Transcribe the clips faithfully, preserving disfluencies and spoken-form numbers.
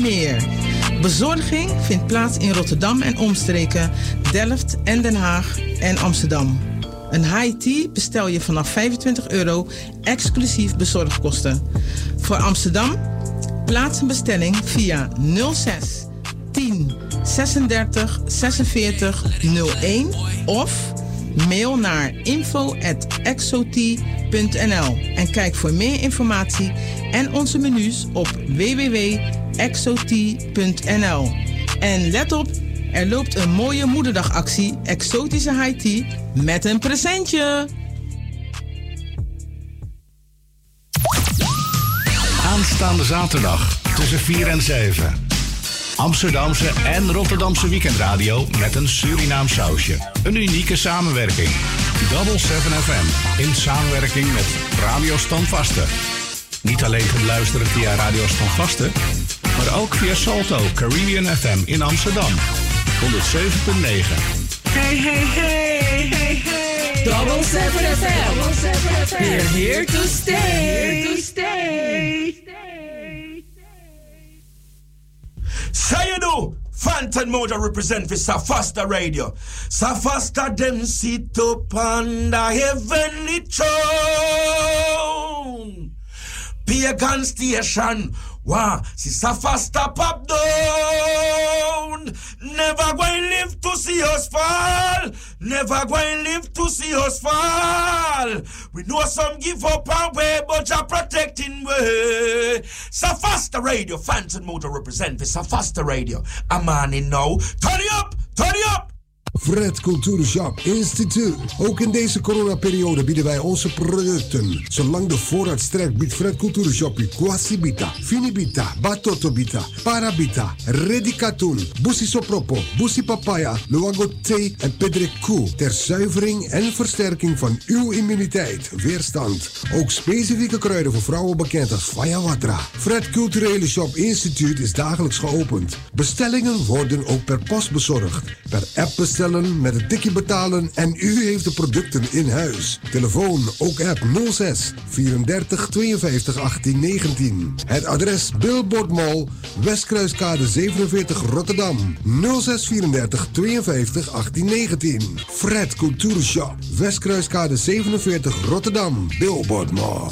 meer. Bezorging vindt plaats in Rotterdam en omstreken, Delft en Den Haag en Amsterdam. Een high tea bestel je vanaf vijfentwintig euro, exclusief bezorgkosten. Voor Amsterdam, plaats een bestelling via nul zes tien zesendertig zesenveertig nul een of mail naar info at exotea punt n l en kijk voor meer informatie en onze menus op w w w punt exotea punt n l. En let op, er loopt een mooie moederdagactie Exotische High Tea met een presentje. Aanstaande zaterdag tussen vier en zeven. Amsterdamse en Rotterdamse weekendradio met een Surinaam sausje. Een unieke samenwerking. Double seven F M in samenwerking met Radio Standvaste. Niet alleen te beluisteren via Radio Standvaste, maar ook via Salto Caribbean F M in Amsterdam. honderdzeven komma negen. Hey, hey, hey, hey, hey. Double seven F M. We're here to stay. Here to stay. Sayadu, Phantom Moja represent for Safasta Radio. Safasta them sit up on the heavenly throne. Pagan station. Wow, si Safasta pop down. Never going live to see us fall. Never going live to see us fall. We know some give up our way, but you're protecting way. Safasta Radio, Phantom Motor represent for Safasta Radio. I'm on it now. Turn it up, turn it up. Fred Cultuurshop Instituut. Ook in deze coronaperiode bieden wij onze producten. Zolang de voorraad strekt, biedt Fred Cultuurshop u Quasibita, Finibita, Batotobita, Parabita, Redicatoon, Busi Sopropo, Busi Papaya, Luango Thee en Pedrekou. Ter zuivering en versterking van uw immuniteit, weerstand. Ook specifieke kruiden voor vrouwen bekend als Fayawatra. Fred Culturele Shop Instituut is dagelijks geopend. Bestellingen worden ook per post bezorgd. Per app bestellen, met een tikje betalen en u heeft de producten in huis. Telefoon ook app nul zes vierendertig tweeënvijftig achttien negentien. Het adres Billboard Mall, Westkruiskade zevenenveertig Rotterdam. nul zes vierendertig tweeënvijftig achttien negentien. Fred Cultuurshop, Westkruiskade zevenenveertig Rotterdam. Billboard Mall.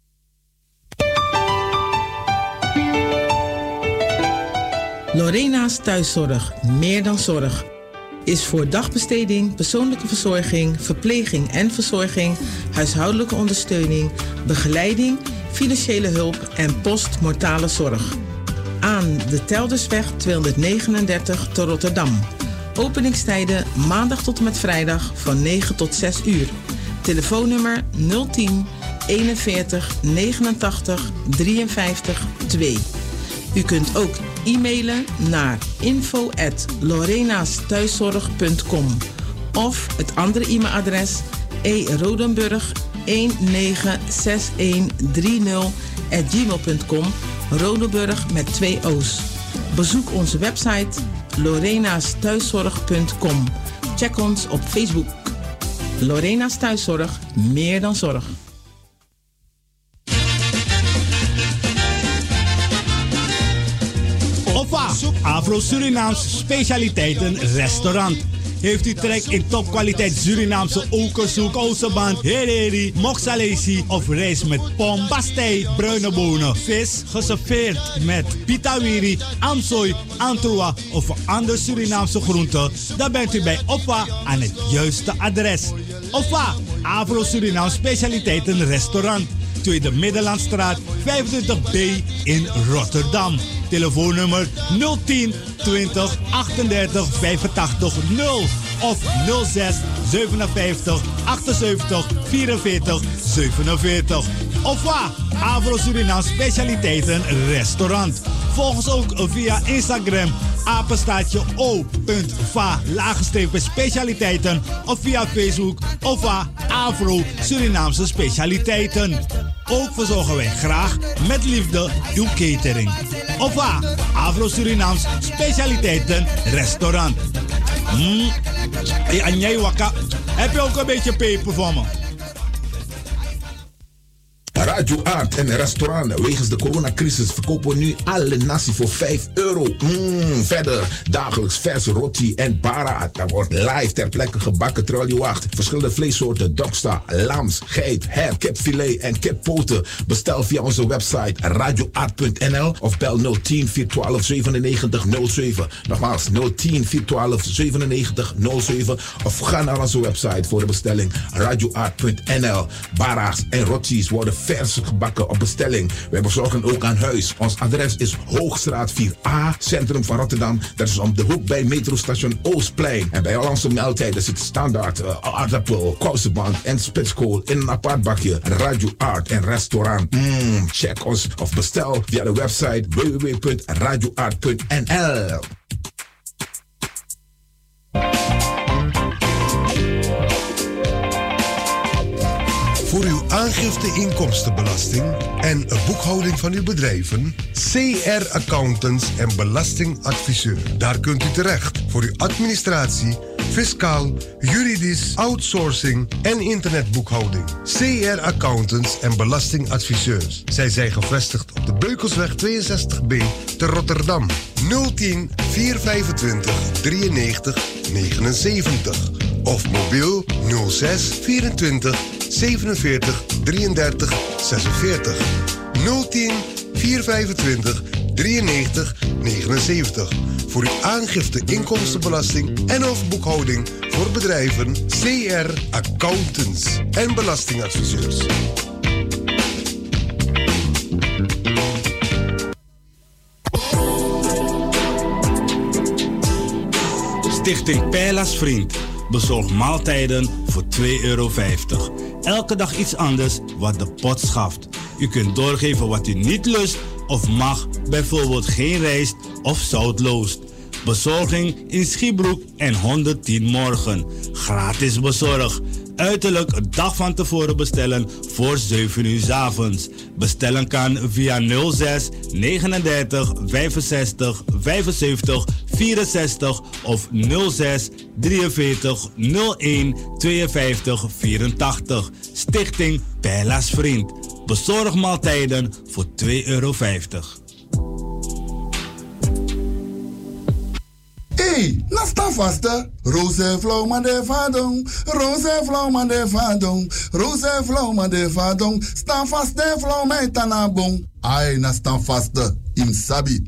Lorena's Thuiszorg, meer dan zorg, is voor dagbesteding, persoonlijke verzorging, verpleging en verzorging, huishoudelijke ondersteuning, begeleiding, financiële hulp en postmortale zorg. Aan de Teldersweg tweehonderdnegenendertig te Rotterdam. Openingstijden maandag tot en met vrijdag van negen tot zes uur. Telefoonnummer nul tien eenenveertig negenentachtig drieënvijftig twee. U kunt ook e-mailen naar info at lorenasthuiszorg punt com of het andere e-mailadres e rodenburg een negen zes een drie nul at gmail punt com, Rodenburg met twee O's. Bezoek onze website lorenasthuiszorg punt com. Check ons op Facebook. Lorena's Thuiszorg, meer dan zorg. Afro-Surinaamse specialiteiten restaurant. Heeft u trek in topkwaliteit Surinaamse okersoek, osseband, hereri, moksalesi of rijst met pom, pastei, bruine bonen, vis, geserveerd met pitawiri, amsooi, antroa of een ander Surinaamse groente? Dan bent u bij Oppa aan het juiste adres. Oppa, Afro-Surinaamse specialiteiten restaurant. Tweede Middellandstraat vijfentwintig B in Rotterdam. Telefoonnummer nul tien twintig achtendertig vijfentachtig nul of nul zes zevenenvijftig achtenzeventig vierenveertig zevenenveertig. Of waar? Avro Surinaam Specialiteiten Restaurant. Volg ons ook via Instagram apenstaatje o.va laagstrepen specialiteiten of via Facebook of waar Avro Surinaamse Specialiteiten. Ook verzorgen wij graag met liefde uw catering. Of waar Avro Surinaams Specialiteiten Restaurant. Mm. Hey, en jij wakka, heb je ook een beetje peper voor me? Radio Art en restaurant. Wegens de coronacrisis verkopen we nu alle nasi voor vijf euro. Mm, verder dagelijks verse roti en para. Dat wordt live ter plekke gebakken terwijl je wacht. Verschillende vleessoorten, doksta, lams, geit, her, kipfilet en kippoten. Bestel via onze website radio art punt n l of bel nul tien vier twaalf zevenennegentig nul zeven. Nogmaals nul tien vier twaalf zevenennegentig nul zeven of ga naar onze website voor de bestelling radio art punt n l. Bara's en rotis worden vers gebakken op bestelling. Wij bezorgen ook aan huis. Ons adres is Hoogstraat vier A, centrum van Rotterdam. Dat is om de hoek bij metrostation Oostplein. En bij al onze maaltijden zit standaard uh, aardappel, kousenband en spitskool in een apart bakje. Radio Art en restaurant. Mm, check ons of bestel via de website w w w punt radio art punt n l. Voor uw aangifte inkomstenbelasting en boekhouding van uw bedrijven, C R Accountants en Belastingadviseur. Daar kunt u terecht voor uw administratie, fiscaal, juridisch, outsourcing en internetboekhouding. C R Accountants en Belastingadviseurs. Zij zijn gevestigd op de Beukelsweg tweeënzestig B te Rotterdam. nul tien vier vijfentwintig drieënnegentig negenenzeventig of mobiel nul zes vierentwintig zevenenveertig drieëndertig zesenveertig. nul tien vier vijfentwintig drieënnegentig negenenzeventig. Voor uw aangifte inkomstenbelasting en of boekhouding voor bedrijven C R Accountants en Belastingadviseurs. Stichting Pijla's Vriend bezorgt maaltijden voor twee euro vijftig. Elke dag iets anders wat de pot schaft. U kunt doorgeven wat u niet lust of mag, bijvoorbeeld geen rijst of zoutloos. Bezorging in Schiebroek en honderdtien morgen. Gratis bezorg. Uiterlijk een dag van tevoren bestellen voor zeven uur 's avonds. Bestellen kan via nul zes negenendertig vijfenzestig vijfenzeventig vierenzestig of nul zes drieënveertig nul een tweeënvijftig vierentachtig. Stichting Pijla's Vriend. Bezorg maaltijden voor twee euro vijftig. Hey, na sta vasta. Roze vrouw man de vadong. Roze vrouw man de vadong. Roze vrouw man de vadong. Sta vast de vrouw met tanabong. Ai, na sta vasta. Im sabi.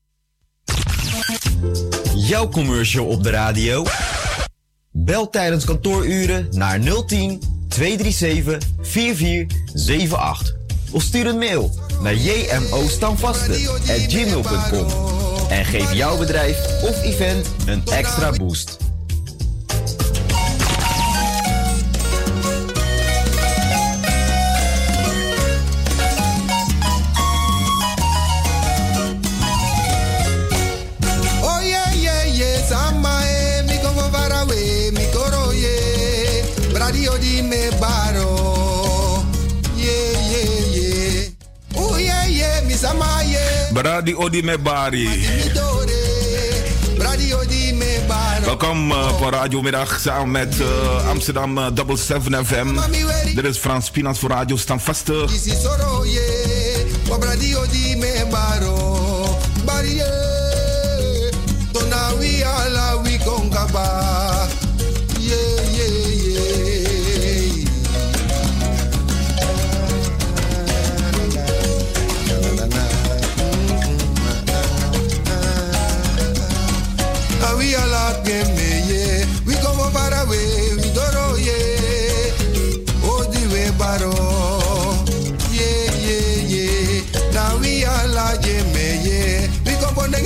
Jouw commercial op de radio? Bel tijdens kantooruren naar nul tien tweehonderdzevenendertig vierenveertig zevenentachtig. Of stuur een mail naar jmostamvaste at gmail punt com. En geef jouw bedrijf of event een extra boost. Oh yeah, yeah, yeah, samae, mi come far away, mi coro yeah, radio di me baro, yeah, yeah, yeah, oh yeah, yeah, mi samae. Bradi Odi Mebari. Welkom uh, voor Radiomiddag samen met uh, Amsterdam uh, Double seven F M. Dit is Frans Pinas voor Radio Stamvaste. We all up game me, yeah. We come far away, we don't know, yeah. Oh, the way baro, yeah, yeah, yeah. Now we all up game me, yeah. We come on the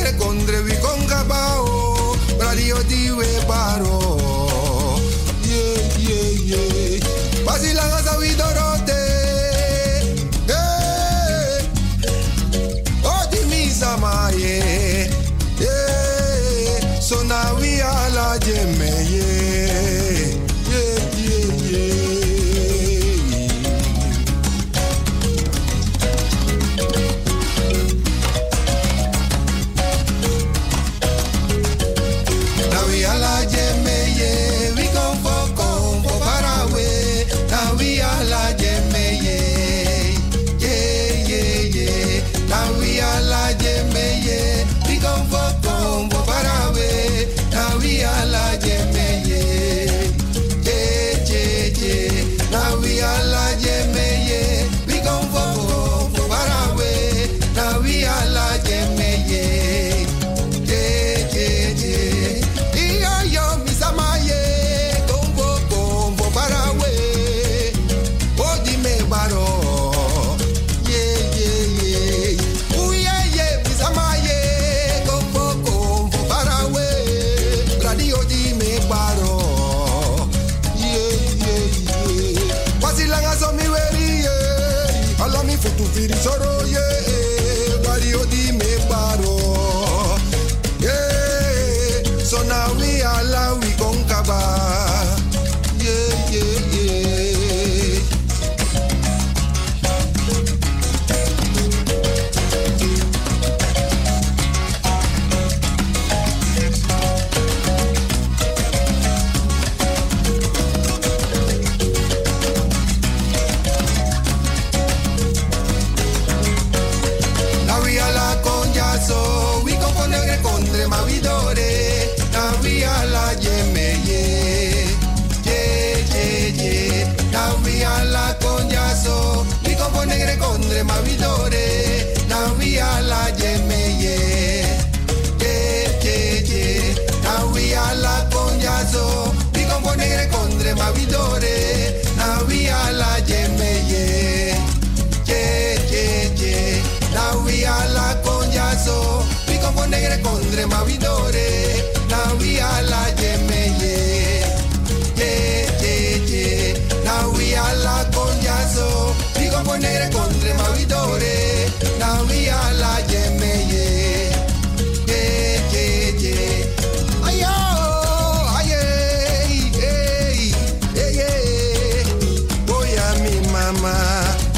negre condre mavidore. Now we all a jemeye. Yeah, yeah, yeah. Now we all a conyazo. Digo por negre condre mavidore. Now we all a jemeye. Yeah, yeah, yeah. Ay, oh, ay, ay, ay, ay, ay. Voy a mi mamá.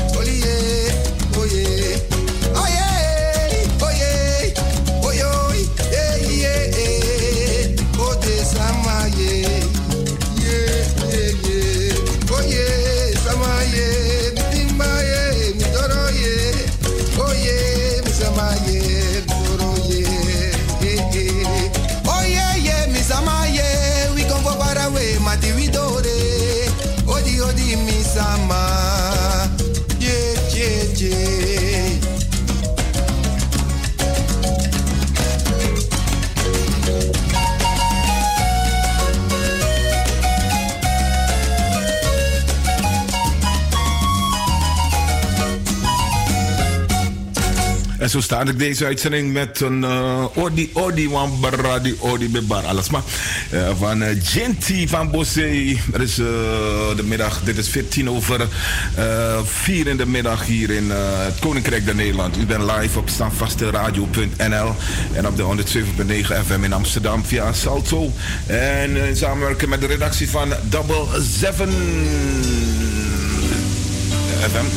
Sama, yeah, yeah, yeah. En zo start ik deze uitzending met een uh, Odi Odi Wambara di Odi Bebar alles maar uh, van uh, Genty van Bosse. Het is uh, de middag, dit is veertien over uh, vier in de middag hier in uh, het Koninkrijk der Nederland. U bent live op standvasteradio punt n l en op de honderdzeven komma negen F M in Amsterdam via Salto. En in samenwerking met de redactie van Double Seven F M.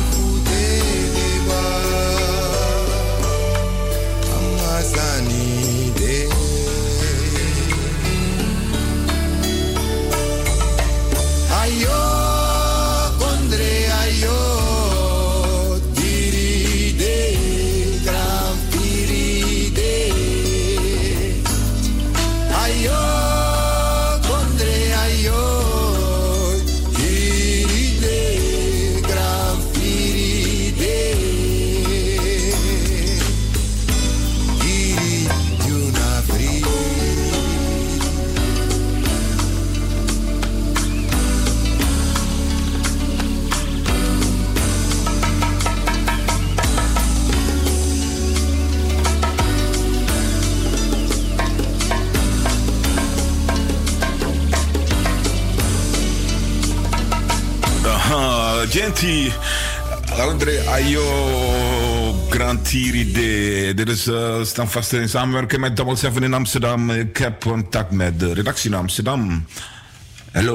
Amazani Genti. André Ayo Grantiri de. Dit is uh, staan vast in samenwerking met Double Seven in Amsterdam. Ik heb contact met de redactie in Amsterdam. Hallo.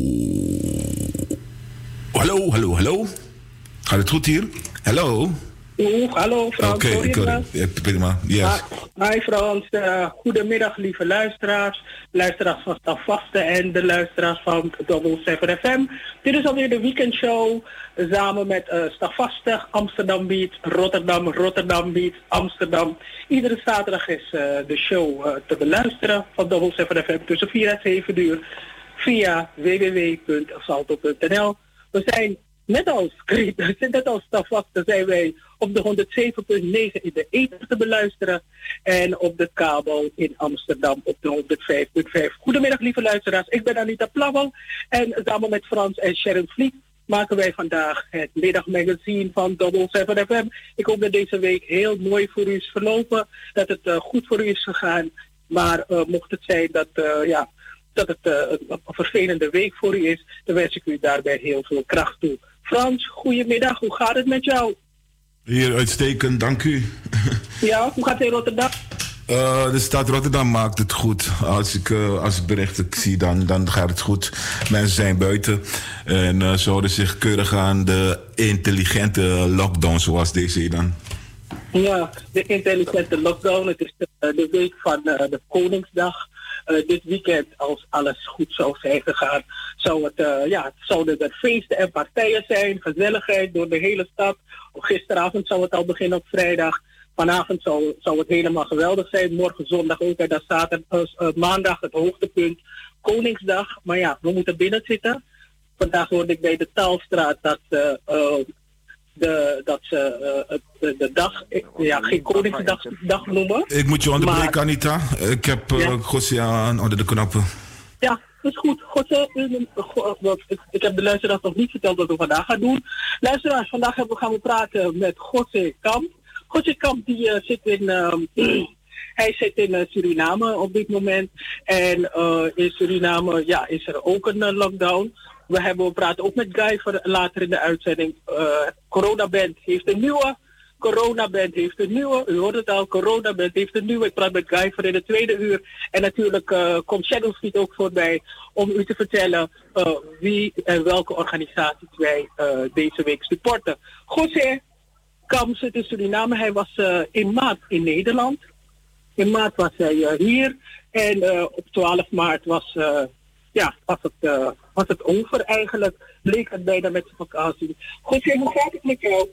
Hallo, hallo, hallo. Gaat het goed hier? Hallo. Oeh, hallo Frans. Oké, okay, ik hoor het. Prima. Yes. Hi Frans. Uh, goedemiddag lieve luisteraars. Luisteraars van Stavaste en de luisteraars van Double Seven F M. Dit is alweer de weekendshow. Samen met uh, Stavaste, Amsterdam Beat, Rotterdam, Rotterdam Beat, Amsterdam. Iedere zaterdag is uh, de show uh, te beluisteren van Double Seven F M tussen vier en zeven uur via w w w punt salto punt n l. We zijn net als net als Stavaste zijn wij op de honderdzeven punt negen in de ether te beluisteren en op de kabel in Amsterdam op de honderdvijf punt vijf. Goedemiddag lieve luisteraars, ik ben Anita Plauwel en samen met Frans en Sharon Vliet maken wij vandaag het middagmagazine van Double Seven F M. Ik hoop dat deze week heel mooi voor u is verlopen, dat het uh, goed voor u is gegaan, maar uh, mocht het zijn dat, uh, ja, dat het uh, een vervelende week voor u is, dan wens ik u daarbij heel veel kracht toe. Frans, goedemiddag, hoe gaat het met jou? Hier, uitstekend, dank u. Ja, hoe gaat het in Rotterdam? Uh, de stad Rotterdam maakt het goed. Als ik, uh, als ik berichten zie, dan, dan gaat het goed. Mensen zijn buiten en uh, ze houden zich keurig aan de intelligente lockdown, zoals deze dan. Ja, de intelligente lockdown. Het is de, de week van uh, de Koningsdag. Uh, dit weekend, als alles goed zou zijn gegaan, zou het, uh, ja, zouden er feesten en partijen zijn, gezelligheid door de hele stad. Gisteravond zou het al beginnen op vrijdag. Vanavond zou, zou het helemaal geweldig zijn. Morgen zondag ook en dan zaterdag, uh, maandag het hoogtepunt. Koningsdag. Maar ja, we moeten binnen zitten. Vandaag hoorde ik bij de Taalstraat dat, uh, uh, de, dat ze uh, de, de dag, ja, geen Koningsdag dag noemen. Ik moet je onderbreken, maar, Anita. Ik heb uh, ja. Gossia aan onder de knoppen. Ja, dat is goed. Gosse, ik, ik heb de luisteraars nog niet verteld wat we vandaag gaan doen. Luisteraars, vandaag gaan we, gaan we praten met Gosse Kamp. Gosse Kamp die uh, zit in, uh, hij zit in uh, Suriname op dit moment. En uh, in Suriname ja, is er ook een uh, lockdown. We, hebben, we praten ook met Guy voor later in de uitzending. Uh, Coronaband heeft een nieuwe. Coronaband heeft een nieuwe. U hoort het al, Coronaband heeft een nieuwe. Ik praat met Guy voor in de tweede uur. En natuurlijk uh, komt Shadowfeed ook voorbij om u te vertellen uh, wie en welke organisaties wij uh, deze week supporten. José Kamp zit in Suriname. Hij was uh, in maart in Nederland. In maart was hij uh, hier. En uh, op twaalf maart was, uh, ja, was, het, uh, was het over eigenlijk. Leek het bijna met zijn vakantie. José, hoe gaat het met jou?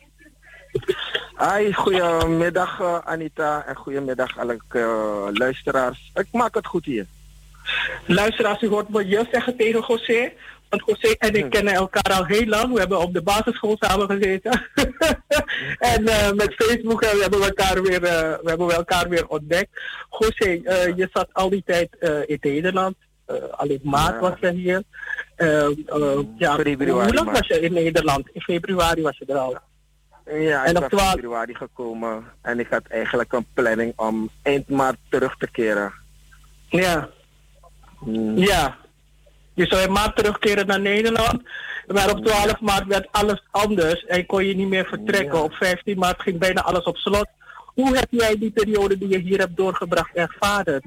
Hi, goedemiddag uh, Anita en goedemiddag alle uh, luisteraars. Ik maak het goed hier. Luisteraars, u hoort me je zeggen tegen José. Want José en ik kennen elkaar al heel lang. We hebben op de basisschool samen gezeten. en uh, met Facebook uh, we hebben we elkaar weer, uh, we hebben we elkaar weer ontdekt. José, uh, je zat al die tijd uh, in Nederland. Uh, alleen maart ja. was je hier. Uh, uh, ja, hoe lang was je in Nederland? In februari was je er al. Ja, ik ben in februari gekomen en ik had eigenlijk een planning om eind maart terug te keren. Ja. Hmm. Ja. Je zou in maart terugkeren naar Nederland, maar op twaalf maart werd alles anders en kon je niet meer vertrekken. Ja. Op vijftien maart ging bijna alles op slot. Hoe heb jij die periode die je hier hebt doorgebracht ervaren?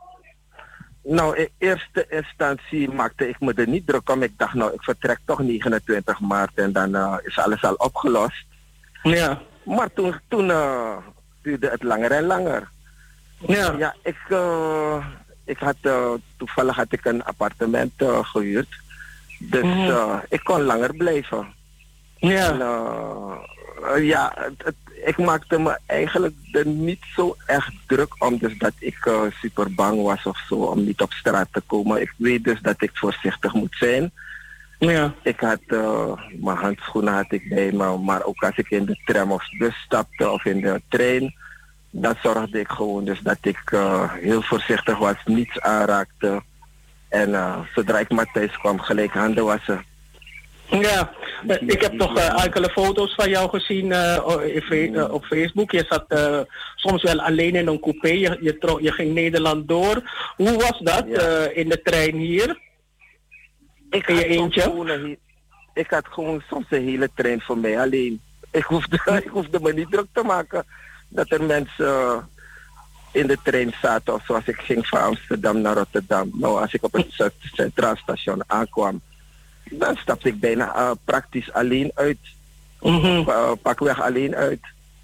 Nou, in eerste instantie maakte ik me er niet druk om. Ik dacht, nou, ik vertrek toch negenentwintig maart en dan uh, is alles al opgelost. Ja. Maar toen, toen uh, duurde het langer en langer. Ja. Ja, ik, uh, ik had, uh, toevallig had ik een appartement uh, gehuurd. Dus mm. uh, ik kon langer blijven. Ja. En, uh, uh, ja, het, het, ik maakte me eigenlijk er niet zo echt druk om, dus dat ik uh, super bang was of zo om niet op straat te komen. Ik weet dus dat ik voorzichtig moet zijn. Ja. Ik had uh, mijn handschoenen had ik bij me, maar ook als ik in de tram of bus stapte of in de trein, dan zorgde ik gewoon dus dat ik uh, heel voorzichtig was, niets aanraakte. En uh, zodra ik maar thuis kwam, gelijk handen wassen. Ja, ik heb toch uh, enkele foto's van jou gezien uh, uh, op Facebook. Je zat uh, soms wel alleen in een coupé, je, je, tro- je ging Nederland door. Hoe was dat ja. uh, in de trein hier? Ik in je had eentje? Soms wonen hier, ik had gewoon soms een hele trein voor mij alleen. Ik hoefde, ik hoefde me niet druk te maken dat er mensen uh, in de trein zaten of zoals ik ging van Amsterdam naar Rotterdam. Nou, als ik op het Centraal Station aankwam, dan stapte ik bijna uh, praktisch alleen uit. Mm-hmm. Uh, pakweg alleen uit.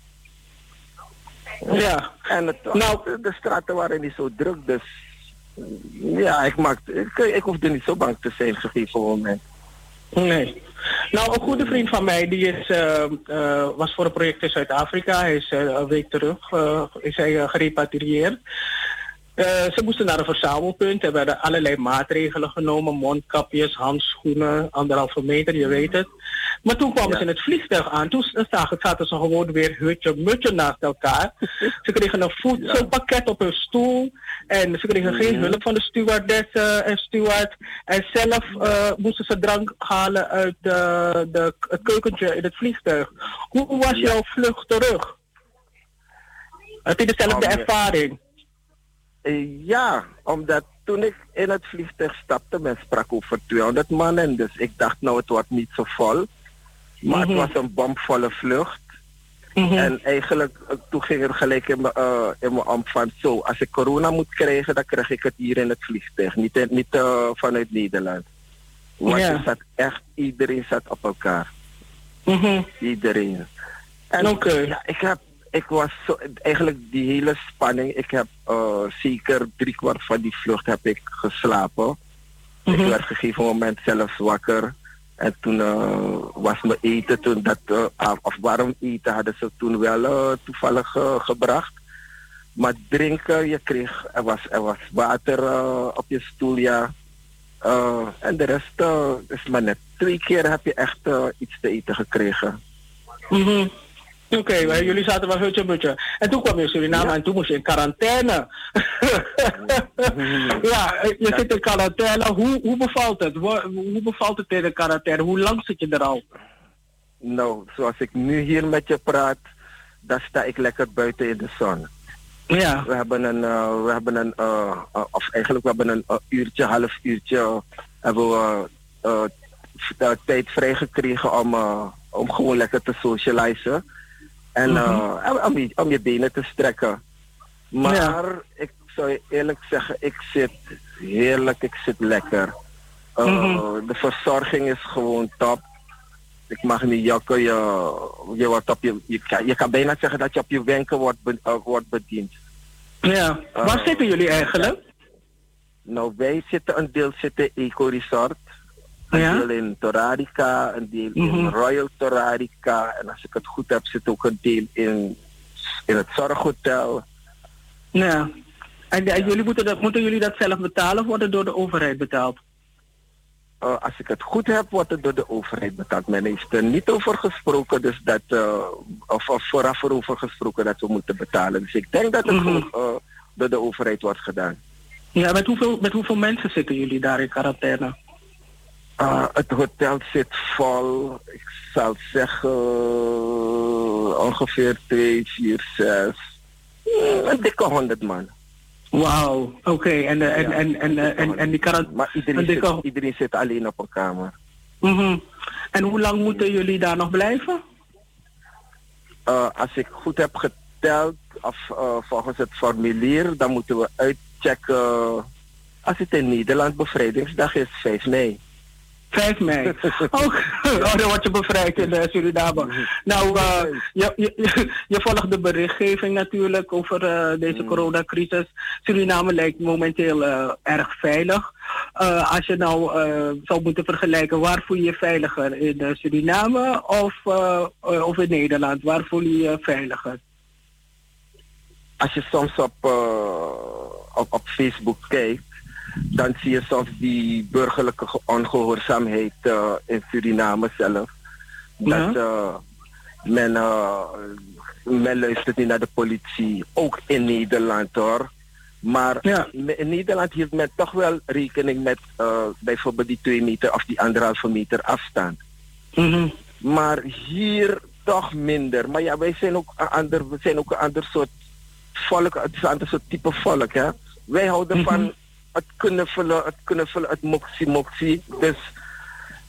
Ja. En het, nou, de straten waren niet zo druk, dus ja, ik, maakte, ik, ik hoefde niet zo bang te zijn op een gegeven moment. Nee. Nou, een goede vriend van mij, die is, uh, uh, was voor een project in Zuid-Afrika. Hij is uh, een week terug, uh, is hij uh, gerepatrieerd. Uh, ze moesten naar een verzamelpunt. Er werden allerlei maatregelen genomen. Mondkapjes, handschoenen, anderhalve meter, je weet het. Maar toen kwamen ja. ze in het vliegtuig aan. Toen zagen, zaten ze gewoon weer hutje, mutje naast elkaar. Ze kregen een voedselpakket ja. op hun stoel. En ze kregen geen hulp van de stewardessen en steward. En zelf uh, moesten ze drank halen uit de, de, het keukentje in het vliegtuig. Hoe was ja. jouw vlucht terug? Heb je dezelfde oh, ervaring? Uh, ja, omdat toen ik in het vliegtuig stapte, men sprak over tweehonderd man. En dus ik dacht, nou, het wordt niet zo vol. Maar mm-hmm. het was een bomvolle vlucht. Mm-hmm. En eigenlijk, toen ging er gelijk in mijn, uh, in mijn om van, zo, als ik corona moet krijgen, dan krijg ik het hier in het vliegtuig. Niet, in, niet uh, vanuit Nederland. Want yeah. er zat echt, iedereen zat op elkaar. Mm-hmm. Iedereen. En okay. ja, ik heb, ik was zo, eigenlijk die hele spanning, ik heb uh, zeker drie kwart van die vlucht heb ik geslapen. Mm-hmm. Ik werd op een gegeven moment zelfs wakker. En toen uh, was mijn eten, toen dat, uh, of warm eten hadden ze toen wel uh, toevallig uh, gebracht. Maar drinken, je kreeg, er was, er was water uh, op je stoel, ja. Uh, en de rest uh, is maar net. Twee keer heb je echt uh, iets te eten gekregen. Mm-hmm. Oké, okay, maar jullie zaten wel hutje butje. En toen kwam je in Suriname ja. en toen moest je in quarantaine. ja, je zit in quarantaine. Hoe, hoe bevalt het? Hoe, hoe bevalt het in de quarantaine? Hoe lang zit je er al? Nou, zoals ik nu hier met je praat, dan sta ik lekker buiten in de zon. Ja. We hebben een, uh, we hebben een uh, uh, of eigenlijk we hebben een uh, uurtje, half uurtje, uh, hebben we uh, uh, tijd vrijgekregen om, uh, om gewoon lekker te socializen. En uh, mm-hmm. om, je, om je benen te strekken. Maar ja. ik zou je eerlijk zeggen, ik zit heerlijk, ik zit lekker. Uh, mm-hmm. De verzorging is gewoon top. Ik mag niet jokken, je, je, wordt op je, je, kan, je kan bijna zeggen dat je op je wenken wordt, be, uh, wordt bediend. Ja, uh, waar zitten jullie eigenlijk? Nou, wij zitten, een deel zitten in Eco Resort. Een ja? deel in Torarica, een deel mm-hmm. in Royal Torarica. En als ik het goed heb, zit ook een deel in, in het Zorghotel. Ja. En, en jullie moeten, dat, moeten jullie dat zelf betalen of wordt het door de overheid betaald? Uh, als ik het goed heb, wordt het door de overheid betaald. Men heeft er niet over gesproken, dus dat, uh, of, of vooraf erover gesproken dat we moeten betalen. Dus ik denk dat het mm-hmm. gewoon uh, door de overheid wordt gedaan. Ja, met hoeveel, met hoeveel mensen zitten jullie daar in quarantaine? Uh, het hotel zit vol, ik zal zeggen uh, ongeveer twee, vier, zes, uh, een dikke honderd man. Wauw, oké. Okay. En, uh, en, ja, en, en, en, en, en die quarantaine... Maar iedereen, dikke... zit, iedereen zit alleen op een kamer. Mm-hmm. En hoe lang moeten jullie daar nog blijven? Uh, als ik goed heb geteld, of uh, volgens het formulier, dan moeten we uitchecken... Als het in Nederland bevrijdingsdag is, vijf mei. vijf mei. Oh, oh, dan word je bevrijd in uh, Suriname. Nou, uh, je, je, je volgt de berichtgeving natuurlijk over uh, deze mm. coronacrisis. Suriname lijkt momenteel uh, erg veilig. Uh, als je nou uh, zou moeten vergelijken, waar voel je je veiliger? In uh, Suriname of, uh, uh, of in Nederland? Waar voel je je veiliger? Als je soms op, uh, op, op Facebook kijkt, dan zie je soms die burgerlijke ongehoorzaamheid uh, in Suriname zelf. Dat ja. uh, men, uh, men luistert niet naar de politie, ook in Nederland hoor. Maar ja. in Nederland heeft men toch wel rekening met uh, bijvoorbeeld die twee meter of die anderhalve meter afstand. Mm-hmm. Maar hier toch minder. Maar ja, wij zijn ook een ander, we zijn ook een ander soort volk, het is een ander soort type volk hè. Wij houden mm-hmm. van het knuffelen, het knuffelen, het moksie moksie. Dus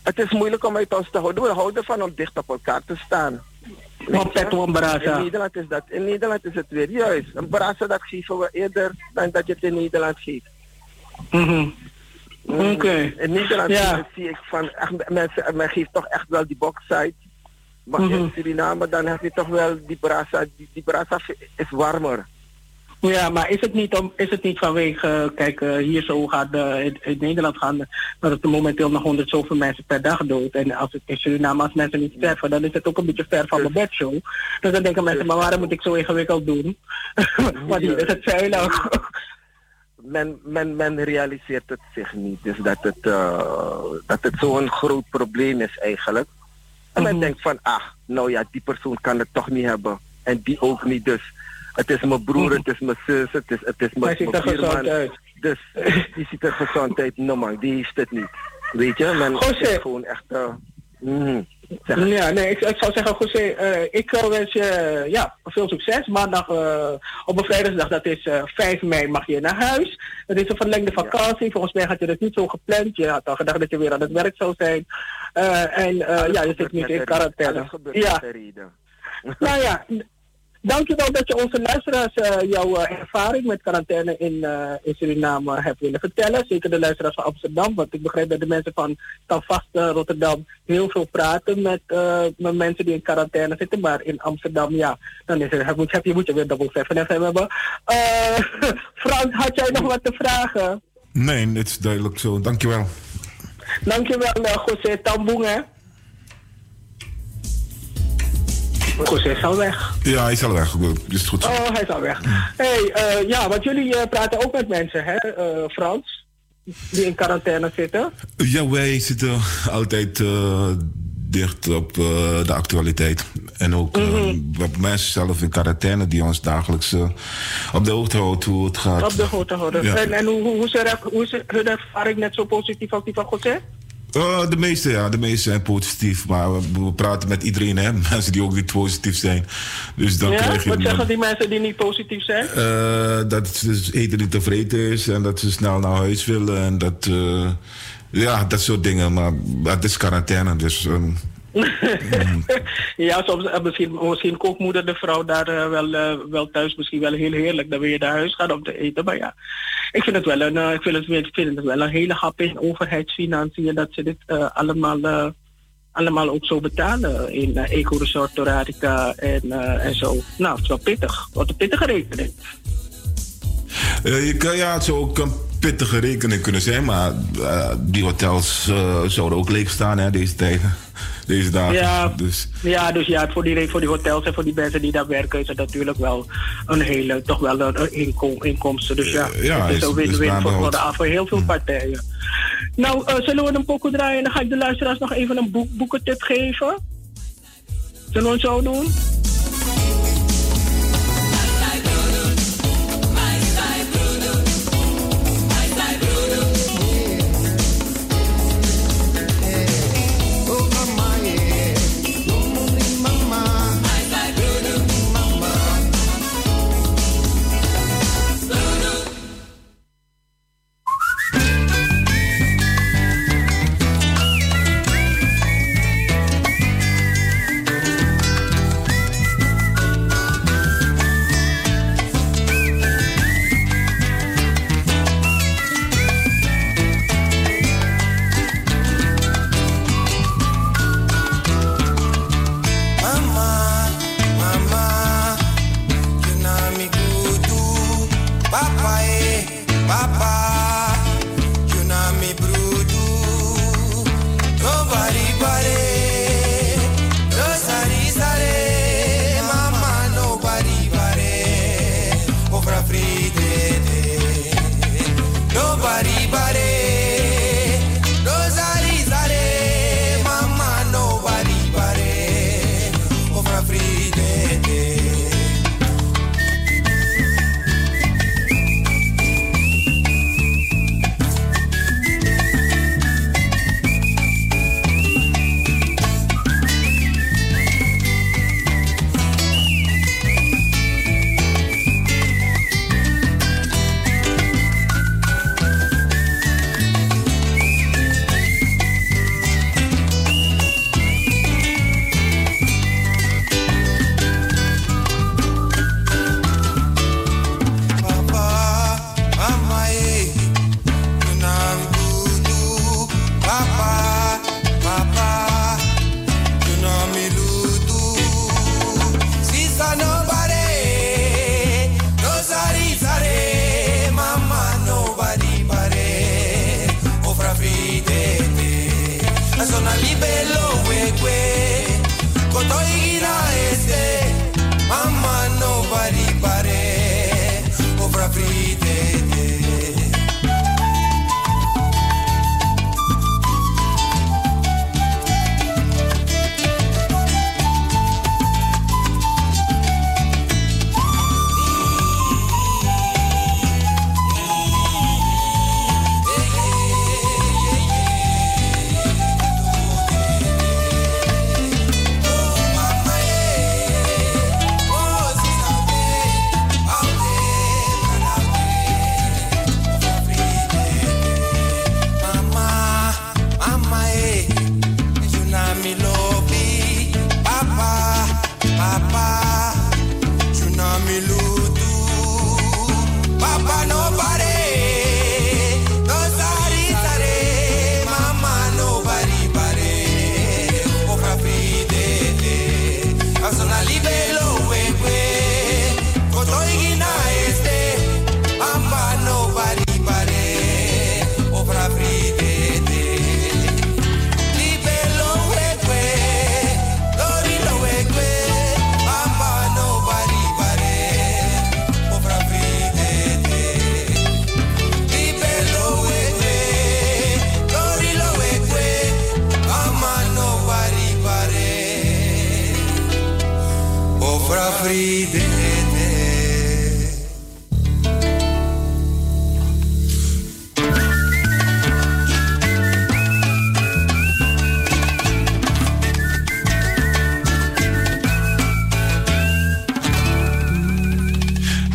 het is moeilijk om uit ons te houden. We houden van om dicht op elkaar te staan. Een brasa. In Nederland is dat. In Nederland is het weer juist. Een brasa dat geven we eerder dan dat je het in Nederland geeft. Mm-hmm. Oké. Okay. In Nederland ja. zie ik van echt, mensen, men geeft toch echt wel die boxsite. Maar mm-hmm. in Suriname dan heb je toch wel die brasa. Die, die brasa is warmer. Ja, maar is het niet, om, is het niet vanwege, kijk, uh, hier zo gaat uh, in, in Nederland gaan, dat het momenteel nog honderd zoveel mensen per dag dood. En als het in Suriname, als mensen niet sterven, dan is het ook een beetje ver van mijn bedshow. Dus dan denken mensen, maar waarom moet ik zo ingewikkeld doen? Want hier is het veilig. Men, men, men realiseert het zich niet, dus dat het, uh, dat het zo'n groot probleem is eigenlijk. En men mm-hmm. denkt van, ach, nou ja, die persoon kan het toch niet hebben. En die ook niet, dus het is mijn broer, het is mijn zus, het is, het is mijn buurman. Dus die ziet er gezond uit. No man, die heeft het niet. Weet je, men is gewoon echt... Uh, mm, ja, nee, ik, ik zou zeggen, José, uh, ik uh, wens je uh, ja, veel succes. Maandag uh, op een vrijdagsdag, dat is uh, vijf mei, mag je naar huis. Dat is een verlengde vakantie. Ja. Volgens mij had je het niet zo gepland. Je had al gedacht dat je weer aan het werk zou zijn. Uh, en uh, ja, je zit nu in quarantaine. Ja. Nou ja... Dankjewel dat je onze luisteraars uh, jouw uh, ervaring met quarantaine in, uh, in Suriname hebt willen vertellen. Zeker de luisteraars van Amsterdam, want ik begrijp dat de mensen van Standvast uh, Rotterdam heel veel praten met, uh, met mensen die in quarantaine zitten. Maar in Amsterdam, ja, dan is er, moet, heb je, moet je weer Double seven F M hebben. Uh, Frans, had jij nog wat te vragen? Nee, het is duidelijk zo. Dankjewel. Dankjewel, uh, José Tamboeng, hè. José is al weg. Ja, hij is al weg. Is het goed zo. Oh, hij is al weg. Hey, uh, ja, want jullie uh, praten ook met mensen, hè, uh, Frans? Die in quarantaine zitten? Ja, wij zitten altijd uh, dicht op uh, de actualiteit. En ook mm-hmm. uh, mensen zelf in quarantaine die ons dagelijks uh, op de hoogte houden hoe het gaat. Op de hoogte houden. Ja. En, en hoe, hoe, hoe, is er, hoe is hun ervaring net zo positief als die van José? Uh, de meeste, ja. De meeste zijn positief. Maar we, we praten met iedereen, hè. Mensen die ook niet positief zijn. Dus dan ja? krijg je... Wat zeggen dan, die mensen die niet positief zijn? Uh, dat ze dus eten niet tevreden is. En dat ze snel naar huis willen. En dat... Uh, ja, dat soort dingen. Maar het is quarantaine, dus... Um, ja, soms uh, misschien, misschien kookt moeder de vrouw daar uh, wel, uh, wel thuis misschien wel heel heerlijk. Dan wil je naar huis gaan om te eten. Maar ja, ik vind het wel een, uh, ik vind het, ik vind het wel een hele hap in overheidsfinanciën dat ze dit uh, allemaal, uh, allemaal ook zo betalen in uh, Eco-Resort Torarica en, uh, en zo. Nou, het is wel pittig. Wat een pittige rekening. Uh, je kan, ja, het zou ook een pittige rekening kunnen zijn, maar uh, die hotels uh, zouden ook leeg staan, hè, deze tijden. Deze dagen. Ja, dus, ja, dus ja, voor die, voor die hotels en voor die mensen die daar werken is het natuurlijk wel een hele, toch wel een inkom, inkomsten. Dus ja, uh, ja het is een win-win voor, voor, voor heel veel partijen. Nou, uh, zullen we een pokoe draaien en dan ga ik de luisteraars nog even een boek, boekentip geven? Zullen we het zo doen?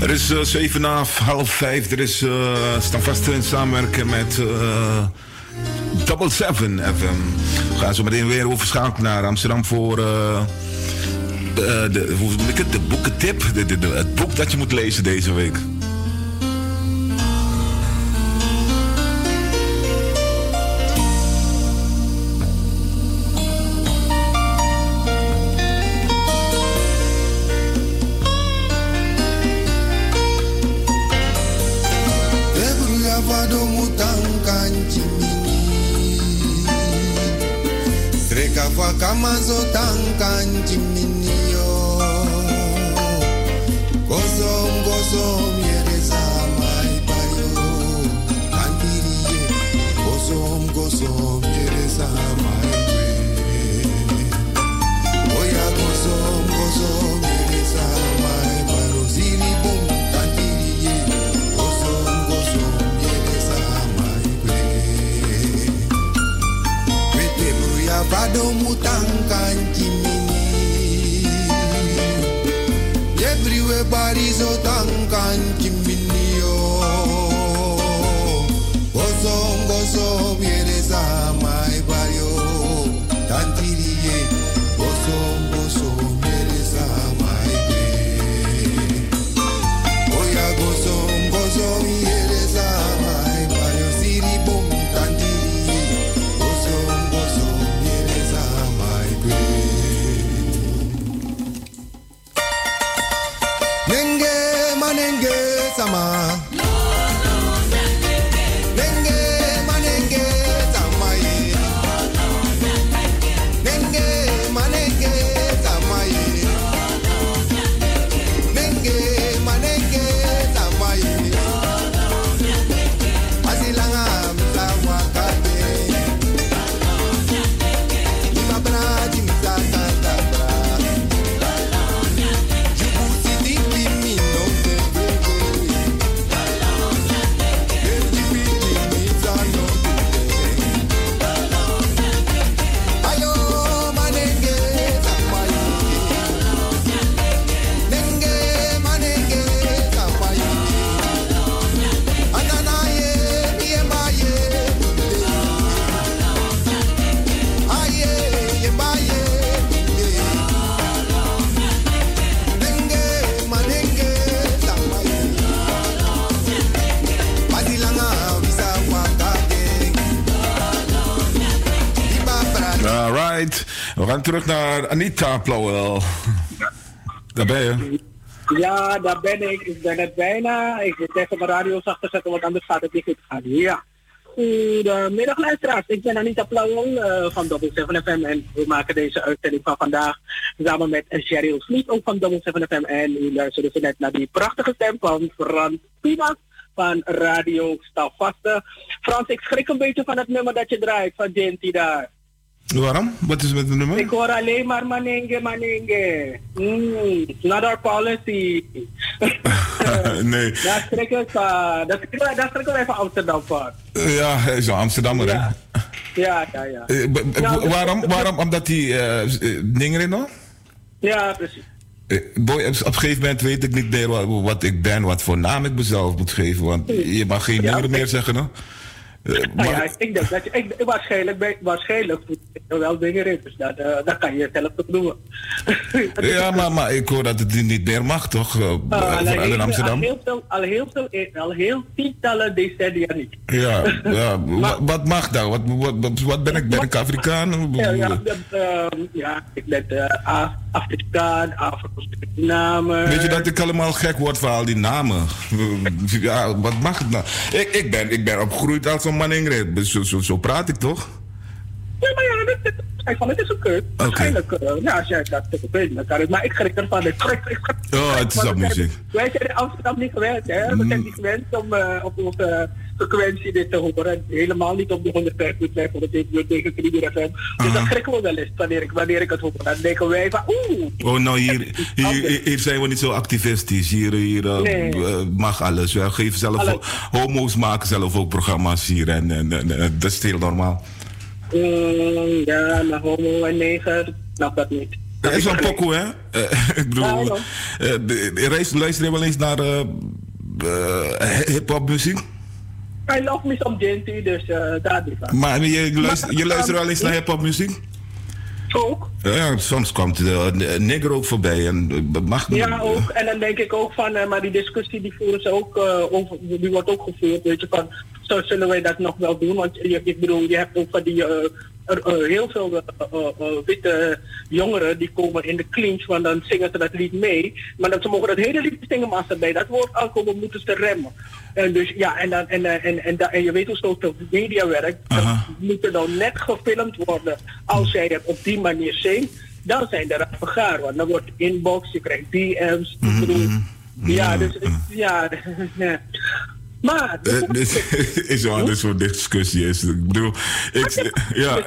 Er is uh, zeven na half vijf. Er is uh, staan vast in samenwerken met uh, Double Seven F M. We gaan zo meteen weer overschakelen naar Amsterdam voor uh, de, de, hoe noem ik het? De boekentip. De, de, de, het boek dat je moet lezen deze week. Kamazo tankan jiminio Gozom gozom yereza mai payo Kandirie Gozom gozom yereza mai kwe Oya gozom gozom yereza mai payo Ziri bom kandirie Gozom gozom yereza mai kwe Wete bruya vado mutankan jimini Everywhere barizo tankan jimini yo Gozom gozom yereza mai bayo Tantiriye Gozom gozom yereza mai be Oya gozom gozom yereza mai bayo Siri bom tantiriye Gozom gozom yereza mai be Nenge manenge sama Nenge manenge sama ye Nenge manenge sama ye Nenge manenge sama ye Asilanga msawa kate Imabra jimsa kata We gaan terug naar Anita Plauwel. Daar ben je. Ja, daar ben ik. Ik ben het bijna. Ik moet even mijn radio zachter zetten, want anders gaat het niet goed gaan. Ja. Goedemiddag luisteraars. Ik ben Anita Plauwel uh, van Double Seven F M en we maken deze uitzending van vandaag samen met Cheryl Smit, ook van Double Seven F M. En u luisterde dus net naar die prachtige stem van Frans Pinas van Radio Stavaste. Frans, ik schrik een beetje van het nummer dat je draait van Genty daar. Waarom? Wat is het met het nummer? Ik hoor alleen maar manenge, manenge. Mm, not our policy. Nee. Daar schrik ik van. Daar schrik ik even Amsterdam van. Ja, hij is een Amsterdammer, ja. hè? Ja, ja, ja. Uh, b- b- nou, waarom? Waarom? Omdat hij uh, dingen in nog? Ja, precies. Uh, boy, op een gegeven moment weet ik niet meer wat, wat ik ben, wat voor naam ik mezelf moet geven. Want je mag geen ja, nummer meer ik... zeggen, no? Uh, nou maar... ja, ik denk dat je, ik, waarschijnlijk, ben, waarschijnlijk doet er wel dingen in, dus dat, uh, dat kan je zelf toch doen. Ja, maar, maar ik hoor dat het niet meer mag, toch? Uh, uh, vooral in Amsterdam. Al heel veel, al heel veel, al heel tientallen decennia niet. Ja, ja. maar, wat mag dan? Wat, wat, wat ben ik? Ben ik Afrikaan? Ja, ja, uh, ja ik ben uh, Afrikaan, Afro-Suriname. Weet je dat ik allemaal gek word van al die namen? Ja, wat mag het nou? Ik, ik, ben, ik ben opgegroeid als een man Ingrid. Zo, zo, zo praat ik toch? Ja, maar ja, dat, dat, van, het is oké. Okay. Waarschijnlijk, uh, ja, als jij dat weet, dan kan het. Maar ik schrik ervan. Ik schrik, ik schrik, oh, het is op muziek. Wij zijn in Amsterdam niet gewend, hè? We mm. zijn niet gewend om uh, op onze frequentie dit te horen. Helemaal niet op de honderdvijf punt vijf, honderdzeven tegen drie F M. Dus uh-huh. dan schrikken we wel eens wanneer ik, wanneer ik het hoor. Dan denken wij van, oeh. Oh, nou, hier, hier, hier zijn we niet zo activistisch. Hier, hier uh, nee. uh, mag alles. We geven zelf alles. Homo's maken zelf ook programma's hier. En, en, en, en dat is heel normaal. Mm, ja, maar homo en neger, ik snap dat niet. Dat is een pokoe, hè? Uh, ik bedoel, uh, uh, luister je wel eens naar uh, uh, hip-hop muziek? I love me some Genty, dus uh, daar die van. Maar je luistert, je luistert wel eens naar hip-hop muziek? Ook. Ja, soms komt de uh, nigger ook voorbij en uh, mag niet. Ja, ook. En dan denk ik ook van, uh, maar die discussie die voeren ze ook, uh, over, die wordt ook gevoerd, weet je, van, zo zullen wij dat nog wel doen? Want je, ik bedoel, je hebt ook van die, uh, er, uh, heel veel uh, uh, uh, witte jongeren die komen in de clinch, want dan zingen ze dat lied mee, maar dat ze mogen dat hele lied zingen, maar als ze bij dat woord aankomen, moeten ze remmen. En dus ja, en, dan, en, en, en, en, en je weet hoe social media werkt, dat moet er dan net gefilmd worden als jij het op die manier zingt, dan zijn er rappen gaar, want dan wordt inbox, je krijgt D M's, mm-hmm. bedoel, ja, dus ja, maar uh, dit is wel een soort discussie is. Ik bedoel, ik, ja,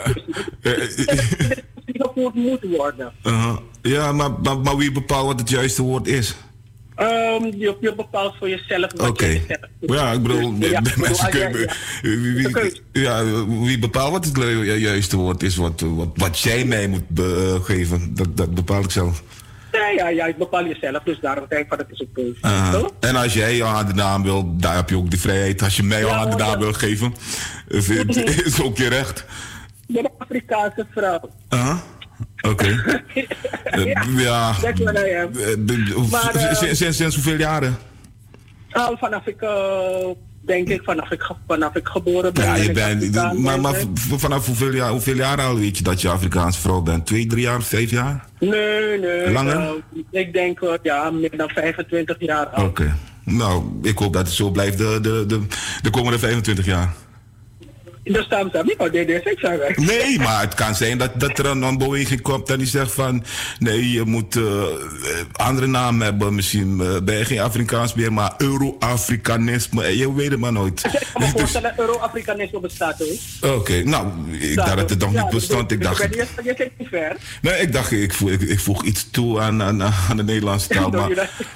die gevoerd moet worden. Uh, ja, maar, maar, maar wie bepaalt wat het juiste woord is? Um, je, je bepaalt voor jezelf wat okay. je zelf doet. Ja, ik bedoel, dus, ja, mensen bedoel, kunnen... Ja, ja. Wie, wie, ja, wie bepaalt wat het juiste woord is, wat, wat, wat jij mij moet be, uh, geven, dat, dat bepaal ik zelf. Ja, ja, ja, ik bepaal jezelf, dus daarom denk ik van het is een keuze. Uh, en als jij je aan de naam wil, daar heb je ook de vrijheid. Als je mij ja, aan de naam ja. wil geven, is, is ook je recht. Je bent een Afrikaanse vrouw. Uh, Oké. Okay. ja, ja. Dat is wat I am. Uh, sinds, sinds hoeveel jaren? Al vanaf ik, uh, denk ik, vanaf ik, vanaf ik geboren ben. Ja, je bent, maar, maar vanaf hoeveel jaar, hoeveel jaar al weet je dat je Afrikaanse vrouw bent? Twee, drie jaar, vijf jaar? Nee, nee. Langer? Uh, ik denk, uh, ja, meer dan vijfentwintig jaar al. Oké. Okay. Nou, ik hoop dat het zo blijft de, de, de, de komende vijfentwintig jaar. Dat staan ze niet, maar D D zes zijn weg. Nee, maar het kan zijn dat, dat er een, een beweging komt en die zegt van... Nee, je moet uh, andere naam hebben. Misschien uh, ben je geen Afrikaans meer, maar Euro-Afrikanisme. Je weet het maar nooit. Ik kan me voorstellen dat Euro-Afrikanisme bestaat ook. Oké, okay, nou, ik dacht dat het nog ja, niet bestond. Ik dacht, je, je zit niet ver. Nee, ik dacht, ik voeg, ik, ik voeg iets toe aan, aan, aan de Nederlandse taal. Maar,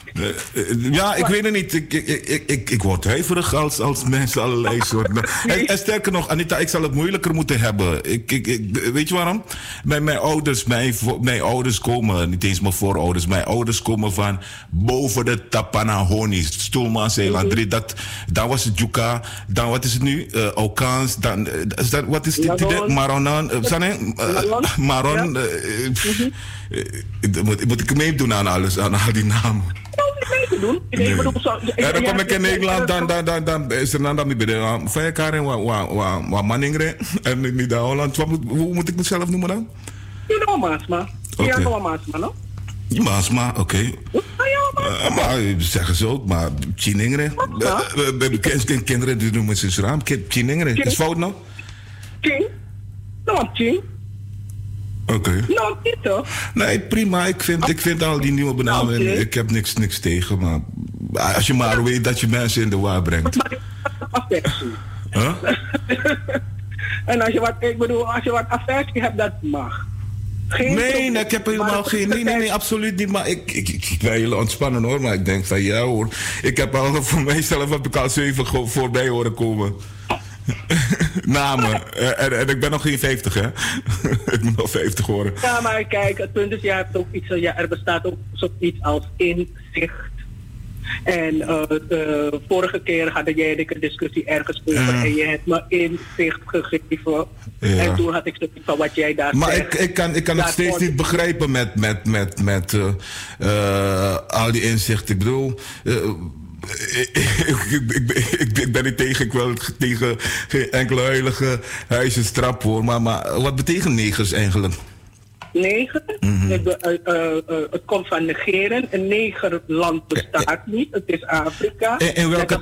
uh, ja, ik maar, weet het niet. Ik, ik, ik, ik, ik word huiverig als, als mensen allerlei soorten... en, en sterker nog... Anita, ik zal het moeilijker moeten hebben. Ik, ik, ik, weet je waarom? Mijn, mijn ouders, mijn, mijn ouders komen, niet eens mijn voorouders, mijn ouders komen van boven de Tapanahoni, Stoelman-Zeeland. Mm-hmm. Dat, dan was het Juka, dan wat is het nu? Uh, Okans, dan, is dat, wat is dit? Maronan, uh, Maron. Uh, mm-hmm. uh, moet, moet ik meedoen aan alles, aan al die namen? Doen. Nee. Nee, bedoel, zo, ja, dan kom ik in Nederland, dan, dan, dan, dan is er dan dat niet bij de vijf karen wat maningre en niet de Holland. Hoe moet ik mezelf noemen dan? Je noemt Maasma. Je noemt Maasma, no? Maasma, oké. Okay. Uh, maar zeggen ze ook, maar Chiningre. Uh, kinderen die noemen ze raam. Chiningre, is fout nou? Chin? Nou, Chin. Oké. Okay. Nou, niet toch? Nee, prima. Ik vind, ik vind al die nieuwe benamingen, okay. Ik heb niks, niks tegen, maar als je maar weet dat je mensen in de war brengt. Huh? En als je wat, ik bedoel, als je wat affectie hebt, dat mag. Geen nee, probleem, nee, ik heb helemaal geen, nee, nee, nee, absoluut niet, maar ik, ik, ik, ik ben heel ontspannen hoor, maar ik denk van ja hoor, ik heb al voor mijzelf heb ik al zeven voorbij horen komen. Namen. En, en ik ben nog geen vijftig, hè? Ik moet nog vijftig worden. Ja, maar kijk, het punt is, je hebt ook iets, ja, er bestaat ook zoiets als inzicht. En uh, de vorige keer hadden jij en ik een discussie ergens over uh. en je hebt me inzicht gegeven. Ja. En toen had ik zoiets van wat jij daar maar zegt. Maar ik, ik kan, ik kan het steeds niet begrijpen met, met, met, met uh, uh, al die inzichten. Ik bedoel... Uh, Ik, ik, ik, ik, ik ben niet tegen, ik wil tegen geen enkele heilige huizenstrap hoor, maar, maar wat betekent negers eigenlijk? Neger? Mm-hmm. Het, uh, uh, uh, het komt van negeren. Een negerland bestaat niet, het is Afrika. In, in welke...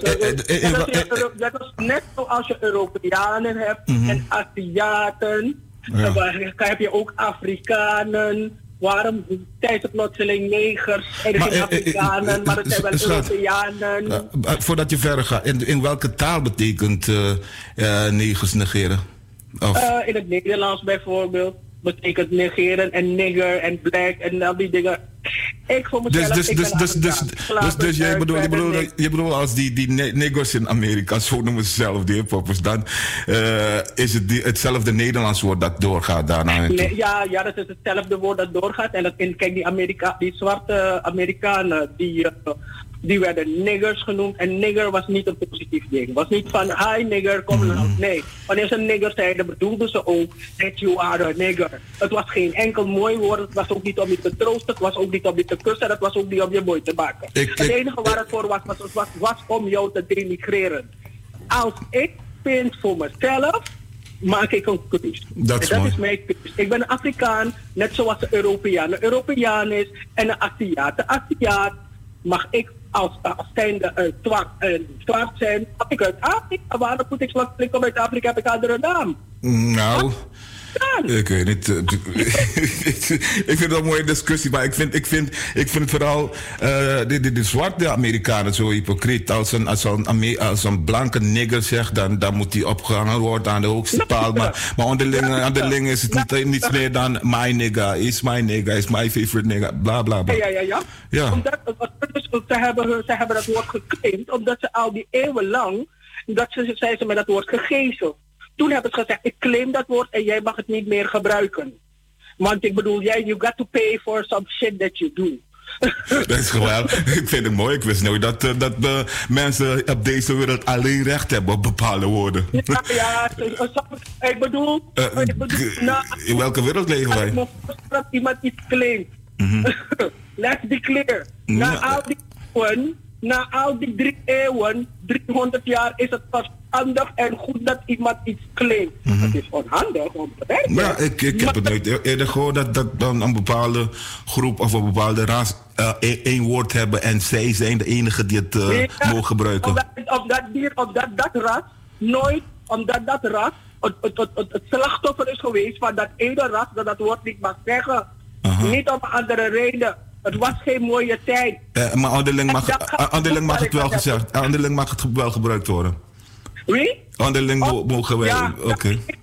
Dat is net zoals je Europeanen hebt mm-hmm. en Aziaten. Ja. Dan heb je ook Afrikanen. Waarom zijn ze plotseling negers en geen eh, Afrikanen, eh, eh, maar het zijn wel Europeanen? Uh, voordat je verder gaat, in, in welke taal betekent uh, uh, negers negeren? Of? Uh, in het Nederlands bijvoorbeeld betekent negeren en nigger en black en al die dingen. Ik voor mezelf, Dus, dus, ik dus, ben dus, dus, Afrikaan. dus, dus jij bedoelt, je Verder bedoelt, je bedoelt als die, die ne- niggers in Amerika, zo noemen ze zelf, die hiphoppers, dan uh, is het die, hetzelfde Nederlands woord dat doorgaat daarna. Nee, ja, ja, dat is hetzelfde woord dat doorgaat. En dat, en kijk, die, Amerika, die zwarte Amerikanen, die, uh, die werden niggers genoemd. En nigger was niet een positief ding. Het was niet van, hi nigger, kom mm. nou. Nee, wanneer ze nigger zeiden, bedoelden ze ook that you are a nigger. Het was geen enkel mooi woord. Het was ook niet om je te troosten. Het was ook niet om je te kussen. Het was ook niet om je mooi te maken. Ik, het enige waar het voor was, was, was, was om jou te denigreren. Als ik vind voor mezelf, maak ik een keuze. Dat is, dat is mijn keuze. Ik ben een Afrikaan, net zoals een Europeaan. Een Europeaan is en een Aziat. De Aziat mag ik als, als zijnde uh, zwart, uh, zwart zijn. Als ik uit Afrika, waarom moet ik zwart klikken uit Afrika? Heb ik een andere naam? Nou, ik weet niet. Ik vind het een mooie discussie, maar ik vind, ik vind, ik vind vooral uh, de, de, de zwarte Amerikanen zo hypocriet. Als een, als een, Ame- als een blanke nigger zegt, dan, dan moet hij opgehangen worden aan de hoogste paal. Maar, maar onderling, onderling is het niet, niets meer dan my nigga, is my nigga, is my favorite nigga, bla bla bla. Ja, ja, ja. ja. Omdat, ze, hebben, ze hebben dat woord geclaimd, omdat ze al die eeuwen lang, dat ze, zijn ze met dat woord gegezeld. Toen hebben ze gezegd, ik claim dat woord en jij mag het niet meer gebruiken. Want ik bedoel, jij, you got to pay for some shit that you do. Dat is gewoon, ik vind het mooi. Ik wist nooit dat, uh, dat uh, mensen op deze wereld alleen recht hebben op bepaalde woorden. Ja, ja ik bedoel... Uh, ik bedoel nou, in welke wereld leven wij? Ik dat iemand iets claimt. Mm-hmm. Let's be clear. Mm-hmm. Na al die eeuwen, na al die drie eeuwen, driehonderd jaar, is het verstandig en goed dat iemand iets claimt. Mm-hmm. Het is onhandig om te werken. Ja, ik, ik heb het nooit eerder gehoord dat, dat dan een bepaalde groep of een bepaalde ras uh, één woord hebben en zij zijn de enige die het uh, nee, ja, mogen gebruiken. Omdat, omdat, die, omdat dat ras nooit, omdat dat ras het, het, het, het, het slachtoffer is geweest van dat ene ras dat dat woord niet mag zeggen. Uh-huh. Niet om andere reden. Het was geen mooie tijd. Uh, maar onderling mag, onderling mag het wel gezegd. Onderling mag het wel gebruikt worden. Wie? Onderling oh, mogen wij. Ja, Oké. Okay. Ik,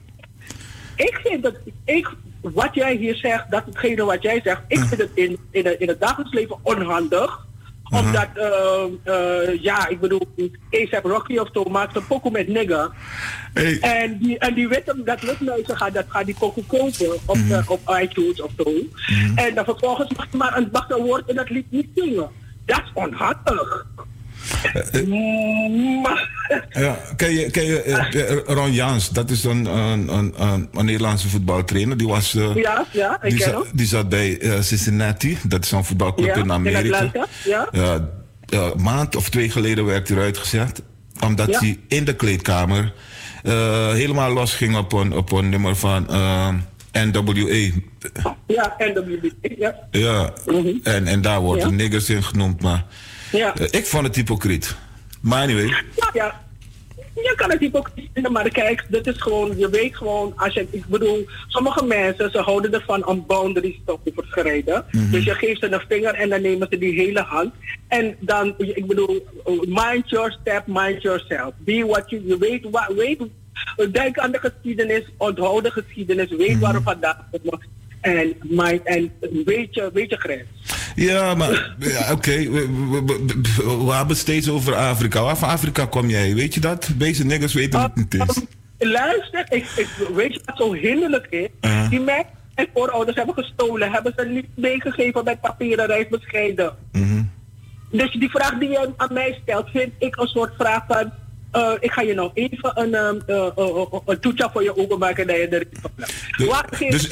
ik vind dat ik, wat jij hier zegt, dat hetgene wat jij zegt, ik vind het in, in, het, in het dagelijks leven onhandig. Uh-huh. Omdat, uh, uh, ja, ik bedoel, A$AP Rocky of zo maakt een pokoe met nigger. Hey. En die, en die weet hem, dat luchtmuizen gaan, dat gaan die pokoe kopen op, mm-hmm. uh, op iTunes of zo. Mm-hmm. En dan vervolgens mag je maar een, mag een woord in dat lied niet zingen. Dat is onhandig. Uh, uh, ja, ken je, ken je uh, Ron Jans, dat is een, een, een, een, een Nederlandse voetbaltrainer. Die, was, uh, ja, ja, ik die, ken za- hem. die zat bij uh, Cincinnati, dat is een voetbalclub ja, in Amerika. In ja. Uh, uh, een maand of twee geleden werd hij eruit gezet, omdat ja. hij in de kleedkamer uh, helemaal los ging op een, op een nummer van uh, N W A. Ja, N W A, ja. Ja, mm-hmm. en, en daar wordt ja. de niggers in genoemd, maar ja. uh, ik vond het hypocriet. Maar anyway. Ja, ja. Je kan het hypocriet vinden, maar kijk, dit is gewoon, je weet gewoon, als je, ik bedoel, sommige mensen, ze houden ervan om boundaries te overschrijden. Mm-hmm. Dus je geeft ze een vinger en dan nemen ze die hele hand. En dan, ik bedoel, mind your step, mind yourself. Be what you, je weet, wat, weet, denk aan de geschiedenis, onthoud de geschiedenis, weet mm-hmm. waar het vandaan komt. En, en weet je, weet je grens. Ja, maar ja, oké, okay. we, we, we, we hebben het steeds over Afrika. Waar van Afrika kom jij? Weet je dat? Deze niggers weten uh, het niet eens. Um, luister, ik, ik, weet je wat zo hinderlijk is? Uh-huh. Die mensen en voorouders hebben gestolen, hebben ze niet meegegeven met papieren reisbescheiden. Mm-hmm. Dus die vraag die je aan mij stelt, vind ik een soort vraag van... Uh, ik ga je nou even een, um, uh, uh, uh, uh, een toetje voor je ogen maken dat je erin blijft. Dus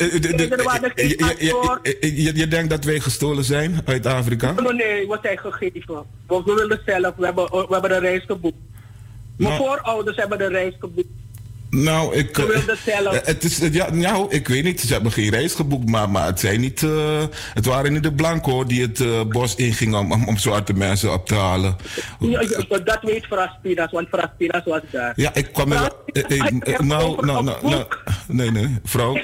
je, je denkt dat wij gestolen zijn uit Afrika? Nee, nee, we zijn gegeven. We willen zelf, we hebben, we hebben de reis geboekt. Mijn nou, voorouders hebben de reis geboekt. Nou, ik... We wilden zelf. Het is, ja, nou, ik weet niet, ze hebben geen reis geboekt, maar, maar het zijn niet... Uh, het waren niet de blanco die het uh, bos ingingen om, om, om zwarte mensen op te halen. Ja, ja, dat weet Fraspinas, want Fraspinas was daar. Ja, ik kwam... Er, eh, eh, nou, nou, nou, nou, nee, nee, vrouw.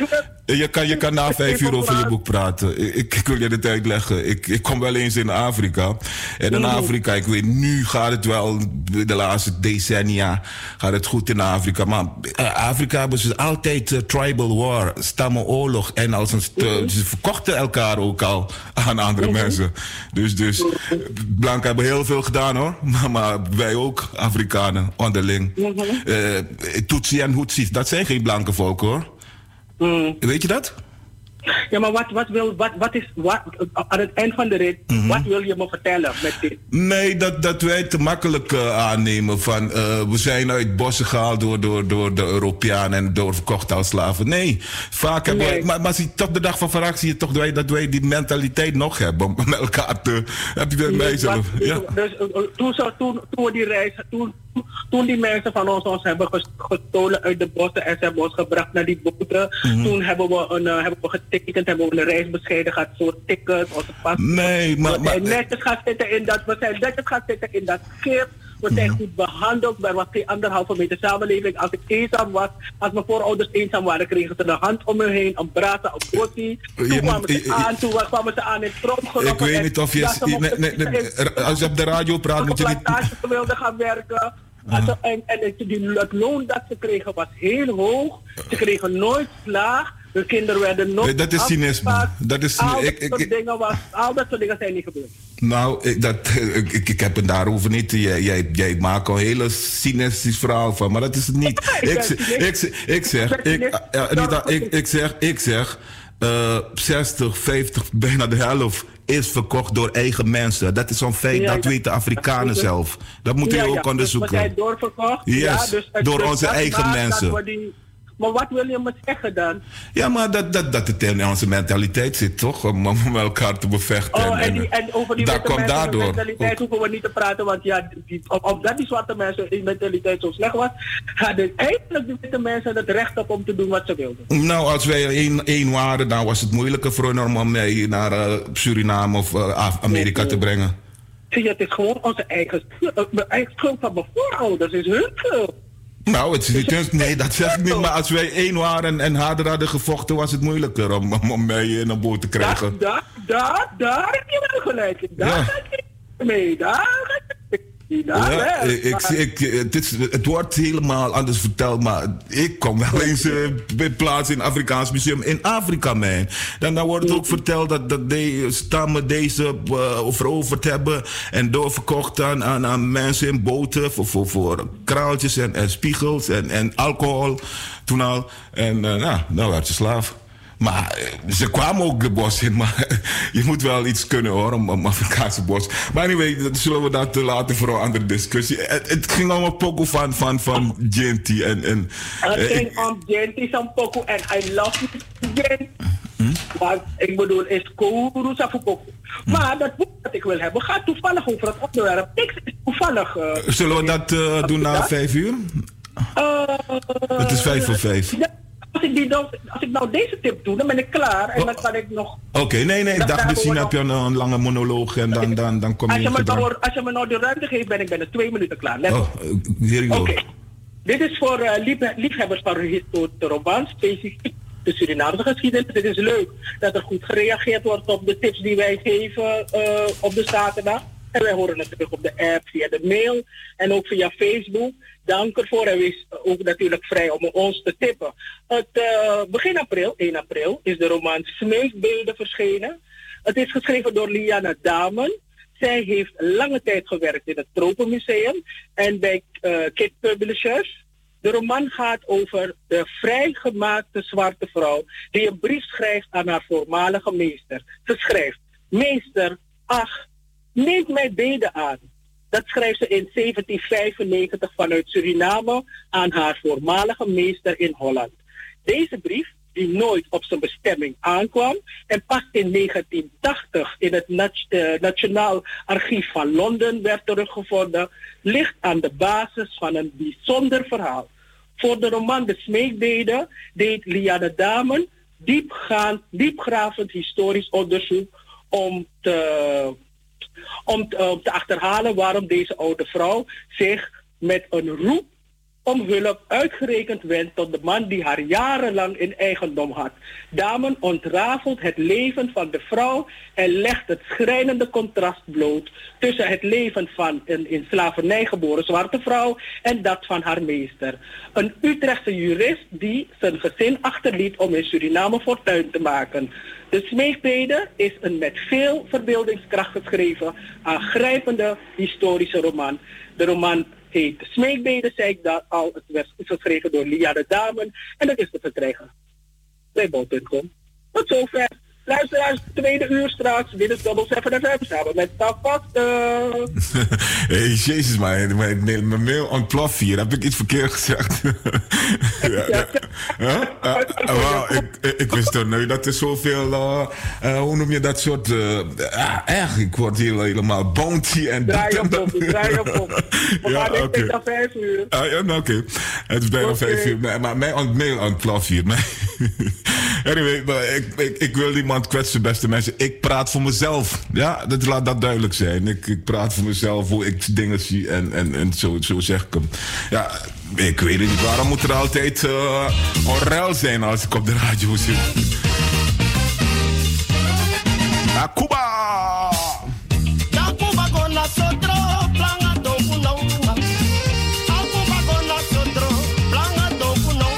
Je kan, je kan na vijf uur over je boek praten. Ik, ik wil je dit uitleggen. Ik, ik kom wel eens in Afrika. En in Afrika, ik weet, nu gaat het wel, de laatste decennia gaat het goed in Afrika. Maar uh, Afrika hebben ze altijd uh, tribal war, stammenoorlog. En als een, uh, ze verkochten elkaar ook al aan andere mensen. Dus, dus blanken hebben heel veel gedaan hoor. Maar, maar wij ook, Afrikanen, onderling. Uh, Tutsi en Hutsis, dat zijn geen blanke volk hoor. Mm. Weet je dat? Ja, maar wat, wat, wil, wat, wat is, wat, aan het eind van de rit, mm-hmm. wat wil je me vertellen met dit? Nee, dat, dat wij te makkelijk uh, aannemen van uh, we zijn uit bossen gehaald door, door, door de Europeanen en doorverkocht als slaven. Nee, vaak hebben nee. wij, maar, maar zie, tot de dag van vandaag zie je toch dat wij, dat wij die mentaliteit nog hebben om met elkaar te... Heb je dat nee, mijzelf? Dus, ja. dus uh, toen, zo, toen, toen we die reis, toen, toen die mensen van ons ons hebben gestolen uit de bossen en ze hebben ons gebracht naar die boten, mm-hmm. toen hebben we een, uh, hebben we getekend, hebben we een reis bescheiden gehad, zo'n ticket, onze pas. Nee, maar... We zijn netjes gaan zitten in dat, we zijn netjes gaan zitten in dat schip. We zijn goed behandeld. Er was geen anderhalve meter samenleving. Als ik eenzaam was, als mijn voorouders eenzaam waren, kregen ze de hand om me heen, een brasa, een bossie. Toen je kwamen moet, ze aan, je, toen kwamen ze aan in tromgerokken. Ik weet niet of je... Nee, nee, nee, als je op de radio praat, moet je niet... Als ze wilden gaan werken. Uh-huh. En, en die, het loon dat ze kregen was heel hoog. Ze kregen nooit slaag. De kinderen werden nog. Nee, dat is cynisme. Dat is al, ik, dat ik, dingen was, al dat soort dingen zijn niet gebeurd. Nou, ik, dat, ik, ik, ik heb het daarover niet. Jij, jij, jij maakt een hele cynisch verhaal van, maar dat is het niet. ik, ik, ik, ik zeg, ik, uh, Anita, ik, ik zeg, ik zeg, uh, zestig, vijftig, bijna de helft is verkocht door eigen mensen. Dat is zo'n feit, ja, dat ja. weten Afrikanen dat zelf. Dat moeten we ja, ook ja. onderzoeken. Dus we zijn doorverkocht. Yes, ja, dus door dus onze eigen mensen. Maar wat wil je me zeggen dan? Ja, maar dat, dat, dat het in onze mentaliteit zit, toch? Om, om elkaar te bevechten. Oh, en, die, en over die dat witte mensen daardoor. mentaliteit ook. Hoeven we niet te praten. Want ja, die, omdat die zwarte mensen in mentaliteit zo slecht was, hadden eigenlijk de witte mensen het recht op om te doen wat ze wilden. Nou, als wij één, één waren, dan was het moeilijker voor hen om mij naar uh, Suriname of uh, Amerika nee, te brengen. Zie je, het is gewoon onze eigen schuld. Mijn eigen schuld van mijn voorouders is hun schuld. Nou, het is niet, nee, dat zeg ik niet. Maar als wij één waren en harder hadden gevochten, was het moeilijker om, om, om mij in een boot te krijgen. Daar, daar, daar heb je wel gelijk in. Daar ga ik mee. Daar Ja, ja ik, ik, ik, het, is, het wordt helemaal anders verteld, maar ik kom wel eens uh, bij plaats in het Afrikaans Museum in Afrika, man. Dan, dan wordt het ook verteld dat, dat de stammen deze uh, veroverd hebben en doorverkocht aan, aan, aan mensen in boten voor, voor, voor kraaltjes en, en spiegels en, en alcohol toen al. En uh, nou, dan werd je slaaf. Maar ze kwamen ook de bos in, maar je moet wel iets kunnen hoor, om, om Afrikaanse bos. Maar anyway, dat zullen we dat laten voor een andere discussie. Het, het ging om een pokoe van, van, van Genty. En, en, het ging uh, om Genty, zo'n pokoe, en I love Genty. Hm? Want ik bedoel, is Kourousa voor pokoe. Hm. Maar dat boek dat ik wil hebben gaat toevallig over het onderwerp. Ik is toevallig... Uh, zullen we dat uh, doen na dat? vijf uur? Uh, het is vijf voor vijf. Ja. Als ik, die dan, als ik nou deze tip doe, dan ben ik klaar en oh. dan kan ik nog... Oké, okay, nee, nee, dag misschien heb je een, een lange monoloog en dan, dan, dan kom je... Als je, me nou, als je me nou de ruimte geeft, ben ik binnen twee minuten klaar. Let oh, Oké, okay. Dit is voor uh, lief, liefhebbers van historische romans, specifiek de Surinaamse geschiedenis. Het is leuk dat er goed gereageerd wordt op de tips die wij geven uh, op de zaterdag. En wij horen het terug op de app, via de mail en ook via Facebook. Dank ervoor en wees ook natuurlijk vrij om ons te tippen. Het, uh, begin april, één april, is de roman Smeekbeelden verschenen. Het is geschreven door Liana Damen. Zij heeft lange tijd gewerkt in het Tropenmuseum en bij uh, Kid Publishers. De roman gaat over de vrijgemaakte zwarte vrouw die een brief schrijft aan haar voormalige meester. Ze schrijft: meester, ach, neemt mij beden aan. Dat schrijft ze in zeventien vijfennegentig vanuit Suriname aan haar voormalige meester in Holland. Deze brief, die nooit op zijn bestemming aankwam en pas in negentien tachtig in het Nat- uh, Nationaal Archief van Londen werd teruggevonden, ligt aan de basis van een bijzonder verhaal. Voor de roman De Smeekbeden deed Liane Damen diepgaand, diepgravend historisch onderzoek om te... Om te, om te achterhalen waarom deze oude vrouw zich met een roep om hulp uitgerekend wendt tot de man die haar jarenlang in eigendom had. Dame ontrafelt het leven van de vrouw en legt het schrijnende contrast bloot tussen het leven van een in slavernij geboren zwarte vrouw en dat van haar meester. Een Utrechtse jurist die zijn gezin achterliet om in Suriname fortuin te maken. De Smeekbede is een met veel verbeeldingskracht geschreven, aangrijpende historische roman. De roman heet Smeekbede, zei ik dat al. Het werd geschreven door Liane Damen en dat is te verkrijgen bij bol punt com. Tot zover. Luisteraars, tweede uur straks. Dit is Double Seven F M samen met Tafast. Hé, jezus, mijn, mijn, mijn mail ontploft hier. Heb ik iets verkeerd gezegd? ja, ja. Huh? Uh, uh, ik, ik, ik wist toch nooit dat er zoveel, uh, uh, hoe noem je dat soort, uh, uh, echt, ik word hier helemaal bounty en draai je op, draai je op. Ja, oké. Okay. Het is vijf uur. Uh, ja, nou, oké. Okay. Het is bijna okay. vijf uur. Maar, maar mijn ont, mail ontploft hier. Anyway, maar ik, ik, ik wil niemand kwetsen, beste mensen. Ik praat voor mezelf. Ja, dat, laat dat duidelijk zijn. Ik, ik praat voor mezelf, hoe ik dingen zie en, en, en zo, zo zeg ik hem. Ja, ik weet niet, waarom moet er altijd uh, onrel zijn als ik op de radio zit? Akuba! Akuba con nosotros, plan a todo no. Akuba con nosotros, plan a todo no.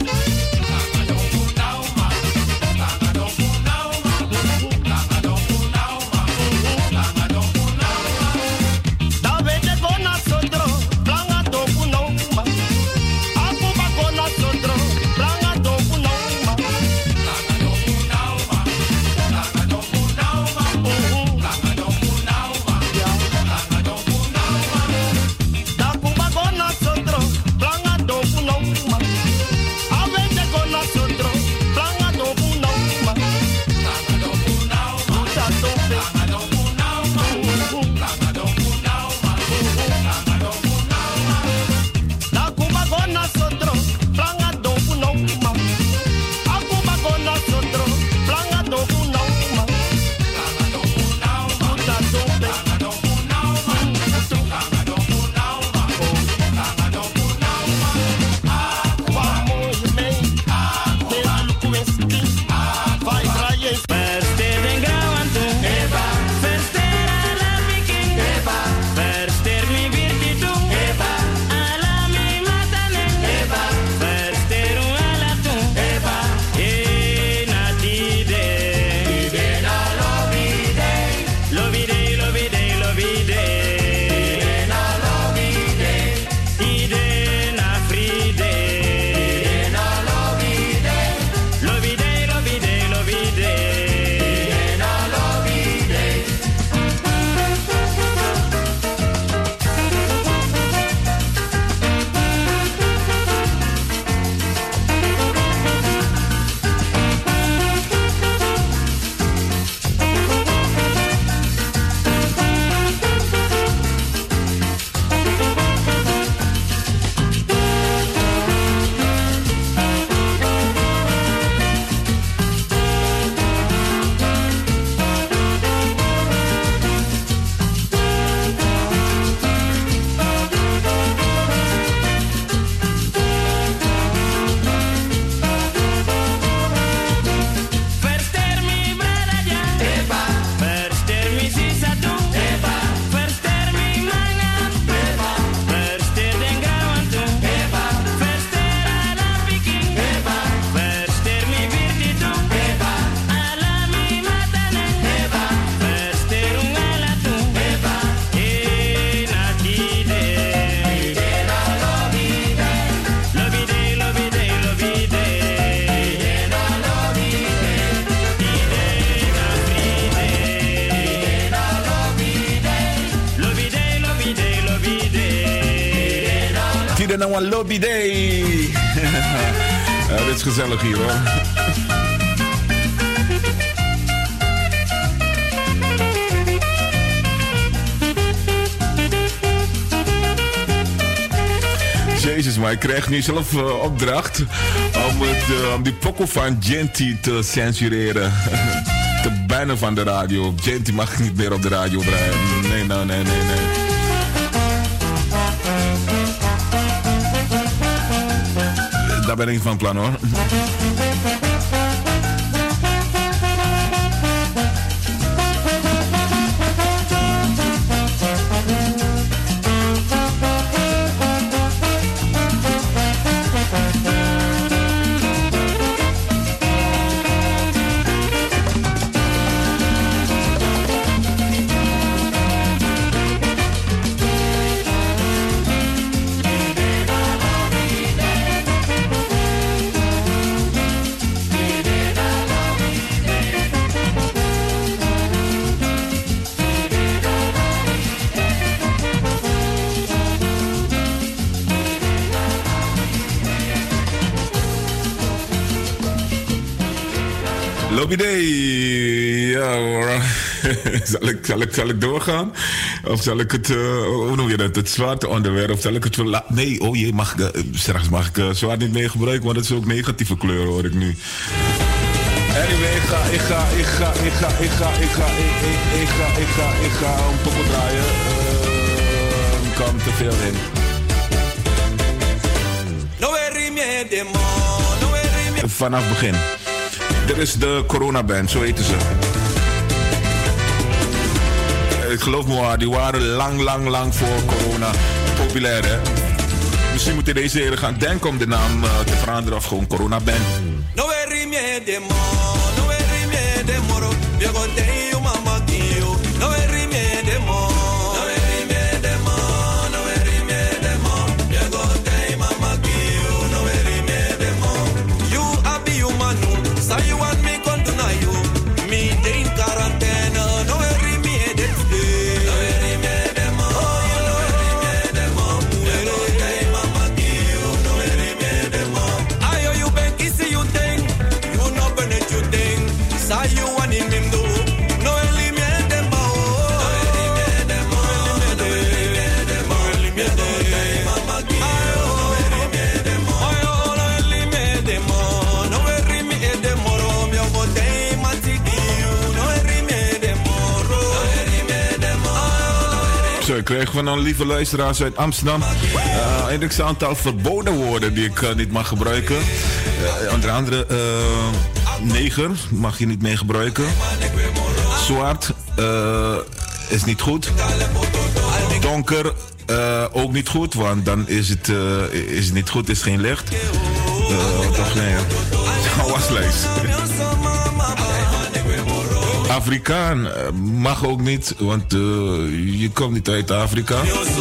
Nou een lobby day. Ja, dit is gezellig hier hoor. Jezus, maar ik krijg nu zelf uh, opdracht om, het, uh, om die pokoe van Genty te censureren. Te bannen van de radio. Genty mag niet meer op de radio draaien. Nee, nou, nee, nee, nee. daar ben ik van plan hoor. Idee. Ja hoor. zal, ik, zal, ik, zal ik doorgaan? Of zal ik het, uh, hoe noem je dat, het zwarte onderwerp? Of zal ik het verla- Nee, oh jee, mag ik, uh, straks mag ik uh, zwart niet meer gebruiken, want het is ook negatieve kleur hoor ik nu. Anyway, ik ga, ik ga, ik ga, ik ga, ik ga, ik ga, ik, ik, ik ga, ik ga, ik ga een poppel draaien. Uh, kan te veel in. Vanaf begin. Dit is de Corona-band, zo heten ze. Ik geloof me waar, die waren lang, lang, lang voor corona populair, hè. Misschien moet je deze heren gaan denken om de naam uh, te veranderen of gewoon Corona-band. No Ik kreeg van een lieve luisteraars uit Amsterdam uh, een x-aantal verboden woorden die ik uh, niet mag gebruiken. Uh, onder andere uh, neger mag je niet meer gebruiken. Zwart uh, is niet goed. Donker uh, ook niet goed, want dan is het, uh, is het niet goed, is geen licht. Uh, toch nee, waslijst. Afrikaan mag ook niet, want uh, je komt niet uit Afrika.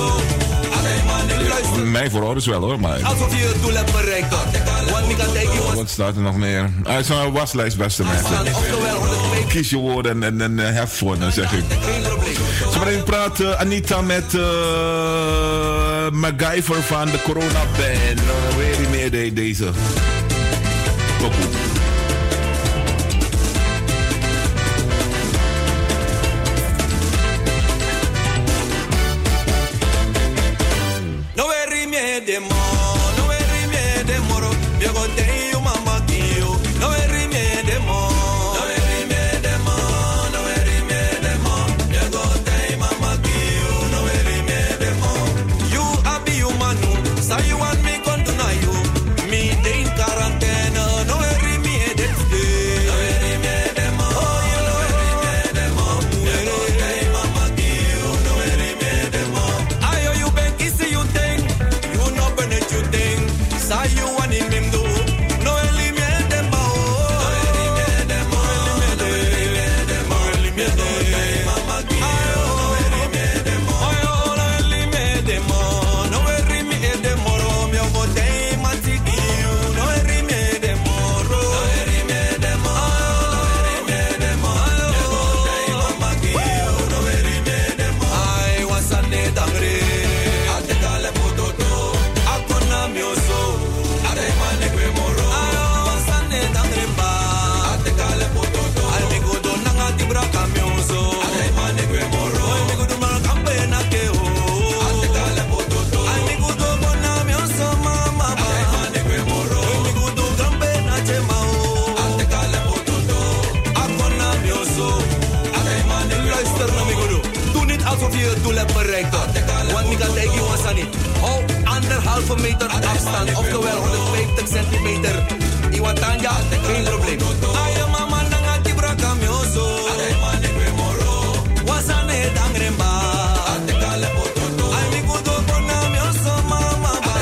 Mij voor is wel hoor, maar... Alsof je het doel hebt bereikt. Wat staat er nog meer? Ah, het is een waslijst, beste mensen. Kies je woorden en, en, en hef voor, dan zeg ik. Zometeen praat uh, Anita met uh, MacGyver van de Corona-band. Uh, weet je meer de, deze? Pokoe. anderhalve meter afstand, oftewel honderdvijftig centimeter. Iwatanja, geen probleem. Ayo mama nanga tibra kamyoso. Wasane dangremba. Ay mi kudo kona myoso mama ba.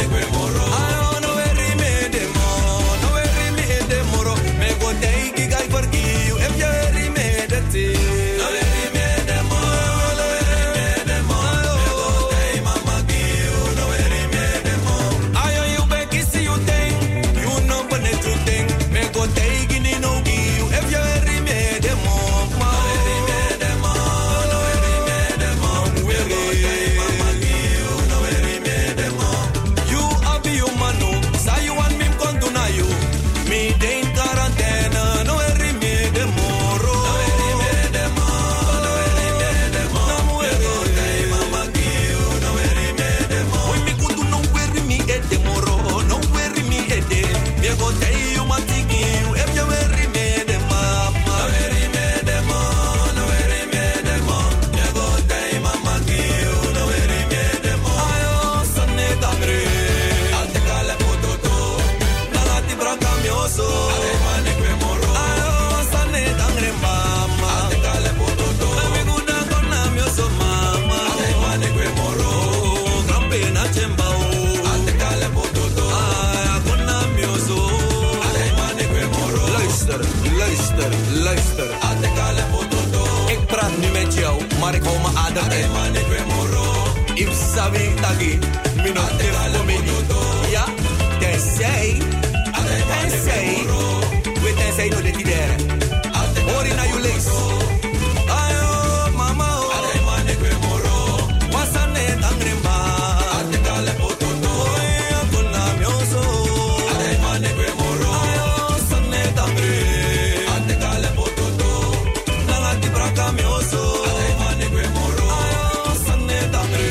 Ayo no veri me demo, no veri me demoro. Me go take guy for you if you veri me de ti. No veri me demo, no veri me demo. Me go take mama you, no veri me demo. Ayo you be kiss you thing, you know but the truth thing. Me go take in no you if you veri me demo. No veri me demo, no veri me demo. Me go take mama you, no veri me demo. You abi you manu, say you want me come to na you. Me dey in quarantena, no veri me demo. No veri me demo, no veri me demo. Me go take mama you, no veri me demo. Oi me kudu no veri me e demo, no veri me e de. Me go take you matiki you, if you veri me demo. No veri me demo, no veri me demo. Me go take mama you, no veri me demo. Ayo sanne dangre, alte kale pototo. Nangati braka mioso, ade mane kwe moro. Ayo sanne dangre mama, alte kale pototo. Ami guda kona mioso mama, ade mane kwe moro. Grampe na chemba o, alte kale pototo. Ay kona mioso, ade mane kwe moro. Luister, luister, luister, alte kale pototo. Ik praat nu met jou, maar ik hou mijn adem in. Ade mane kwe moro. If sabi tagi, mino tif komedi. Ja, tenzij, tenzij, we tenzij no de tidere. Hori na you links. Ayo mama o. Ade mane kwe moro. Wasane tangremba. Ade kale pototo. Oya kona mioso. Ade mane kwe moro. Ayo sane tangre. Ade kale pototo. Nangati braka mioso. Ade mane kwe moro. Ayo sane tangre.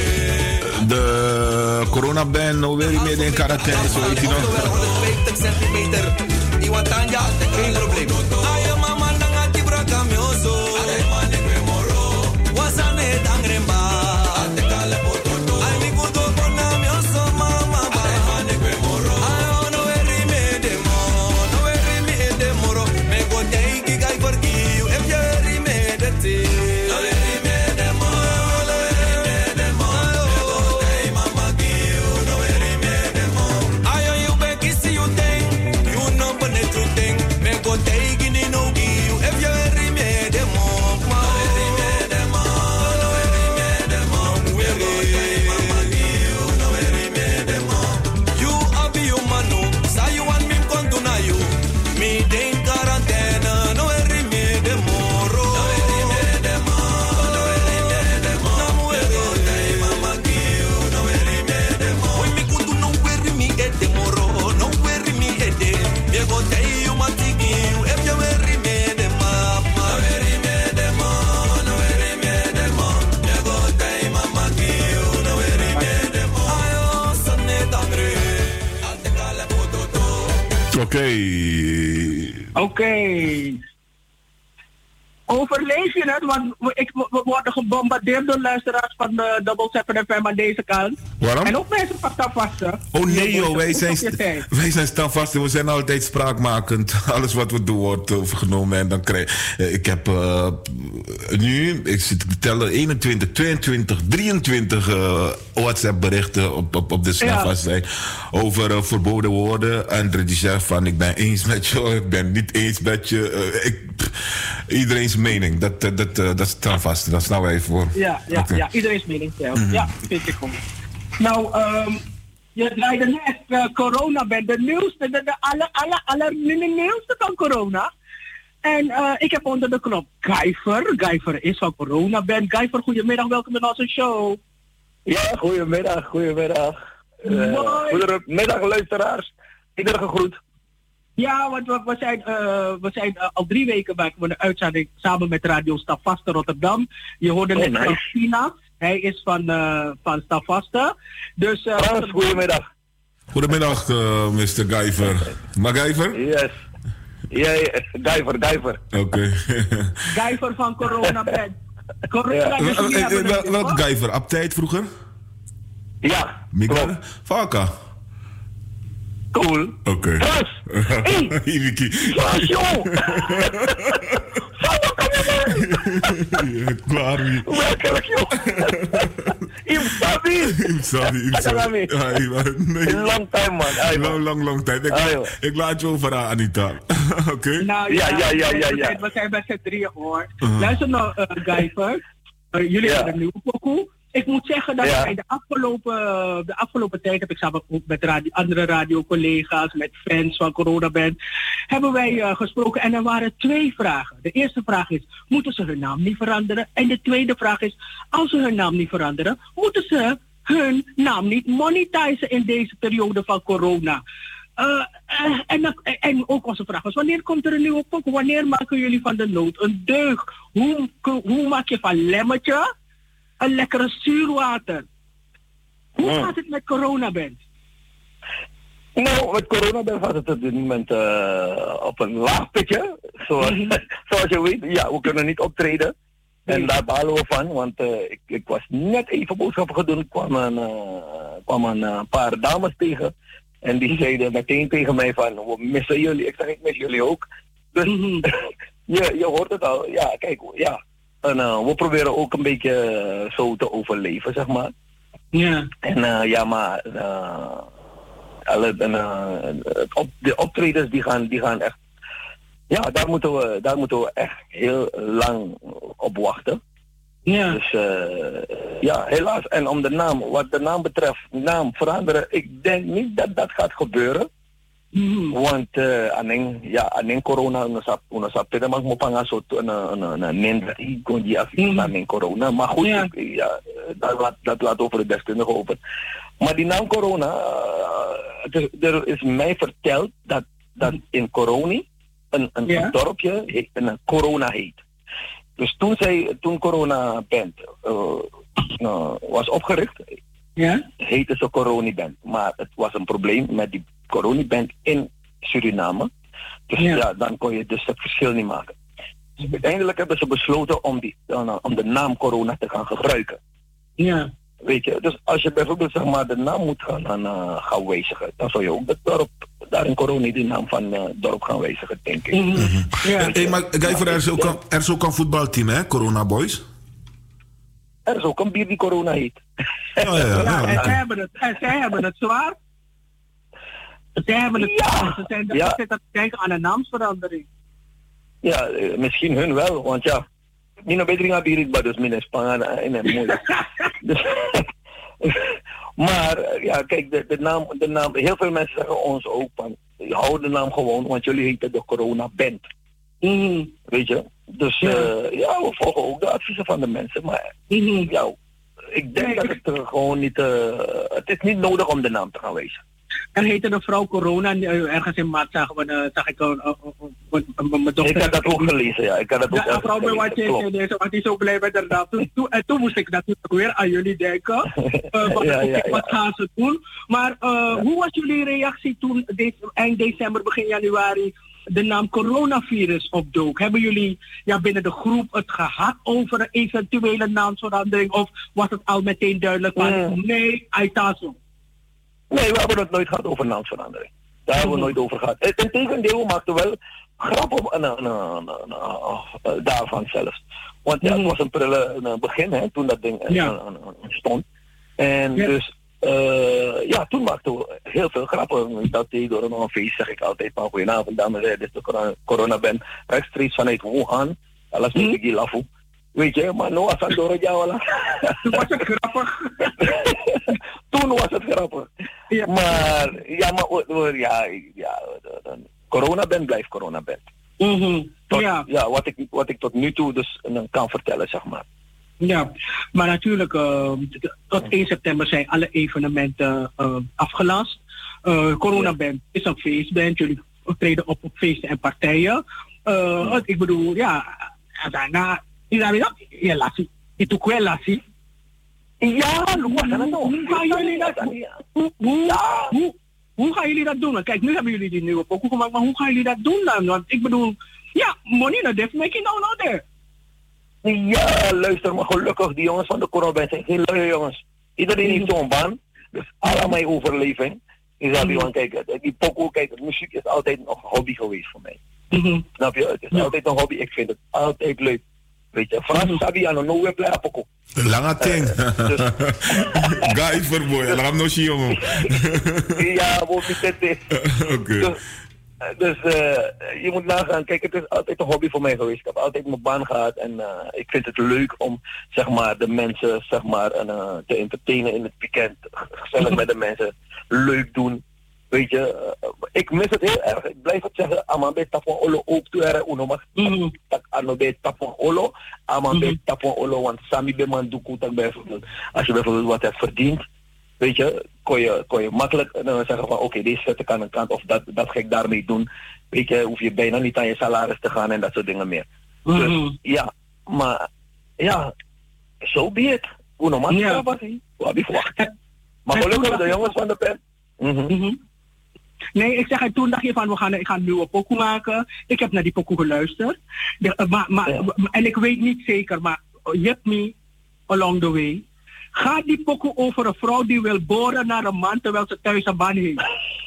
De coronaband, nou weer niet meer in quarantaine, zo weet je nog. honderdvijftig centimeter. Iwatanja, geen probleem. Ayo mama nanga tibra kamyoso. Ade mane kwe moro. Wasane dangremba. Ade kale pototo. Ay mi kudo kona myoso mama ba. Ade mane kwe moro. Ayo no veri me demo, no veri me demoro. Me go take guy for you if you veri me de ti. No veri me demo, no veri me demo. Me go take mama you, no veri me demo. Ayo you be kiss you thing, you know but the truth thing. Me go take in no you if you veri me demo. No veri me demo, no veri me demo. Me go take mama you, no veri me demo. You abi you manu, say you want me come to na you. Me dey in quarantena, no veri me demo. No veri me demo, no veri me demo. Me go take mama you, no veri me demo. Oi me kudu no veri me e demo, no veri me e de. Me go take you matiki you, if you veri me demo. No veri me demo, no veri me demo. Me go take mama you, no veri me demo. Ayo sanne dangre, alte kale pototo. Oké. Oké. Overleef je het? Want we, ik, we worden gebombardeerd door luisteraars van de Double Seven F M aan deze kant. Waarom? En ook mensen van Tafvasten. Oh nee joh, wij zijn, Op je tijd. wij zijn standvast en we zijn altijd spraakmakend. Alles wat we doen wordt overgenomen en dan krijg ik heb uh, nu, ik zit te tellen, eenentwintig, tweeëntwintig, drieëntwintig uh, WhatsApp berichten op, op, op de standvast zijn over uh, verboden woorden. En die zegt van ik ben eens met je, ik ben niet eens met je. Uh, ik, pff, iedereen's mening, dat, dat, dat, uh, dat is standvast, dat snel even voor. Ja, ja, Okay. ja, iedereen's mening telt. Mhm. Ja, vind ik goed. Nou, um, je draaide net uh, corona bij de nieuwste, de, de aller, aller, aller nieuwste van corona. En uh, ik heb onder de knop Guyver. Guyver is van corona band. Guyver, goedemiddag, welkom in onze show. Ja, goedemiddag, goedemiddag. Uh, goedemiddag luisteraars. Iedereen gegroet. Ja, want we, we zijn, uh, we zijn uh, al drie weken maken we een uitzending samen met Radio Stavaste Rotterdam. Je hoorde Oh, net nice. van China. Hij is van, uh, van Stavaste. Dus, uh, Frans, goedemiddag. Goedemiddag, uh, mister Guyver. MacGyver? Yes. Ja, ja, Guyver, Guyver. Oké. Guyver van corona band. Corona Ja. dus jullie hebben het Wel- nu, Welk hoor. Guyver? Aptijd vroeger? Ja. Miguel? Vaka? Cool. Oké. Frans! Hé! Iviki. Frans, joh! Frans, kom je Klaar wie? Werkelijk, joh! Im Sabi! Im Sabi, Im Sabi. Long time, man. Long, long, long time. Ik, Ayo. ik laat je over aan Anita. Oké? Okay. Nou ja, ja, ja, ja. We ja. zijn, we zijn bij z'n drieën, hoor. Uh-huh. Luister nou, uh, Guyver. Uh, jullie Ja. hebben een nieuwe pokoe. Ik moet zeggen dat Ja. wij de afgelopen, de afgelopen tijd heb ik samen ook met radio, andere radiocollega's, met fans van Corona Band, hebben wij uh, gesproken en er waren twee vragen. De eerste vraag is, moeten ze hun naam niet veranderen? En de tweede vraag is, als ze hun naam niet veranderen, moeten ze hun naam niet monetizen in deze periode van corona? Uh, uh, en, en, en ook onze vraag was, wanneer komt er een nieuwe pokoe? Wanneer maken jullie van de nood een deug? Hoe, hoe maak je van lemmetje een lekkere zuurwater? Hoe Hmm. gaat het met Coronaband? Nou, met Coronaband gaat het op dit moment uh, op een laag pitje. Zoals, zoals je weet, ja, we kunnen niet optreden. En daar balen we van, want uh, ik, ik was net even boodschappen gaan doen. Ik kwam een, uh, kwam een uh, paar dames tegen. En die zeiden meteen tegen mij van, we missen jullie. Ik zeg, ik mis jullie ook. Dus je, je hoort het al. Ja, kijk, ja. En uh, we proberen ook een beetje uh, zo te overleven, zeg maar. Ja. En uh, ja, maar uh, alle, uh, het op, de optredens die gaan, die gaan echt... Ja, daar moeten, we, daar moeten we echt heel lang op wachten. Ja. Dus uh, ja, helaas. En om de naam, wat de naam betreft, naam veranderen, ik denk niet dat dat gaat gebeuren. Mm. Want uh, alleen, ja, alleen corona, una sapte mag mo panga so na na na nenda i konji afika alleen corona. Maar goed, ja, ja dat, laat, dat laat over de deskundige over. Maar die naam corona, uh, er is mij verteld dat, dat in Coroni een, een, ja. een dorpje heet, een corona heet. Dus toen zij, toen Corona Band uh, uh, was opgericht, ja? heette ze Corona Band. Maar het was een probleem met die Corona Band in Suriname. Dus ja. ja, dan kon je dus het verschil niet maken. Dus uiteindelijk hebben ze besloten om, die, uh, om de naam Corona te gaan gebruiken. Ja. Weet je, dus als je bijvoorbeeld zeg maar de naam moet gaan, gaan, uh, gaan wijzigen, dan zou je ook het dorp, daar in Corona die naam van het uh, dorp gaan wijzigen, denk ik. Mm-hmm. Ja. Hey, maar Guyver, er is ook een, er is ook een voetbalteam, hè, Corona Boys? Er is ook een bier die Corona heet. Oh, ja, ja, ja. En zij hebben het, en zij hebben het zwaar. Zij hebben het ja. zwaar. Ze zijn de ja. te denken aan een naamsverandering. Ja, uh, misschien hun wel, want ja, Nino Bedringa birit dus min Spanje in een moeilijk. Dus, maar ja, kijk, de, de, naam, de naam, heel veel mensen zeggen ons ook van, hou de naam gewoon, want jullie heten de Corona Band. Mm. Weet je? Dus ja. Uh, ja, we volgen ook de adviezen van de mensen, maar mm-hmm. ja, ik denk nee, dat het uh, gewoon niet, uh, het is niet nodig om de naam te gaan wijzen. Er heette een vrouw Corona, ergens in maart zag, uh, zag ik een uh, uh, Ik had dat ook gelezen, ja. Ik had dat ook ja, een vrouw bij wat je want die is zo blij met haar naam. Toen, toen, en toen moest ik natuurlijk weer aan jullie denken. Uh, wat, ja, ja, ja. wat gaan ze doen? Maar uh, ja. hoe was jullie reactie toen de, eind december, begin januari de naam coronavirus opdook? Hebben jullie ja, binnen de groep het gehad over een eventuele naamsverandering? Of was het al meteen duidelijk van mm. nee, Aitazo? Nee, we hebben het nooit gehad over naamsverandering. Daar hebben we nooit over gehad. Integendeel, we maakten wel grap op uh, uh, uh, uh, uh, daarvan zelfs. Want ja, het was een prille uh, begin, hè, toen dat ding uh, ja. uh, uh, stond. En ja. dus, uh, ja, toen maakten we heel veel grappen. Dat deed door een feest, zeg ik altijd van goedenavond, dames en heren, dit is de corona, corona ben rechtstreeks vanuit Wuhan. Alles met ik lafu. Weet je, maar no was het door het jou. Toen was het grappig. Toen was het grappig. Ja. Maar, ja, maar, ja, ja, corona band blijft corona band. Mm-hmm. Tot, ja. ja, wat ik, wat ik tot nu toe dus uh, kan vertellen, zeg maar. Ja, maar natuurlijk, uh, tot één september zijn alle evenementen uh, afgelast. Uh, corona band is een feestband, jullie treden op op feesten en partijen. Uh, mm. Ik bedoel, ja, daarna... Ja, lassie. Itu kue lassie. Ja, luas aan hoe gaan jullie dat doen? Hoe, hoe, ja. hoe, hoe gaan jullie dat doen? Kijk, nu hebben jullie die nieuwe pokoe gemaakt, maar hoe gaan jullie dat doen dan? Want ik bedoel, ja, money no def making no no there. Ja, luister maar gelukkig, die jongens van de Corona zijn geen lui jongens. Iedereen heeft zo'n baan. Dus alle mijn overleving is dat mm-hmm. kijk, die pokoe, kijk, muziek is altijd nog een hobby geweest voor mij. Mm-hmm. Snap je? Het is ja. altijd een hobby. Ik vind het altijd leuk. Weet je, Frans sabi aan een no play pokoe. Lange ting. Ga voor boy, laat no zie jongen. Ja, wat is het? Oké. Dus uh, je moet nagaan, kijk, het is altijd een hobby voor mij geweest. Ik heb altijd mijn baan gehad en uh, ik vind het leuk om, zeg maar, de mensen, zeg maar, uh, te entertainen in het weekend. Gezellig met de mensen, leuk doen. Weet je, uh, ik mis het heel erg. Ik blijf het zeggen, amabe tapon olo ook toe er uno mag tak anobe tapon olo, amabe tapon olo, want sami be man doekoe tak bijvoorbeeld. Als je bijvoorbeeld wat hebt verdiend, weet je, kon je, kon je makkelijk uh, zeggen van oké, okay, deze zet ik aan de kant of dat, dat ga ik daarmee doen. Weet je, hoef je bijna niet aan je salaris te gaan en dat soort dingen meer. Mm-hmm. Dus ja, maar ja, zo so be it. Uno mag ja. Wat heb je verwacht? Maar gelukkig de jongens van de pen. Mm-hmm. Mm-hmm. Nee, ik zeg, en toen dacht je van, we gaan, ik ga een nieuwe pokoe maken. Ik heb naar die pokoe geluisterd. De, uh, maar, maar, ja. En ik weet niet zeker, maar hit me along the way. Gaat die pokoe over een vrouw die wil boren naar een man terwijl ze thuis een man heeft?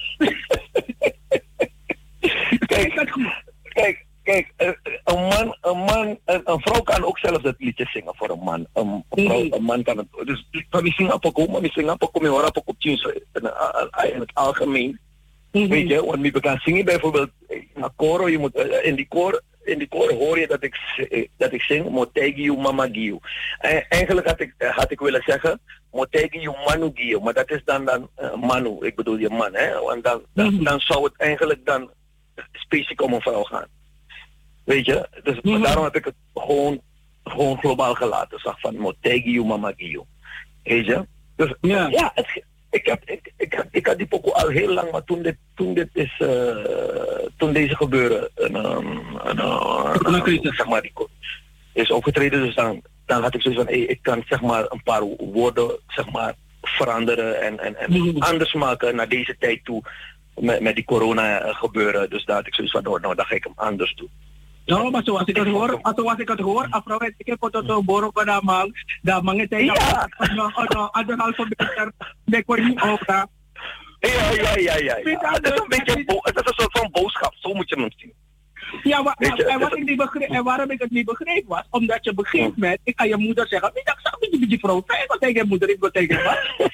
Kijk, kijk, kijk, een man, een man, een, een vrouw kan ook zelfs het liedje zingen voor een man. Een, een, vrouw, een man kan het, dus van die zingen pokoe, maar die zingen pokoe, maar hoor pokoe in het algemeen. Mm-hmm. Weet je, want we gaan zingen bijvoorbeeld in een koor, je moet, uh, in die koor, in die koor hoor je dat ik, dat ik zing, Motegiu Mama Giu. En eigenlijk had ik, had ik willen zeggen, Motegiu Manu Giu, maar dat is dan, dan uh, Manu, ik bedoel je man, hè? Want dan, dan, mm-hmm. dan zou het eigenlijk dan specifiek om een vrouw gaan. Weet je, dus mm-hmm. daarom heb ik het gewoon, gewoon globaal gelaten, zeg van Motegiu Mama Giu. Weet je? Dus yeah. ja, het, Ik, heb, ik, ik, heb, ik had die pokoe al heel lang, maar toen dit, toen dit is, uh, toen deze gebeuren, een, een, een, een, een, zeg maar, die is opgetreden, dus dan, dan had ik zoiets van, hey, ik kan zeg maar een paar woorden, zeg maar, veranderen en, en, en mm-hmm. anders maken naar deze tijd toe, met, met die corona gebeuren, dus daar had ik zoiets van, nou, nou dan ga ik hem anders doen. No, maar zoals ik het hoor, zoals ik het hoor, afrouw ik heb het zo borok bij de man, de man het tegen, anderhalve meter, de kon niet over. Ja, ja, ja, ja. Het is een beetje, het is een soort van boodschap, zo moet je hem zien. Ja, wa, wa, en, wat ik niet begreep, en waarom ik het niet begreep was, omdat je op een gegeven moment, ik ga je moeder zeggen, ik zag niet die, die vrouw, ik wil tegen je moeder, ik wil tegen je wat.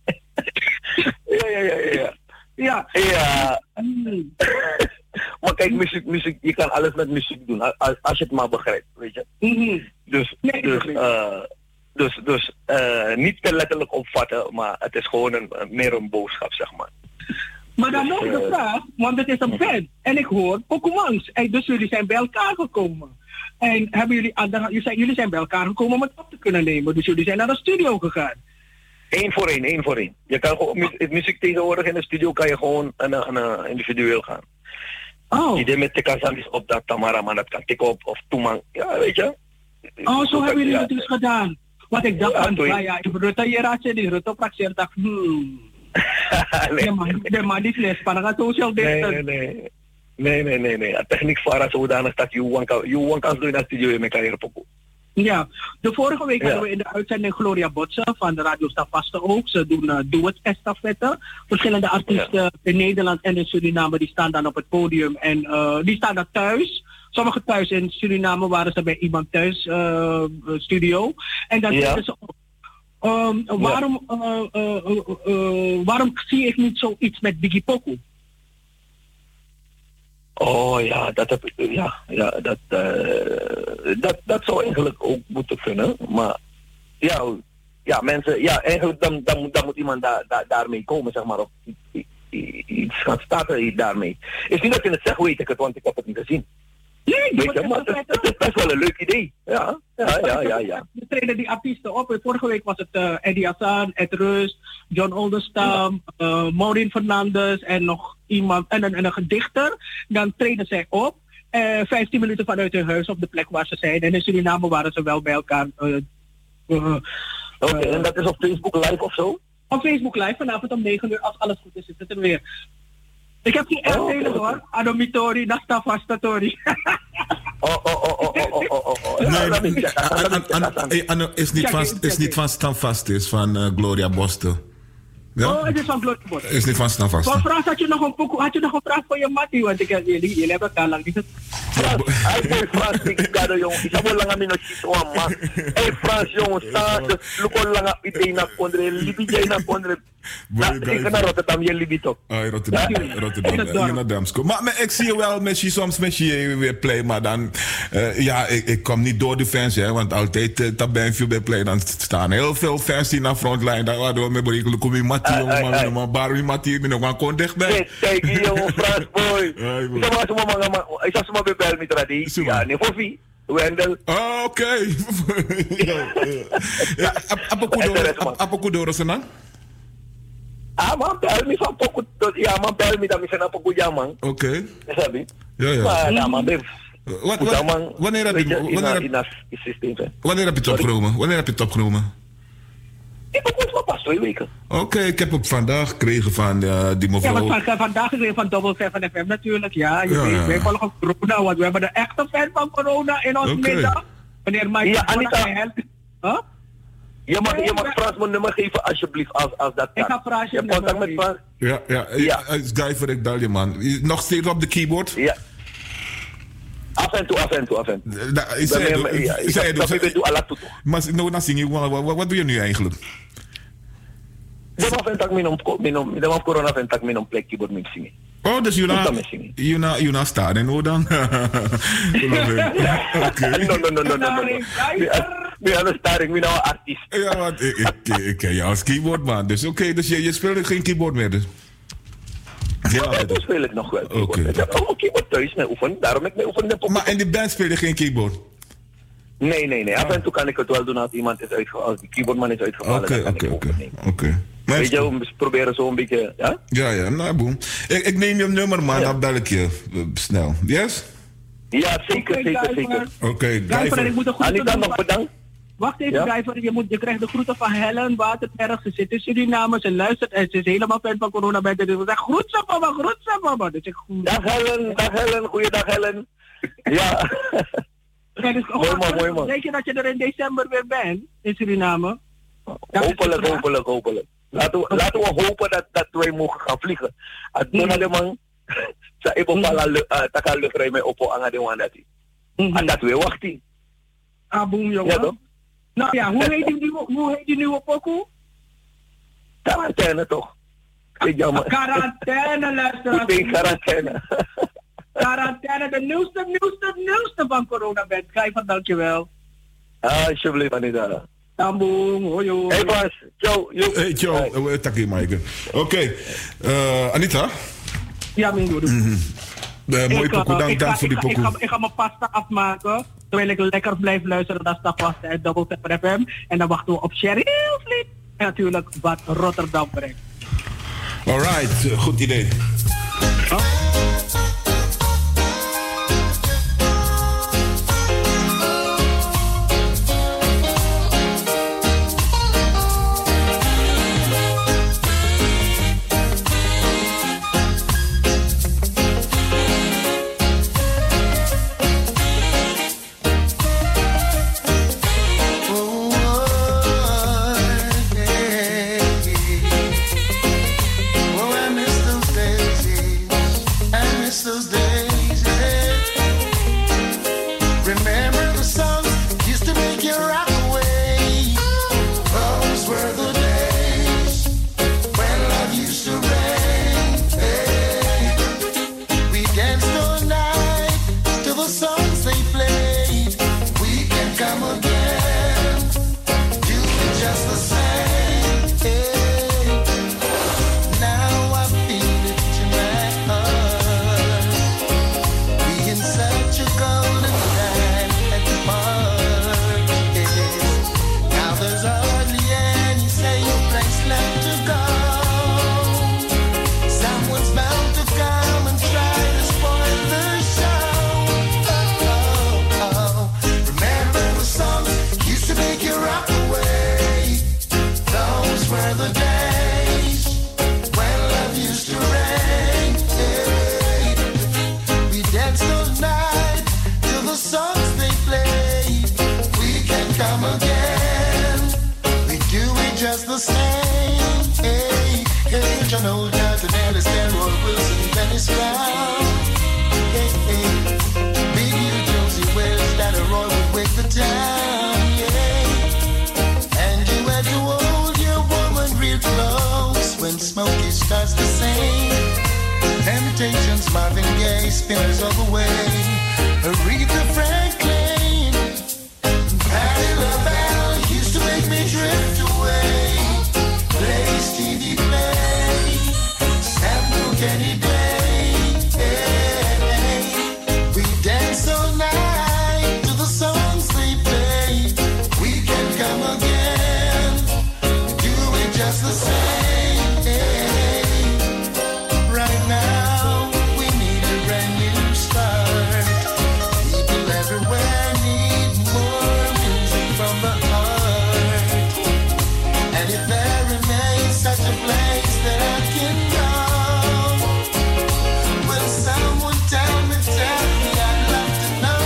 Ja, ja, ja, ja. Ja. Ja. Mm. Maar kijk, muziek, muziek, je kan alles met muziek doen, als, als je het maar begrijpt, weet je. Mm-hmm. Dus, nee, dus, uh, dus, dus uh, niet te letterlijk opvatten, maar het is gewoon een, meer een boodschap, zeg maar. Maar dan nog de vraag, want het is een band. En ik hoor Pokémons. En dus jullie zijn bij elkaar gekomen. En hebben jullie, jullie, zijn, jullie zijn bij elkaar gekomen om het op te kunnen nemen. Dus jullie zijn naar de studio gegaan. Eén voor één, één voor één. Je kan gewoon, muziek, muziek tegenwoordig in de studio kan je gewoon een, een, een individueel gaan. Oh. Idee met Tekasamis op dat Tamara, maar dat kan tikken op of Toeman. Ja, weet je. Oh, zo hebben jullie het dus gedaan. Wat ik dacht aan, ja, ja, ik bedoel, je raad je die Rutte praxeer, dacht, hmm. De man, de man die fles, maar dan gaat social distance. Nee, nee, nee. Nee, nee, nee, nee. Techniek vara zodanig dat je one kan doen in de studio in mijn carrière pokoe. Ja, de vorige week ja. hadden we in de uitzending Gloria Botsen van de Radio Stavaste ook. Ze doen uh, Doe het estafette. Verschillende artiesten ja. in Nederland en in Suriname die staan dan op het podium en uh, die staan daar thuis. Sommigen thuis in Suriname waren ze bij iemand thuis uh, studio. En dan ja. ze um, waarom, uh, uh, uh, uh, waarom zie ik niet zoiets met Biggie Pokoe? Oh ja, dat heb ik, ja, ja dat, uh, dat, dat zou eigenlijk ook moeten kunnen. Maar ja, ja mensen, ja, eigenlijk dan, dan, moet, dan moet iemand da, da, daarmee komen, zeg maar, of iets gaan starten daarmee. Is niet dat je het zegt, weet ik het, want ik heb het niet gezien. Nee, weet je, maar het, het is best wel een leuk idee. Ja, ja, ja, ja. ja. We treden die artiesten op. Vorige week was het uh, Eddie Hassan, Ed Rust, John Oldestam, uh, Maureen Fernandes en nog iemand, en een, en een gedichter. Dan treden zij op. Uh, vijftien minuten vanuit hun huis op de plek waar ze zijn. En in Suriname waren ze wel bij elkaar. Uh, uh, Oké, okay, uh, en dat is op Facebook Live of zo? Op Facebook Live, vanavond om negen uur, als alles goed is, is het er weer. Ik heb geen echt hele hoor. Adomitori, Nastafastatori. Oh, oh, oh, oh, oh, oh, oh, oh. Nee, is niet van, is niet van Standvast, is van uh, Gloria Bosten. Ja? Oh, het is van Glory Bot. Is niet van Stanvast. Van Frans, had je nog een pokoe, had je nog een vraag voor je mattie? Want ik heb jullie, jullie hebben elkaar lang niet gezien. Hij boy Frans, ik ga er jongen. Ik heb wel lang aan mijn notities, man. Hé Frans, jongen, sta. Look al lang aan idee naar Kondre. Libi jij naar Kondre. Ik ga naar Rotterdam, je Libi toch? Ah, Rotterdam, Rotterdam. Je naar Damsko. Maar, maar ik zie je wel met je soms met je weer play, maar dan, uh, ja, ik, ik kom niet door de fans, hè, want altijd uh, dat ben je bij play, dan staan heel veel fans die naar frontline, daar waardoor we berekenen, kom je Mattie, jongen, maar maar Barry Mattie, ik ben nog maar kon dichtbij. Kijk, hier jongen, Frans boy. Ik zou maar zo maar, ik zou zo maar bebel met traditie. Ja, nee, voor wie? Wendel. Oh, oké. Ja, apa kudoro senang? Ah, man, bel me van poco. Ja, man, bel me dat me van poco jamang. Oké. Sabi? Ja, ja. Maar ja, man, bev. Wanneer heb je wanneer heb je het opgenomen? Wanneer heb je het opgenomen? Ik heb het pas twee weken. Oké, okay, ik heb het vandaag gekregen van uh, die mevrouw. Ja, maar vandaag gekregen van Double seven F M natuurlijk, ja. Je ja, weet, ja. wij volgen corona, want we hebben de echte fan van corona in ons okay. middag. Wanneer Mike ja, Anita. Huh? Je mag, je mag Frans mijn nummer geven alsjeblieft als, als dat kan. Ik ga Frans je hebt contact met Frans? Ja, ja. ja. Guy voor ik dal je man. Nog steeds op de keyboard? Ja. Af en toe, af en toe, af en toe. Da, ik zei het, ik zei het. Ik doe alle toe. Maar nou, dan zing je, wat, wat doe je nu eigenlijk? De man vindt dat ik mijn corona vindt dat ik mijn plek keyboard moet zingen. Oh, dus je na je na staan en hoe dan? Oké. No, no, no, no, no. Ik ben een staring, ik ben een artiest. Ja, want ik, ik, ik ken jou als keyboard man. Dus oké, okay, dus je, je speelt geen keyboard meer dus? Ja, ja dat speel ik nog wel. Okay. Ik heb ook een keyboard thuis mee oefenen, daarom heb ik mee oefenen. Maar in de band speel je geen keyboard? Nee, nee, nee. Af en toe kan ik het wel doen als iemand is uitgevallen, als die keyboardman is uitgevallen. Oké, oké, oké. Oké. Weet je, we proberen zo een beetje, ja? Ja, ja, nou boem. Ik, ik neem je nummer man, ja. Dan bel ik je uh, snel. Yes? Ja, zeker, okay, zeker, zeker. Oké, okay, Grijver, ik moet de groeten Anita, nog bedankt. Wacht even, ja? Grijver, je, moet, je krijgt de groeten van Helen Waterberg. Ze zit in Suriname, ze luistert en ze is helemaal fan van corona. Dus ze zegt, groet ze mama, groet ze mama. Dus ik groet. Dag Helen, dag Helen, goeiedag Helen. Ja. Ja, dus, mooi man, mooi man. Denk je dat je er in december weer bent, in Suriname? Hopelijk, hopelijk, hopelijk. Laten we, laten we hopen dat, dat wij mogen gaan vliegen. Als we naar de man, sa ibo pala taka luchtruim mee op aan de man dat hij. En dat we wachten. Ah, boem jongen. Ja, toch? Nou ja, hoe heet die nieuwe, hoe heet die nieuwe pokoe? Quarantaine toch? Quarantaine, luisteraars. Ik ben quarantaine. Quarantaine, de nieuwste, nieuwste, nieuwste van corona bent. Grijver, dankjewel. Ah, alsjeblieft, Anita. Tamboom, hoi hoi. Hey Bas, ciao. Hey, ciao. Takkie, Mike. Oké, okay. uh, Anita? Ja, mijn broer. Mm-hmm. Uh, mooi pokoe, dank, dank voor die pokoe. Ik, ik, ik ga mijn pasta afmaken, terwijl ik lekker blijf luisteren naar Stafvast uit Double seven F M. En dan wachten we op Cheryl Vliet. En natuurlijk wat Rotterdam brengt. Alright, uh, goed idee. Oh. Oh, I miss those days. Sean O'Dowd, Nellis, Delroy Wilson, Dennis Brown. Hey, hey. Big U, Josie Wells, Dada Roy would wake the town. Yeah. And you had to hold your woman real close when Smokey starts to sing. Temptations, Marvin Gaye, Spinners all the way. Aretha Franklin, Patti LaBelle used to make me drift away. Play Stevie Play, Sam Cooke any day. Hey, we dance all night to the songs they play. We can come again, do it just the same. Hey, right now we need a brand new start. People everywhere need more music from the heart. And if there remains such a place that I can go, will someone tell me, tell me, I'd love to know.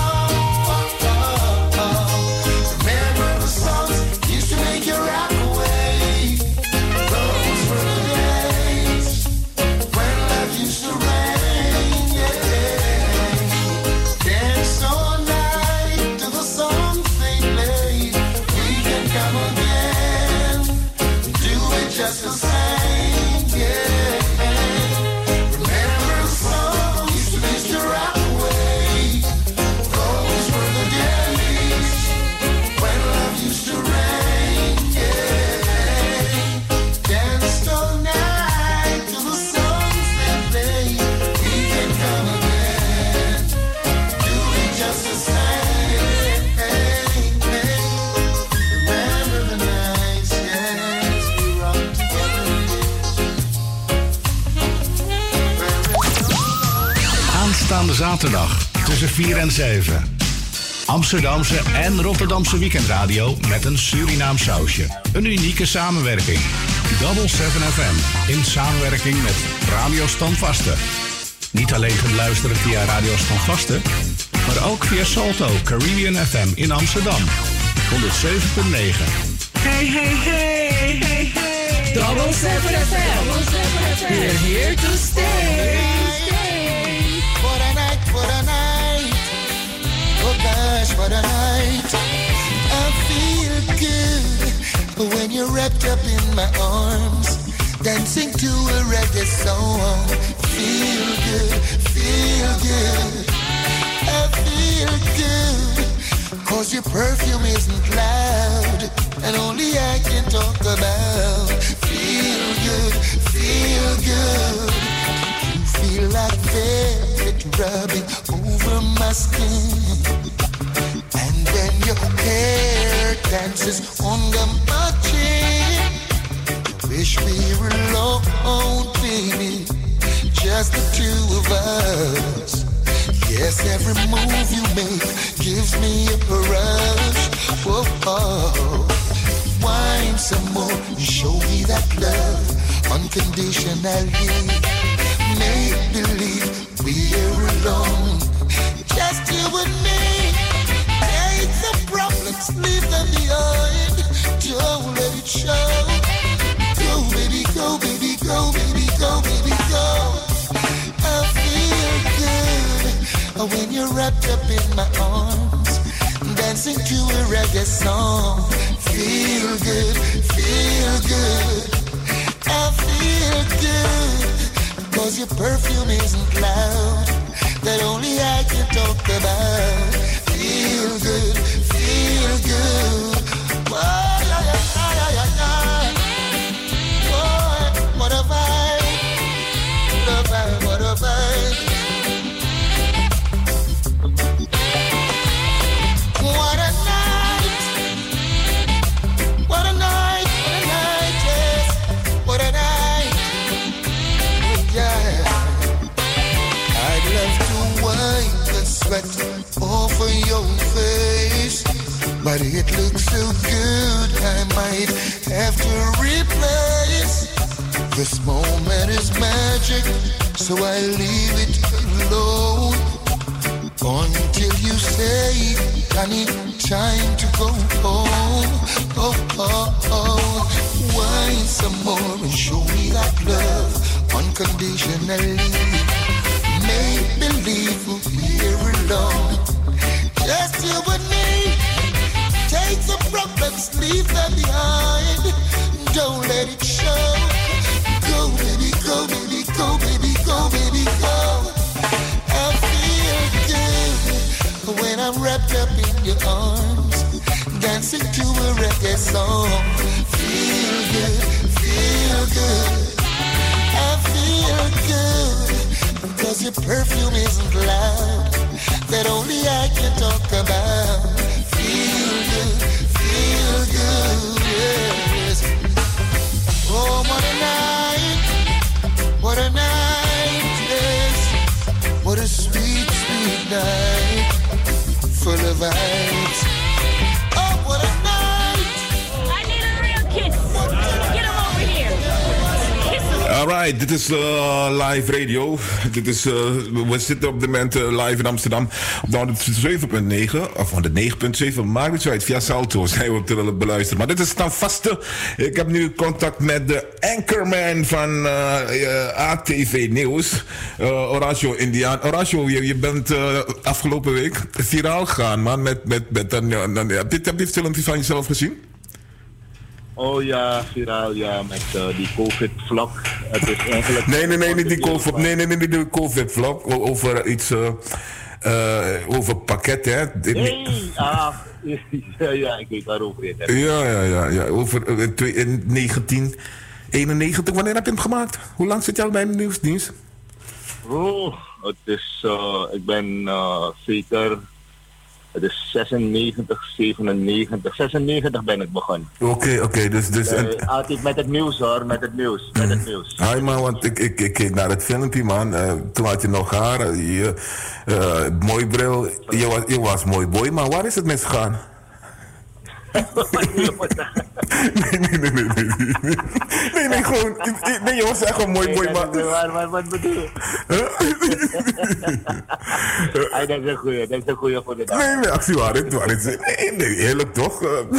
Remember the songs used to make you rock away. Those were the days when love used to rain. Yeah. Dance all night to the songs they played. We can come again, do it just the same. Yeah. Remember the songs used to used to rock away. Those were the days when love used to rain. Yeah. Danced all night to the songs they played. We can come again, do it just the same. Remember the nights, yes, we rocked together. Aanstaande zaterdag tussen vier en zeven. Amsterdamse en Rotterdamse weekendradio met een Surinaam sausje. Een unieke samenwerking. Double seven F M in samenwerking met Radio Standvaste. Niet alleen te beluisteren via Radio Standvaste, maar ook via Salto Caribbean F M in Amsterdam. honderdzeven komma negen. Hey, hey, hey, hey, hey. Double seven F M. We're here to stay. What a night, what a night. Oh gosh, what a night. I feel good when you're wrapped up in my arms, dancing to a reggae song. Feel good, feel good. I feel good, cause your perfume isn't loud, and only I can talk about. Feel good, feel good. You feel like velvet rubbing over my skin, and then your hair dances under my chin. Wish we were alone, baby, just the two of us. Yes, every move you make gives me a rush. Whoa, oh. Wine some more, show me that love unconditionally. Make believe we're alone, just you and me. Take the problems, leave them behind. Don't let it show. Go, baby, go, baby, go, baby, go, baby, go. I feel good when you're wrapped up in my arms, dancing to a reggae song. Feel good, feel good. I feel good, cause your perfume isn't loud, that only I can talk about. Feel good, feel good. Oh, yeah, yeah, yeah, yeah, yeah. Oh, what a vibe, what a vibe, what a vibe. What a night, what a night, what a night, yes, what a night, yeah. I'd love to wipe the sweat off of your face, but it looks so good I might have to replace. This moment is magic, so I leave it alone. until you say, Danny, time to go home. Oh, oh, oh. Wine some more and show me that love unconditionally. Make believe we'll be here alone. Just you and me. Take the problems, leave them behind. Don't let it show. Go, baby, go, baby, go, baby, go, baby, go. I feel good when I'm wrapped up in your arms, dancing to a reggae song. Feel good, feel good. I feel good because your perfume isn't loud, that only I can talk about. Feel good, feel good, yes. Oh, what a night, what a night, yes. What a sweet, sweet night, full of vibes. Oh, what a night. I need a real kiss. Get him over here. Kiss him. Alright, dit is uh, live radio. Dit is, uh, we zitten op dit moment uh, live in Amsterdam op de honderdzeven punt negen of honderdnegen punt zeven. Maakt niet zo uit, via Salto zijn we te beluisteren. Maar dit is dan vaste. Ik heb nu contact met de anchorman van uh, uh, A T V Nieuws, uh, Horacio Indiaan. Horacio, je, je bent uh, afgelopen week viraal gegaan, man. Met, met, met een, een, een, heb je het filmpje van jezelf gezien? Oh ja, viraal, ja, met uh, die COVID-vlog. Het is eigenlijk... Nee, nee, nee, niet die COVID, nee, nee, nee, niet die COVID-vlog. Over iets, uh, uh, over pakket, hè. Nee, ah, ja, ja, ik weet waarover je het hebt. Ja, ja, ja, ja, over uh, in negentien eenennegentig, wanneer heb je hem gemaakt? Hoe lang zit je al bij de nieuwsdienst? Oh, het is, uh, ik ben uh, zeker... Het is zesennegentig, zevenennegentig, zesennegentig ben ik begonnen. Oké, okay, oké, okay, dus... dus uh, altijd met het nieuws hoor, met het nieuws, met het nieuws. Hi man, want ik, ik, ik keek naar het filmpje man, uh, toen had je nog haar, je, uh, mooi bril, je was, je was mooi boy, maar waar is het misgegaan? nee, nee, nee, nee, nee, nee, nee, nee, gewoon, nee, je was echt een mooi boy, maar... Waar, waar, wat bedoel je? Ay, dat is een goeie, dat is een goeie voor de dag. Nee, nee, actie waar, het waar is, nee, nee, eerlijk toch?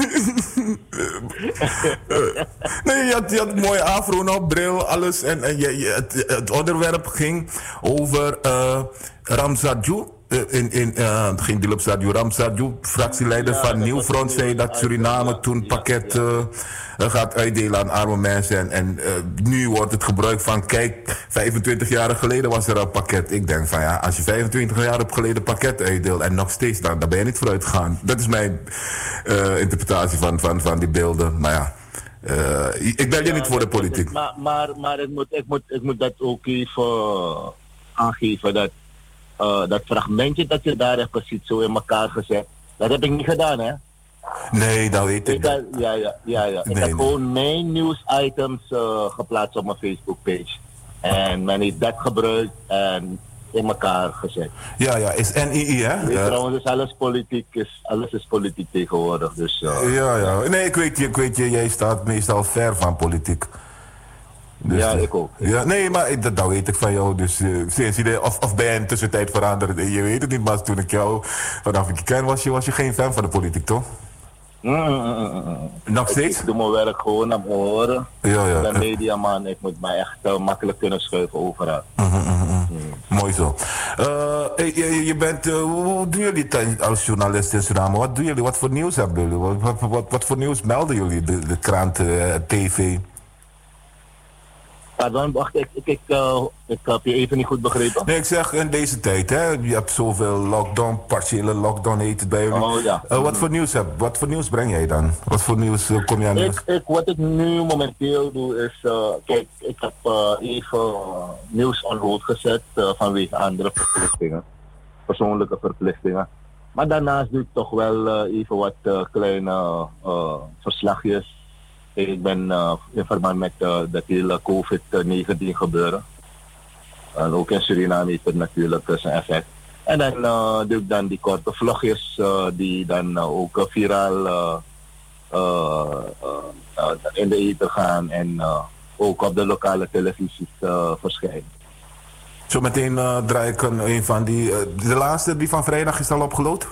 Nee, je had, je had een mooie afro nog, bril, alles, en, en je, je, het, het onderwerp ging over uh, Ramzadjou. In, in, uh, ging die op Radio Ramzadjou, fractieleider ja, van Nieuw Front, zei dat Suriname ja, toen pakket ja, ja. Uh, gaat uitdelen aan arme mensen. En, en uh, nu wordt het gebruik van, kijk, vijfentwintig jaar geleden was er een pakket. Ik denk van ja, als je vijfentwintig jaar geleden pakket uitdeelt en nog steeds, dan, dan ben je niet vooruit gegaan. Dat is mijn uh, interpretatie van, van, van die beelden. Maar ja, uh, ik ben je ja, niet voor de politiek. Is, maar maar, maar ik, moet, ik, moet, ik moet dat ook even aangeven dat Uh, dat fragmentje dat je daar hebt gezien, zo in elkaar gezet, dat heb ik niet gedaan, hè? Nee, dat weet ik. ik had, ja, ja, ja, ja. Ik nee, heb nee. gewoon mijn nieuwsitems uh, geplaatst op mijn Facebook-page. En men heeft dat gebruikt en in elkaar gezet. Ja, ja, is N I I, hè? Ja. Trouwens, is alles politiek, is, alles is politiek tegenwoordig, dus... Uh, ja, ja. Nee, ik weet je, ik weet je, jij staat meestal ver van politiek. Dus, ja, ik ook. Ja, nee, maar dat, dat weet ik van jou. Dus, uh, sinds je, of, of ben je in de tussentijd veranderd? Je weet het niet, maar toen ik jou vanaf ik je ken, was je, was je geen fan van de politiek, toch? Mm, mm, mm. Nog steeds? Ik, ik doe mijn werk gewoon aan mijn oren. Ja, ja. Ik ben mediaman, ik moet mij echt uh, makkelijk kunnen schuiven overal. Mm, mm, mm. Mm. Mooi zo. Uh, je, je bent, uh, hoe doen jullie het als journalist in Suriname? Wat doen jullie? Wat voor nieuws hebben jullie? Wat, wat, wat, wat voor nieuws melden jullie? De, de krant, uh, tv? Pardon, wacht, ik, ik, ik, uh, ik heb je even niet goed begrepen. Nee, ik zeg in deze tijd, hè, je hebt zoveel lockdown, partiële lockdown heet het bij jullie. Oh, ja. uh, wat voor nieuws heb, wat voor nieuws breng jij dan? Wat voor nieuws uh, kom jij aan? Ik, ik, wat ik nu momenteel doe is, uh, kijk, ik heb uh, even uh, nieuws on hold gezet uh, vanwege andere verplichtingen, persoonlijke verplichtingen. Maar daarnaast doe ik toch wel uh, even wat uh, kleine uh, verslagjes. Ik ben uh, in verband met uh, dat hele COVID negentien gebeuren. En ook in Suriname heeft het natuurlijk uh, zijn effect. En dan uh, doe ik dan die korte vlogjes uh, die dan uh, ook uh, viraal uh, uh, uh, uh, in de ether gaan en uh, ook op de lokale televisies uh, verschijnen. Zometeen uh, draai ik een, een van die... Uh, de laatste, die van vrijdag, is al opgeload?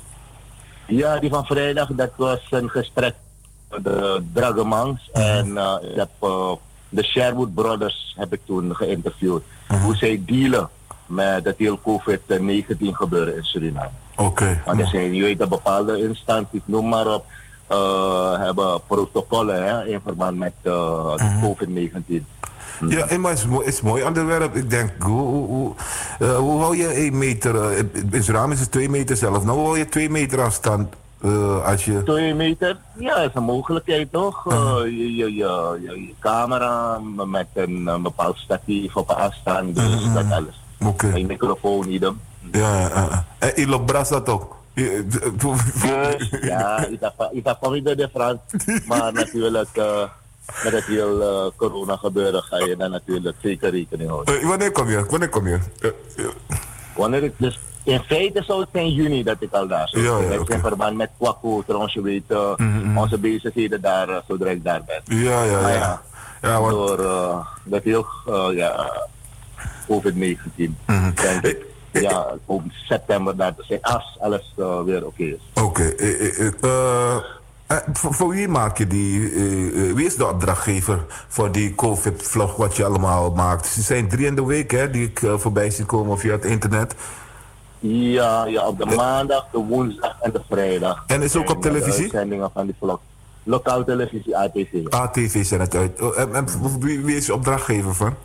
Ja, die van vrijdag, dat was een gesprek met de Dragemans. Uh-huh. En uh, ik heb, uh, de Sherwood Brothers heb ik toen geïnterviewd. Uh-huh. Hoe zij dealen met het heel covid negentien gebeuren in Suriname. Oké. Okay. Want er zijn, je weet, dat bepaalde instanties, noem maar op, uh, hebben protocollen hè, in verband met uh, uh-huh. covid negentien. Ja, maar het is, mooi, het is een mooi onderwerp. Ik denk, hoe, hoe, hoe, uh, hoe hou je één meter? Uh, in Suriname is het twee meter zelf. Nou, hoe hou je twee meter afstand uh, als je... Twee meter? Ja, dat is een mogelijkheid toch? Uh, uh, je, je, je, je, je camera met een, een bepaald statief op afstand, dus uh, dat alles. Oké. Okay. Een microfoon, idem. Ja, ja, ja. En je loopt bras dat ook? Dus, ja, ik heb van de Frans, maar natuurlijk... Uh, met het heel uh, corona gebeuren ga je dan natuurlijk zeker rekening houden. Uh, wanneer kom je? Wanneer kom je? Uh, uh. Wanneer ik dus in feite zou het zijn juni dat ik al daar zou zijn. Ja, ja, okay. In verband met Kwaku, trouwens je weet, uh, mm-hmm. onze bezigheden daar, uh, zodra ik daar ben. Ja, ja, maar, ja. ja, ja want... Door uh, dat heel, uh, ja, covid negentien. Mm-hmm. Denk ik. Ja, op september daar te zijn, als alles uh, weer oké okay is. Oké. Okay. Uh, uh, uh, Uh, voor, voor wie maak je die, uh, uh, wie is de opdrachtgever voor die COVID-vlog wat je allemaal maakt? Ze zijn drie in de week hè, die ik uh, voorbij zie komen via het internet. Ja, ja, op de maandag, de woensdag en de vrijdag. En is ook op televisie? De uitzendingen van die vlog. Lokaal televisie, A T V. A T V zijn het uit. Oh, en, en wie, wie is de opdrachtgever van?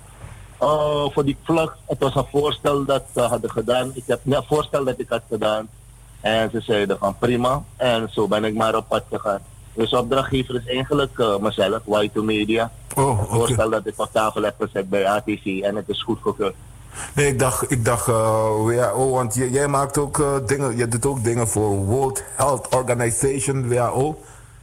Uh, voor die vlog, het was een voorstel dat ze hadden gedaan. Ik heb een voorstel dat ik had gedaan. En ze zeiden van prima. En zo ben ik maar op pad gegaan. Dus opdrachtgever is eigenlijk uh, mezelf, Y twee Media. Oh, okay. Het voorstel dat ik op tafel heb gezet bij A T V en het is goed gekeurd. Nee, ik dacht, ik dacht uh, ja, oh, want jij, jij maakt ook uh, dingen, je doet ook dingen voor World Health Organization, W H O.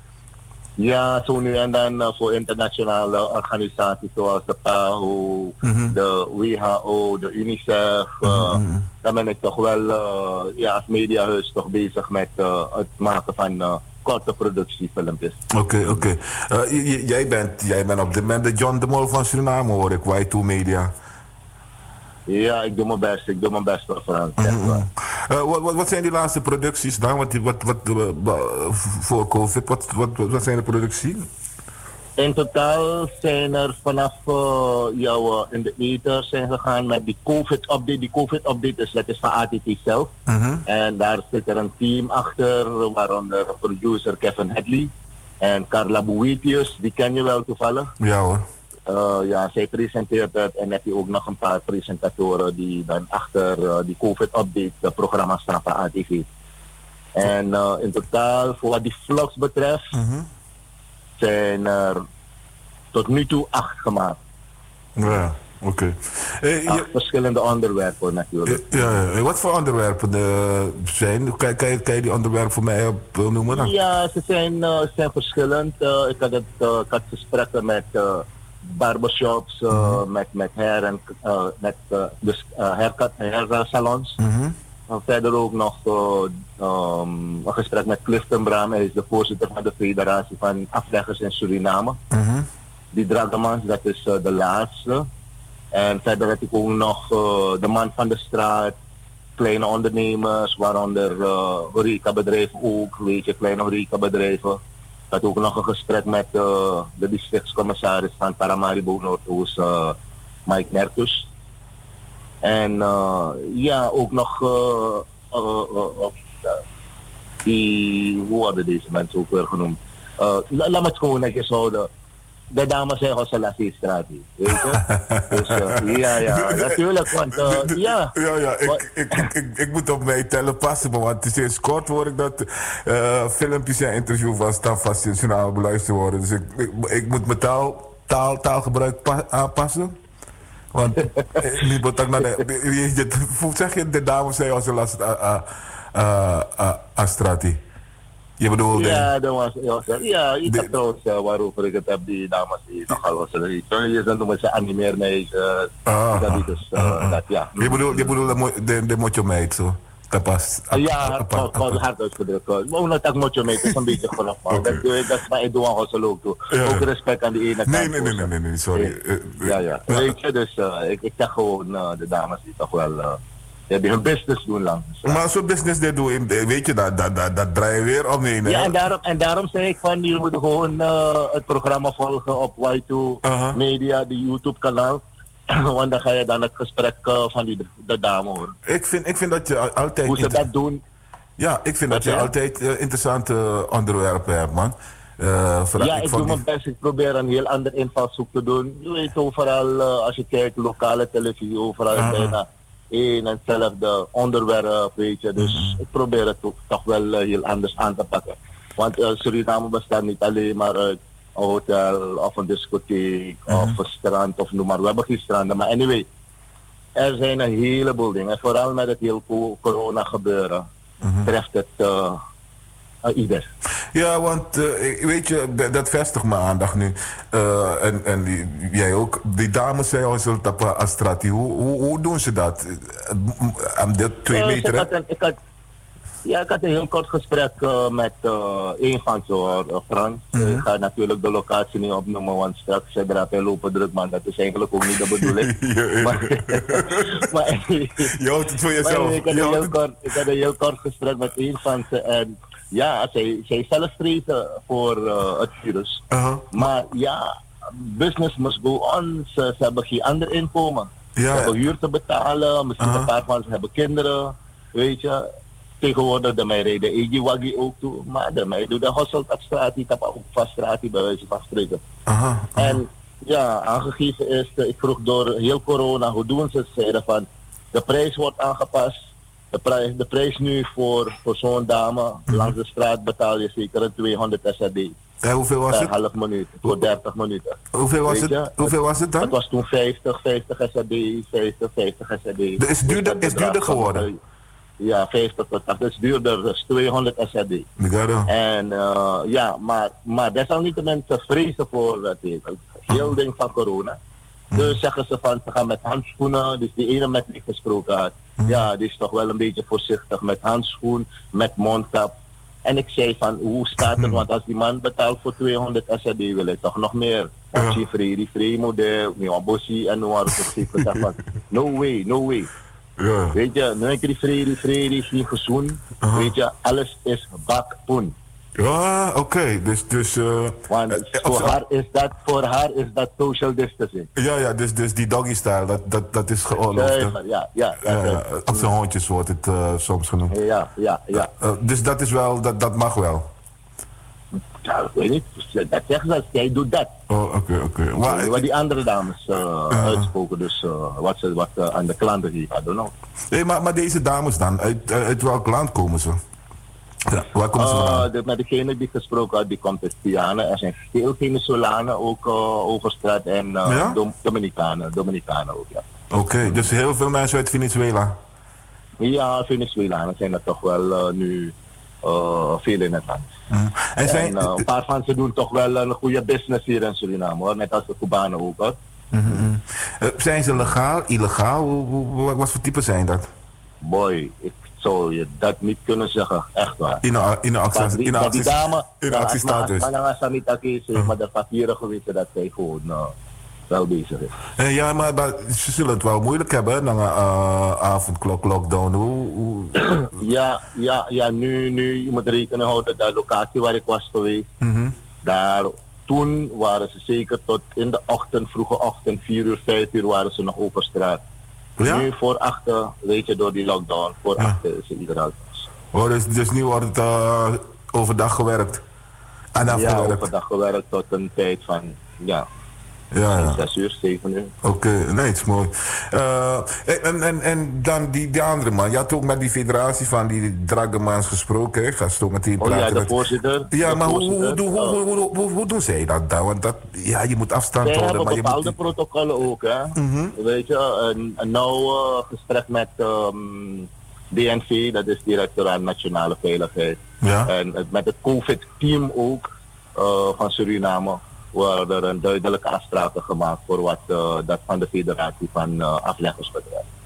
Ja, zo nu en dan uh, voor internationale organisaties zoals de P A H O, mm-hmm. de W H O, de UNICEF. Uh, mm-hmm. Dan ben ik toch wel uh, ja, als mediahuis toch bezig met uh, het maken van uh, korte productiefilmpjes. Oké, okay, oké. Okay. Uh, jij, bent, jij bent op dit moment de John de Mol van Suriname, hoor ik, Y twee Media. Ja, ik doe mijn best. Ik doe mijn best voor Frans. Mm-hmm. uh, wat, wat, wat zijn die laatste producties dan? Wat, wat, wat, uh, voor COVID, wat, wat, wat zijn de producties? In totaal zijn er vanaf uh, jou in de ether zijn gegaan met die COVID-update. Die COVID-update is, dat is van A T V zelf. Mm-hmm. En daar zit er een team achter, waaronder producer Kevin Hadley en Carla Boetius. Die ken je wel toevallig. Ja hoor. Uh, ja, zij presenteert het en heb je ook nog een paar presentatoren die dan achter uh, die COVID-update programma staan van A T V. En uh, in totaal, voor wat die vlogs betreft, mm-hmm. zijn er tot nu toe acht gemaakt. Ja, oké. Okay. Hey, acht je... verschillende onderwerpen natuurlijk. Ja, ja. Wat voor onderwerpen uh, zijn? Kan, kan, je, kan je die onderwerpen voor mij op, uh, noemen dan? Ja, ze zijn, uh, zijn verschillend. Uh, ik had het uh, ik had gesprekken met uh, barbershops, uh, mm-hmm. met, met hair en uh, met uh, dus, uh, haircut, hairsalons. Mm-hmm. En verder ook nog uh, um, een gesprek met Clifton Bram. Hij is de voorzitter van de Federatie van Afleggers in Suriname. Uh-huh. Die Dragemans, dat is uh, de laatste. En verder heb ik ook nog uh, de man van de straat, kleine ondernemers, waaronder uh, horecabedrijven ook, weet je, kleine horecabedrijven. Ik had ook nog een gesprek met uh, de districtscommissaris van Paramaribo Noordoost, uh, Mike Merkus. En uh, ja, ook nog uh, uh, uh, uh, die, hoe hadden deze mensen ook weer genoemd? Uh, la, laat me het gewoon netjes houden. De dames zijn Hosselassie-straat, weet je? Dus uh, ja, ja, natuurlijk, want uh, ja. Ja, ja, ik, ik, ik, ik, ik moet op mij tellen passen, want sinds kort hoor ik dat uh, filmpjes en interviews van Stafvast in Suriname beluisterd worden. Dus ik, ik, ik moet mijn taal, taal, taalgebruik pa- aanpassen. Want niet betak naar de. Hoe zeg je de dames zijn als een last Astrati? Je bedoelt. Ja, dat was. Ja, ik heb trouwens waarover ik het heb, die dames die nogal was. Je zijn noemen ze animeermeisjes. Dat is dus. Ja. Je bedoelt de, de, de motjo meid zo? Tapas. Ja, gewoon hard uitgedrukt. Gewoon dat ik moet je mee, het is een beetje vanaf. Dat is maar ik doe aan Gossel ook toe. Ook respect aan die ene kant. Nee, nee, nee, nee, nee, nee, sorry. Ja, ja. Weet je, dus uh, ik, ik zeg gewoon, uh, de dames die toch wel, uh, ja, die hun business doen lang. Maar zo'n business dit doen, weet je, dat, dat, dat, dat draai je weer op nee, nee. Ja, en daarom, en daarom zeg ik van, jullie moeten gewoon uh, het programma volgen op Y twee uh-huh. Media, die YouTube kanaal. Want dan ga je dan het gesprek uh, van die, de dame horen. Ik vind, ik vind dat je altijd... Hoe ze dat doen. Ja, ik vind dat, dat je altijd uh, interessante onderwerpen hebt, man. Uh, ja, ik, ik doe die... mijn best. Ik probeer een heel ander invalshoek te doen. Je weet overal, uh, als je kijkt, lokale televisie, overal uh-huh. bijna één en hetzelfde onderwerp, weet je. Dus uh-huh. ik probeer het toch, toch wel uh, heel anders aan te pakken. Want uh, Suriname bestaat niet alleen maar uit een hotel of een discotheek uh-huh. of een strand of noem maar. We hebben geen stranden, maar anyway. Er zijn een heleboel dingen. Vooral met het heel corona gebeuren. Uh-huh. Treft het uh, uh, ieder. Ja, want uh, weet je, dat, dat vestigt mijn aandacht nu. Uh, en en die, jij ook. Die dames zijn al zo tappen Astrati. Hoe, hoe, hoe doen ze dat? Aan uh, de twee uh, meter? Ik had, een, ik had, ja, ik had een heel kort gesprek uh, met uh, een van ze, uh, Frans. Uh-huh. Ik ga natuurlijk de locatie niet opnoemen, want straks ze drapen lopen druk, man. Dat is eigenlijk ook niet de bedoeling. ja, maar, maar, je houdt het voor jezelf. Ik had, een heel kort, ik had een heel kort gesprek met een van ze en ja, zij, zij zelf vrezen voor uh, het virus. Uh-huh. Maar ja, business must go on. Ze, ze hebben geen ander inkomen. Ja. Ze hebben huur te betalen, misschien uh-huh. een paar van ze hebben kinderen, weet je. Tegenwoordig de mij reden Egi Wagi ook toe, maar de mij doet de Hosselt op straat, die tappen ook vast straat, die bij wijze van spreken. Uh-huh. Uh-huh. En ja, aangegeven is, ik vroeg door heel corona, hoe doen ze het? Zeiden van, de prijs wordt aangepast. De prijs, de prijs nu voor, voor zo'n dame, mm-hmm. langs de straat betaal je zeker een tweehonderd S R D. Ja, hoeveel was het? Een half minuut, voor dertig minuten. Hoeveel was, het? hoeveel was het dan? Het was toen vijftig, vijftig S R D, vijftig, vijftig S R D. Dus is duurder, is duurder geworden? Ja, vijftig tot tachtig. Het is duurder, dus tweehonderd S R D. En uh, ja, maar, maar desalniettemin ze vrezen voor het heel ding van corona. Dus zeggen ze van, ze gaan met handschoenen. Dus die ene met wie ik gesproken had, mm. ja, die is toch wel een beetje voorzichtig met handschoen, met mondkap. En ik zei van, hoe staat het? Want als die man betaalt voor tweehonderd S R D, wil hij toch nog meer. Want je vrede, vrede model, een bossie en noem van, no way, no way. Ja. Weet je, nu heb je die vrede, vrede, is niet gezoen. Uh-huh. Weet je, alles is bakpoen. Ja, oké. Okay. Dus, dus, uh, Want uh, voor, uh, haar is dat, voor haar is dat social distancing. Ja, ja, dus, dus die doggy style, dat, dat, dat is geoorloofd. Ja, ja, ja. ja, ja op zijn hondjes wordt het uh, soms genoemd. Ja, ja, ja. Uh, uh, dus dat is wel, dat, dat mag wel. Ja, ik weet niet. Dat zeggen ze, jij doet dat. Oh, oké, okay, oké. Okay. Wat die andere dames uh, uh, uitspoken, dus uh, wat ze wat, uh, aan de klanten die I don't know. Nee, maar, maar deze dames dan, uit, uit welk land komen ze? Ja, waar komen ze vandaan? Uh, de, met degene die gesproken had, die komt uit Guyana. Er zijn veel Venezolanen ook uh, over straat en uh, ja? Dom, Dominicanen, Dominicanen ook, ja. Oké, okay, dus heel veel mensen uit Venezuela? Ja, Venezolanen zijn er toch wel uh, nu uh, veel in het land. Mm. En, zijn... en uh, een paar van ze doen toch wel een goede business hier in Suriname, hoor. Net als de Cubanen ook, hoor. Mm-hmm. Uh, zijn ze legaal, illegaal? Hoe, hoe, wat voor type zijn dat? Boy, ik zou je dat niet kunnen zeggen, echt waar. In een in actie, in actie, die dame, in actiestatus. Maar, maar de papieren geweten dat zij gewoon uh, wel bezig is. Uh, ja, maar, maar ze zullen het wel moeilijk hebben na een uh, avondklok lockdown. Hoe, hoe... ja, ja, ja, nu, nu, je moet rekenen houden dat de locatie waar ik was geweest, mm-hmm. daar, toen waren ze zeker tot in de ochtend, vroege ochtend, vier uur, vijf uur waren ze nog over straat. Ja? Nu voor achter, weet je, door die lockdown, voor ja. achter is iedereen thuis. Oh, dus, dus nu wordt het uh, overdag gewerkt? En ja, gewerkt. overdag gewerkt tot een tijd van, ja, ja, ja. zes uur, zeven uur. Oké, okay, nee, het is mooi. Uh, en, en, en dan die, die andere man, je had ook met die federatie van die Dragemans gesproken, hè? Ga zo meteen praten. Oh ja, de met... voorzitter. Ja, de maar voorzitter, hoe, hoe, hoe, hoe, hoe, hoe doen zij dat dan? Want dat, ja, je moet afstand zij houden. Maar je bepaalde moet... protocollen ook, hè. Mm-hmm. Weet je, een, een nauw uh, gesprek met um, D N V, dat is Directoraat Nationale Veiligheid. Ja. En uh, met het COVID-team ook uh, van Suriname worden er een duidelijke afspraken gemaakt voor wat uh, dat van de federatie van uh, afleggers betreft.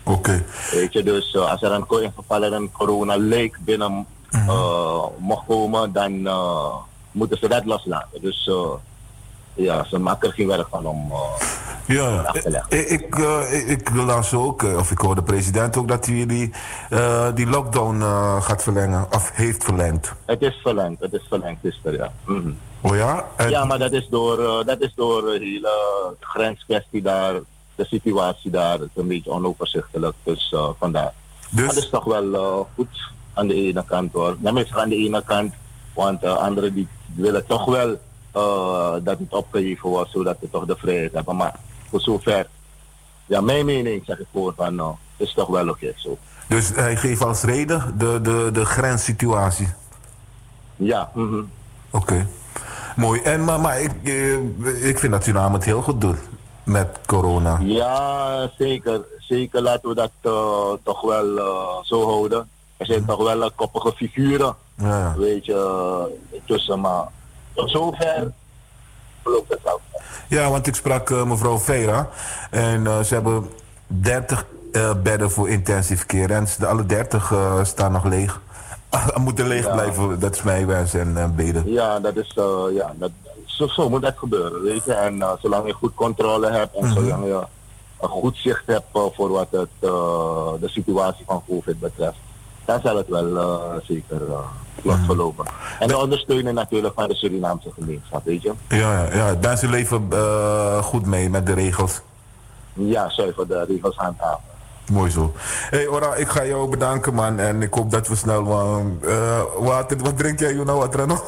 Oké. Okay. Weet je, dus uh, als er een, in geval er een corona-leek binnen uh, uh, mocht komen, dan uh, moeten ze dat loslaten. Dus uh, ja, ze maken er geen werk van om uh, ja, af te leggen. Ik, ik, uh, ik las ook, uh, of ik hoor de president ook, dat hij die, uh, die lockdown uh, gaat verlengen, of heeft verlengd. Het is verlengd, het is verlengd, is er, ja. Mm-hmm. Oh ja? En... Ja, maar dat is door, uh, dat is door de hele grenskwestie daar, de situatie daar, het is een beetje onoverzichtelijk, dus uh, vandaar. Dus... Dat is toch wel uh, goed aan de ene kant hoor. Tenminste aan de ene kant, want uh, anderen die willen toch wel uh, dat het opgeheven wordt, zodat we toch de vrijheid hebben. Maar voor zover, ja, mijn mening zeg ik voor van, uh, het is toch wel oké okay, zo. Dus hij geeft als reden de, de, de grenssituatie? Ja. Mm-hmm. Oké. Okay. Mooi. En, maar maar ik, ik vind dat Suriname het heel goed doet met corona. Ja, zeker. Zeker laten we dat uh, toch wel uh, zo houden. Er zijn toch wel uh, koppige figuren, ja. Weet je, uh, tussen. Maar tot zover loopt het wel. Ja, want ik sprak uh, mevrouw Vera en uh, ze hebben dertig uh, bedden voor intensive care. En de alle dertig uh, staan nog leeg. Moeten leeg ja. blijven, dat is mijn wens en uh, beden. Ja, dat is, uh, ja, dat, zo, zo moet dat gebeuren, weet je. En uh, zolang je goed controle hebt en mm-hmm. zolang je een goed zicht hebt uh, voor wat het, uh, de situatie van COVID betreft, dan zal het wel uh, zeker uh, vlot verlopen. En de ondersteunen natuurlijk van de Surinaamse gemeenschap, weet je. Ja, ja, ja. Mensen leven uh, goed mee met de regels. Ja, zuiver de regels handhaven. Mooi zo. Hé hey, Ora, ik ga jou bedanken man en ik hoop dat we snel uh, wat, wat drink jij nou wat Rano?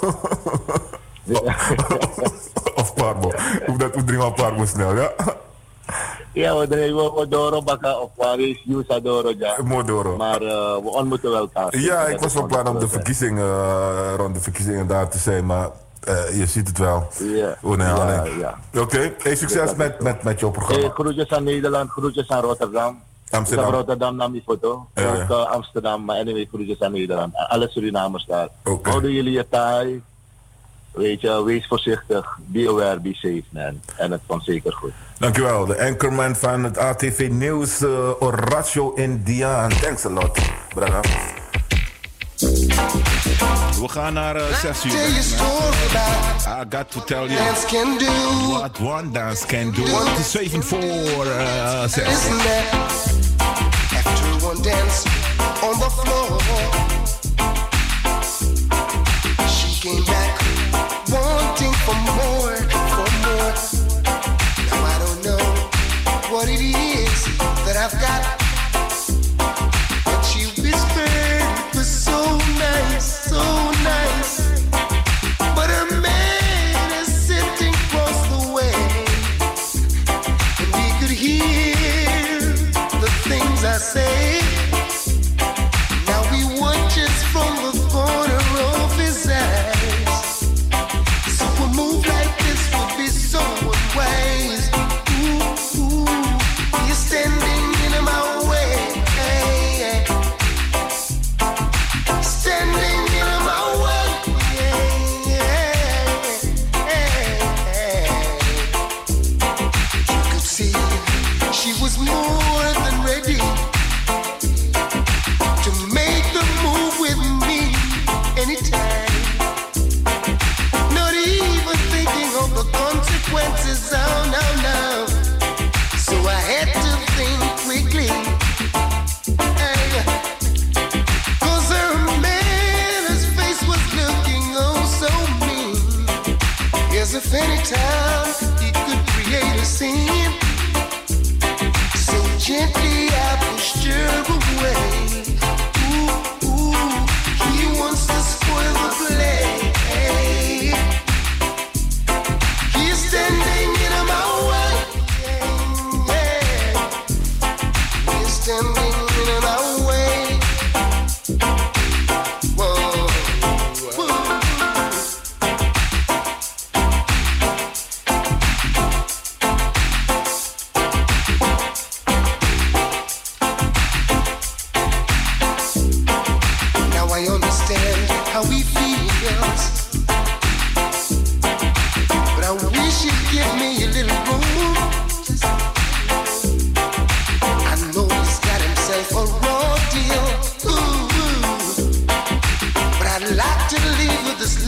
Of parmo. Ik hoop dat we drinken parmo snel, ja? Ja, we drinken Modoro bakken of waar is Yusadoro, ja. Modoro. Maar uh, we ontmoeten wel elkaar. Ja, ik was van plan om de verkiezingen, uh, rond de verkiezingen daar te zijn, maar uh, je ziet het wel. Ja. Oh, nee, ja, ja. Oké, okay. Hey, succes met, met, met jouw programma. Hey, groetjes aan Nederland, groetjes aan Rotterdam. Amsterdam. Ik heb Rotterdam naar mijn foto. Ja, ja. Ook uh, Amsterdam, maar anyway, groetjes aan Nederland. Alle Surinamers daar. Okay. Houden jullie je taai. Weet je, wees voorzichtig. Be aware, be safe, man. En het komt zeker goed. Dankjewel. De anchorman van het A T V Nieuws, uh, Horacio Indiaan. Thanks a lot, brother. We gaan naar uh, zes uur. I got to tell you what one dance can do. Het is zeven voor uh, zes. After one dance on the floor, she came back wanting for more, for more. Now I don't know what it is that I've got, but she whispered it was so nice, so nice. But a man is sitting across the way, and he could hear the things I say. Now he watches from the corner of his eyes. So a move like this would be so unwise. Ooh, ooh, you're standing in my way. Hey, standing in my way. Yeah, yeah. You could see she was more than ready to make the move with me anytime. Not even thinking of the consequences, oh no, no. So I had to think quickly. Hey, cause her man, his face was looking oh so mean, as if anytime he could create a scene. So gently I pushed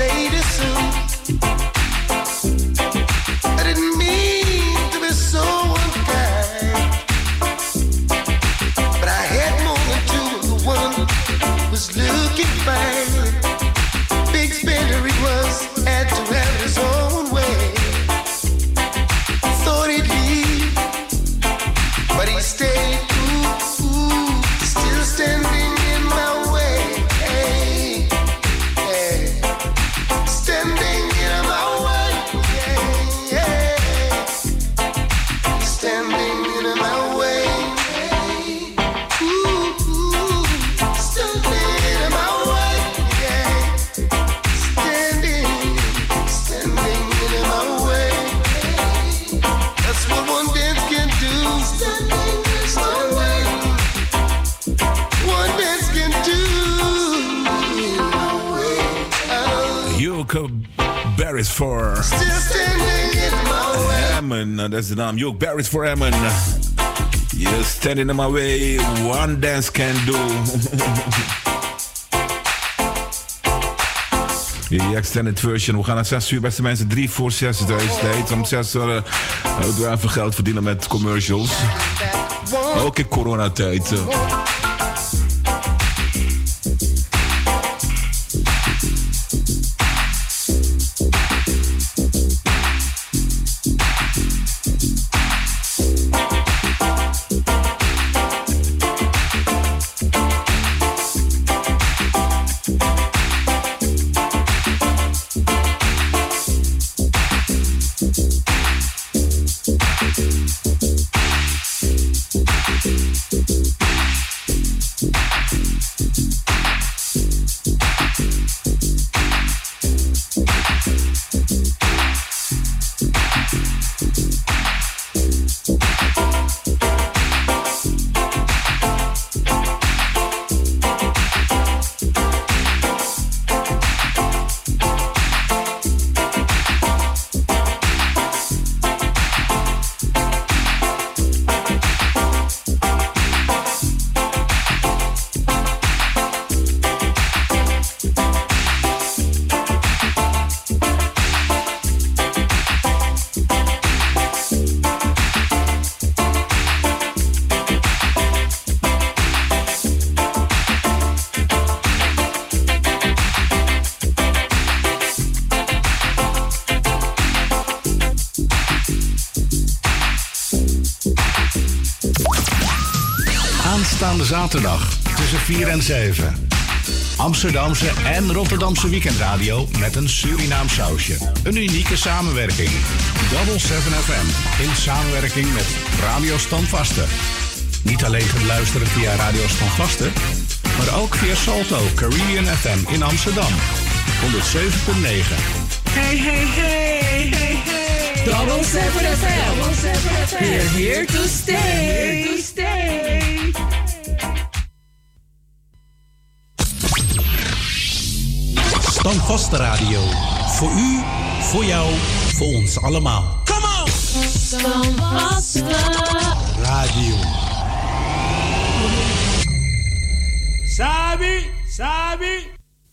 lady soon. I didn't mean to be so unkind, but I had more than two, and the one was looking fine. Big spender he was, had to have his own way. Thought he'd leave, but he stayed. Ooh, ooh, still standing in my way. Hey, hey. Standing in my way. Yeah, yeah. Standing in my way. Hey. Ooh, ooh. Standing in my way. Yeah. Standing, standing in my way. Hey. That's what one dance can do. Standing in my way. One dance can do. In my way. Oh. Yoke Barris voor Still standing in my way. Hammond. Dat is de naam. Yoke Barris voor Hammond. You're standing in my way. One dance can do. Die extended version. We gaan naar zes uur, beste mensen. Drie voor zes is deze tijd. Om zes uur uh, we even geld verdienen met commercials. Ook in coronatijd. Uh. Aanstaande zaterdag tussen vier en zeven. Amsterdamse en Rotterdamse weekendradio met een Surinaam sausje. Een unieke samenwerking. Double seven F M in samenwerking met Radio Standvaste. Niet alleen te luisteren via Radio Standvaste, maar ook via Salto Caribbean F M in Amsterdam. honderdzeven komma negen. Hey, hey, hey, hey, hey. Double seven F M. We're here to stay. Here to stay. Standvaste Radio. Voor u, voor jou, voor ons allemaal. Come on! Standvaste Radio. Sabi, Sabi.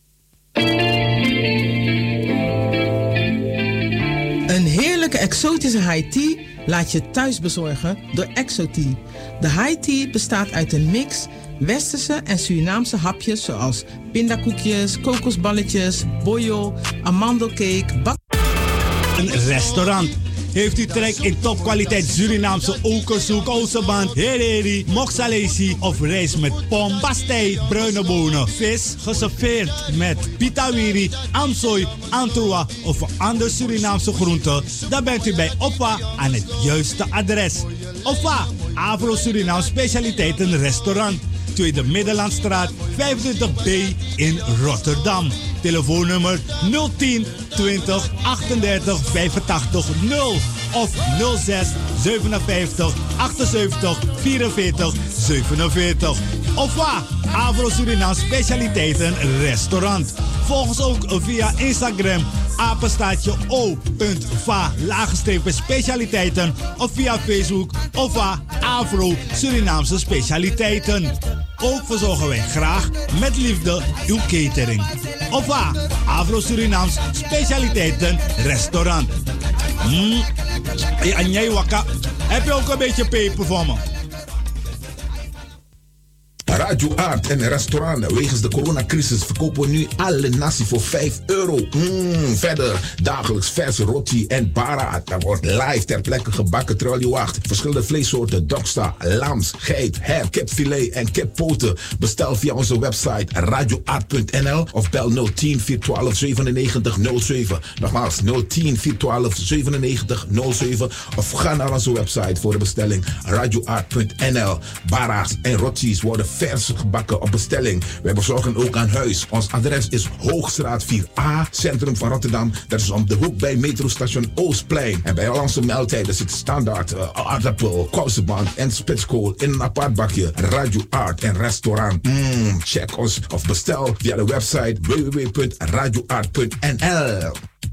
Een heerlijke exotische high tea laat je thuis bezorgen door Exotea. De high tea bestaat uit een mix westerse en Surinaamse hapjes zoals pindakoekjes, kokosballetjes, boyo, amandelcake, bak... Een restaurant. Heeft u trek in topkwaliteit Surinaamse okersoek, osseband, hereri, moksalesi of rijst met pom, pastei, bruine bonen, vis, geserveerd met pitawiri, amsooi, antroa of een ander Surinaamse groente, dan bent u bij Oppa aan het juiste adres. Oppa, Afro-Surinaam Specialiteiten Restaurant, Tweede Middellandstraat, vijfentwintig B in Rotterdam. Telefoonnummer nul tien twintig achtendertig vijfentachtig nul of nul zes zevenenvijftig achtenzeventig vierenveertig zevenenveertig. Of waar? Avro Suriname Specialiteiten Restaurant. Volg ons ook via Instagram apenstaatje o.va laagstrepen specialiteiten of via Facebook of waar Avro Surinaamse Specialiteiten. Ook verzorgen wij graag met liefde uw catering. Of waar Avro Surinaams Specialiteiten Restaurant. Mm. Hey, Anjay Waka, heb je ook een beetje peper voor me? Radio Art en restaurant. Wegens de coronacrisis verkopen we nu alle nasi voor vijf euro. Mm, verder dagelijks verse roti en para. Dat wordt live ter plekke gebakken terwijl je wacht. Verschillende vleessoorten, doksta, lams, geit, her, kipfilet en kippoten. Bestel via onze website radioart punt n l of bel nul tien vier twaalf zevenennegentig nul zeven. Nogmaals nul tien vier twaalf zevenennegentig nul zeven of ga naar onze website voor de bestelling radioart punt n l. Bara's en rotis worden vers gebakken op bestelling. Wij bezorgen ook aan huis. Ons adres is Hoogstraat vier A, centrum van Rotterdam. Dat is om de hoek bij metrostation Oostplein. En bij al onze maaltijden zit standaard uh, aardappel, kousenband en spitskool in een apart bakje. Radio Art en restaurant. Mm, check ons of bestel via de website w w w punt radioart punt n l.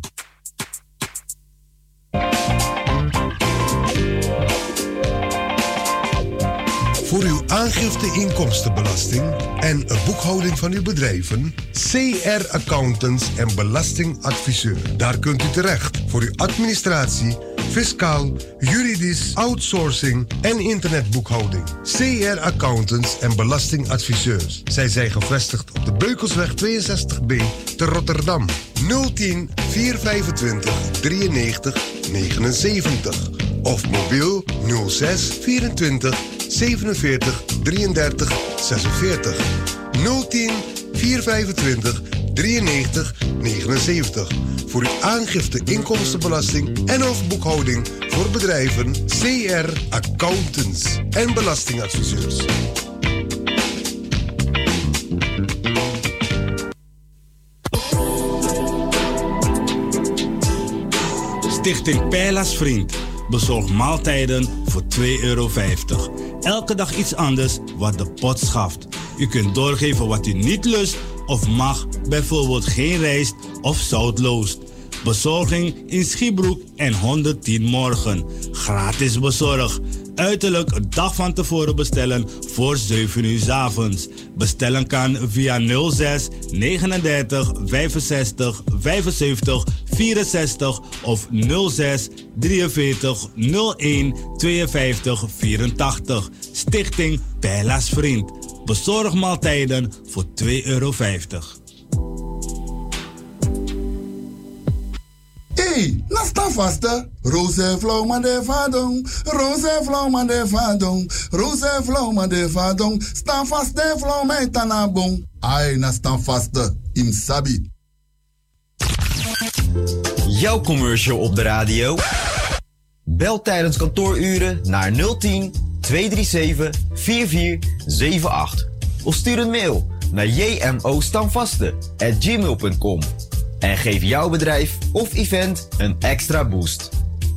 Voor uw aangifte inkomstenbelasting en boekhouding van uw bedrijven, C R Accountants en Belastingadviseur. Daar kunt u terecht voor uw administratie, fiscaal, juridisch, outsourcing en internetboekhouding. C R Accountants en Belastingadviseurs. Zij zijn gevestigd op de Beukelsweg tweeënzestig B te Rotterdam. nul tien vier vijfentwintig drieënnegentig negenenzeventig of mobiel nul zes vierentwintig zevenenveertig drieëndertig zesenveertig. nul tien vier vijfentwintig drieënnegentig negenenzeventig. Voor uw aangifte inkomstenbelasting en of boekhouding voor bedrijven C R Accountants en Belastingadviseurs. Stichting Pijla's Vriend bezorgt maaltijden voor twee euro vijftig. Elke dag iets anders wat de pot schaft. U kunt doorgeven wat u niet lust of mag, bijvoorbeeld geen rijst of zoutloos. Bezorging in Schiebroek en honderdtien Morgen. Gratis bezorg. Uiterlijk een dag van tevoren bestellen voor zeven uur 's avonds. Bestellen kan via nul zes negenendertig vijfenzestig vijfenzeventig vierenzestig of nul zes drieënveertig nul een tweeënvijftig vierentachtig. Stichting Pijla's Vriend. Bezorg maaltijden voor twee euro vijftig. Hey, nasta vasta. Roze flow man de vadong. Roze flow man de vadong. Roze flow man de vadong. Sta vast de flow mij tanabong. Ai, na sta vasta. Im sabi. Jouw commercial op de radio? Bel tijdens kantooruren naar nul tien tweehonderdzevenendertig vierentveertig zevenentachtig. Of stuur een mail naar jmostamvaste at gmail punt com. En geef jouw bedrijf of event een extra boost.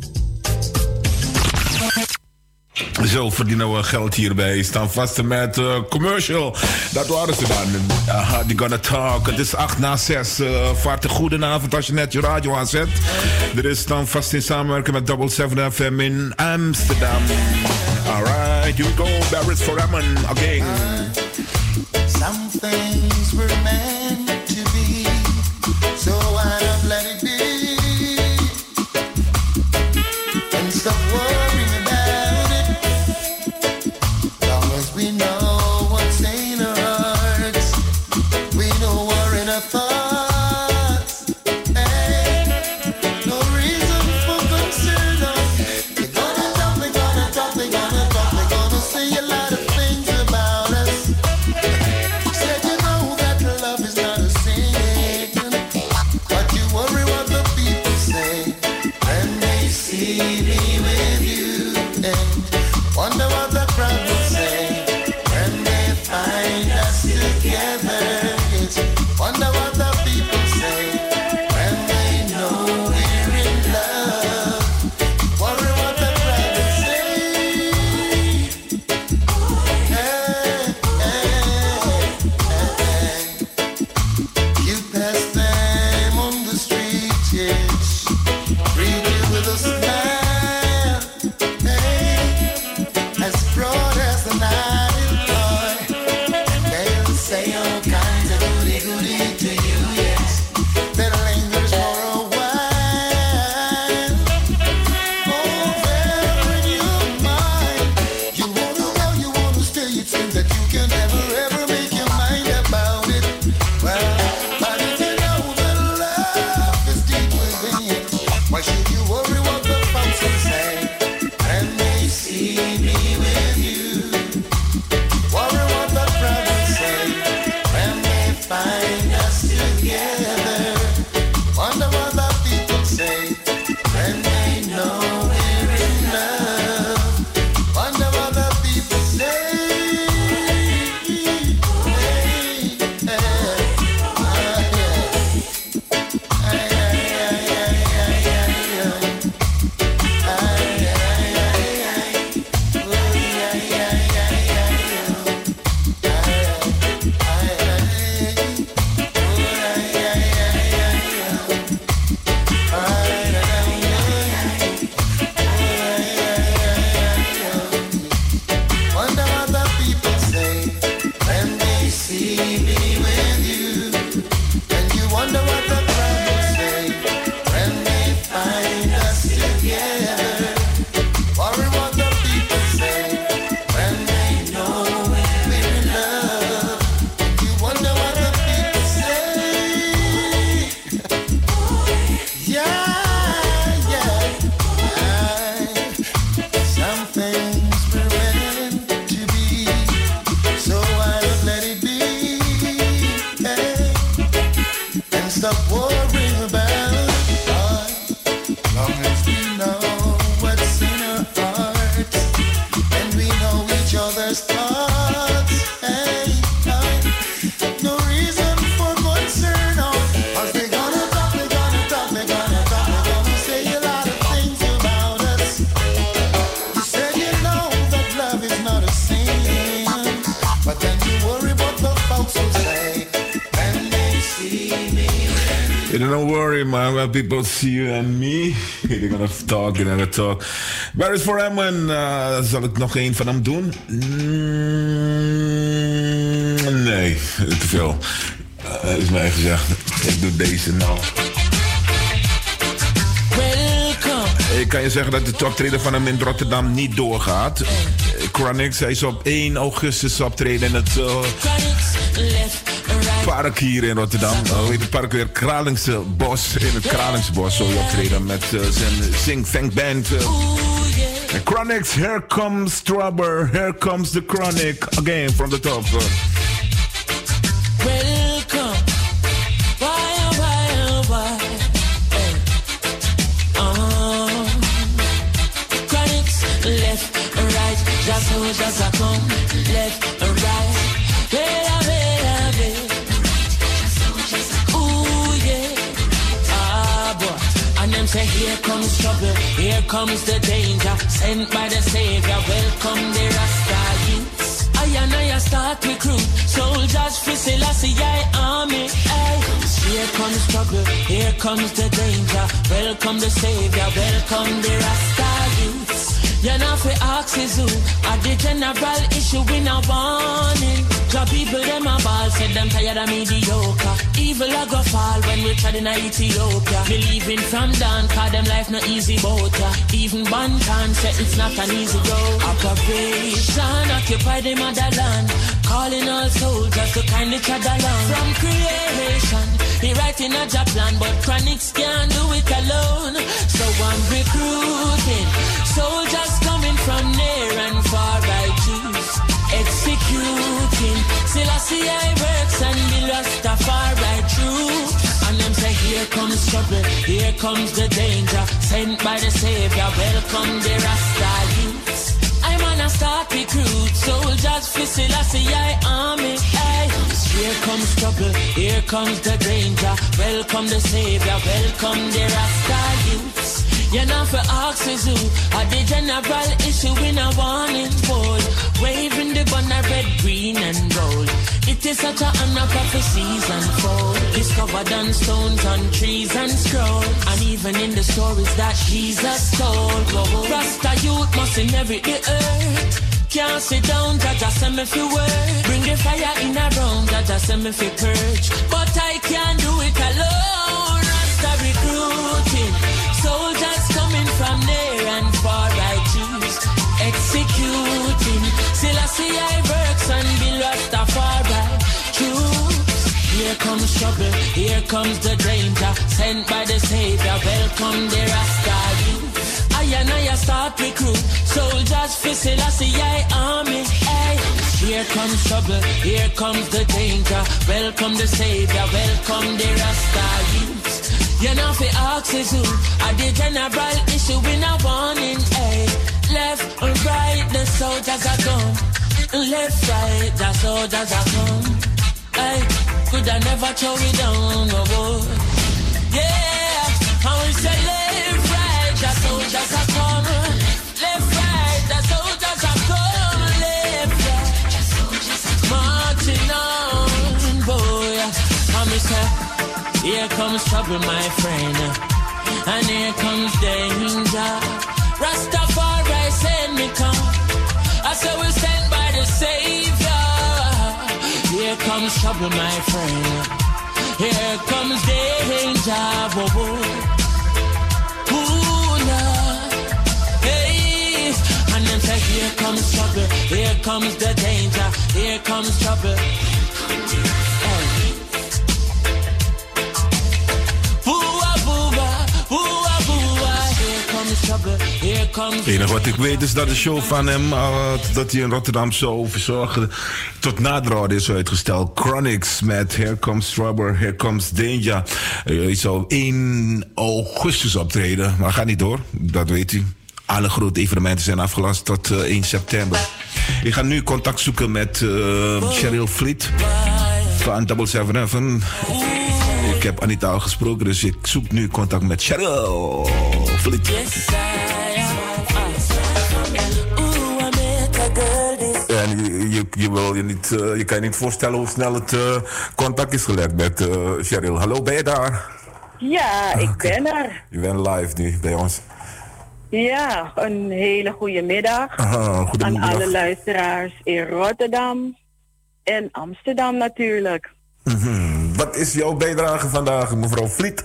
Zo verdienen we geld hierbij. Staan vast met uh, commercial. Dat waren ze dan. Uh, die gonna talk. Het is acht na zes. Uh, vaart een goedenavond als je net je radio aanzet. Er is dan vast in samenwerking met Double seven F M in Amsterdam. Alright, here we go. Barris for Ramen again. Some things were meant to be, so why not let it be? And stop worrying about it. Long as we know what's in our hearts, we know we're in our thoughts. Hey, no reason for concern. They're gonna talk, they're gonna talk, they're gonna talk, they're gonna say a lot of things about us. Said you know that love is stop worrying about. Long as we know what's in our hearts, and we know each other's thoughts. Hey, hey, no reason for concern. No, 'cause they gonna talk, they gonna talk, they gonna talk, they gonna say a lot of things about us. You said you know that love is not a sin, but then you worry about the folks who say when they see me. You don't worry, man. When people see you and me, they're gonna talk, they're gonna talk. Waar is voor hem? En uh, zal ik nog één van hem doen? Mm, nee, te veel. Uh, is mij gezegd. Ik doe deze nou. Ik kan je zeggen dat de optreden van hem in Rotterdam niet doorgaat. Chronix, hij is op één augustus optreden in het uh, park hier in Rotterdam. Uh, hoe heet het park weer? Kralingse Bos. In het Kralingsbos zal hij optreden met uh, zijn Sing-Fang Band. Uh. Chronix, here comes Trouble, here comes the Chronic. Again, from the top. Uh. Welcome. Why, oh, why, oh, why? Hey. Uh-huh. Chronics, left and right. Just so, just a come. Left and right. Wait, wait, wait. Ooh, yeah. Ah, boy. And them say, here comes trouble. Here comes the danger. Sent by the Savior. Welcome the Rasta youths. I and I start recruit soldiers for Selassie army. Aye. Here comes trouble, here comes the danger. Welcome the Savior, welcome the Rasta youths. You're not for axes who at the general issue in a warning. The people them a ball said them tired of mediocre. Evil a go fall when we tried in Ethiopia. Believing from down, cause them life no easy boat. Even Bantan said it's not an easy road. Operation occupy the motherland, calling all soldiers to kind each other along. From creation, he writing a job plan, but Chronix can't do it alone. So I'm recruiting soldiers coming from near and far. I choose executing Selassie I works and the Rastafari true. And them say here comes trouble, here comes the danger. Sent by the Savior, welcome the Rasta youths. I'm on a start recruit soldiers for Selassie I army. Aye. Here comes trouble, here comes the danger. Welcome the Savior, welcome the Rasta youths. You're not for axes who are the general issue in a warning board. Waving the banner red, green and gold. It is such an honor prophecies unfold. Discovered on stones, on trees and scroll. And even in the stories that Jesus told. Rasta youth must inherit the earth. Can't sit down, Jaja send me fi work. Bring the fire in a room, Jaja send me fi purge. But I can't do it alone. Rasta recruiting soldiers coming from near and far. I choose executing Selassie I works and the Rastafari choose. Here comes trouble, here comes the danger. Sent by the Savior, welcome the Rasta youth. I and I start recruit soldiers for Selassie I army. Hey. Here comes trouble, here comes the danger. Welcome the Savior, welcome the Rasta youths. You're not for axes who are the general issue in a warning. Hey. Left and right, the soldiers are gone. Left, right, the soldiers are gone. Hey. Could I never throw it down, no boy. Yeah, I will say left, right, the soldiers are coming. Left, right, the soldiers are coming. Left, right, the soldiers are marching on, boy. I'm say, here comes trouble, my friend, and here comes danger. Rastafari send me come. I say we sent by the Savior. Here comes trouble, my friend. Here comes danger. Whoa, whoa. Ooh, Lord. Hey. And then say, here comes trouble. Here comes the danger. Here comes trouble. Hey. Boo-ah, boo-ah, boo-ah, boo-ah. Here comes trouble. Here comes Het enige wat ik weet is dat de show van hem, uh, dat hij in Rotterdam zou verzorgen, tot naderhand is uitgesteld. Chronics met Here Comes Trouble, Here Comes Danger. Uh, hij zou één augustus optreden, maar gaat niet door, dat weet u. Alle grote evenementen zijn afgelast tot uh, één september. Ik ga nu contact zoeken met uh, Cheryl Fleet van Double Seven F. Ik heb Anita al gesproken, dus ik zoek nu contact met Cheryl Fleet. En je, je, je, wil je, niet, uh, je kan je niet voorstellen hoe snel het uh, contact is gelegd met uh, Cheryl. Hallo, ben je daar? Ja, ik ben er. Je bent live nu bij ons. Ja, een hele goede middag Aha, aan alle luisteraars in Rotterdam en Amsterdam natuurlijk. Mm-hmm. Wat is jouw bijdrage vandaag, mevrouw Vliet?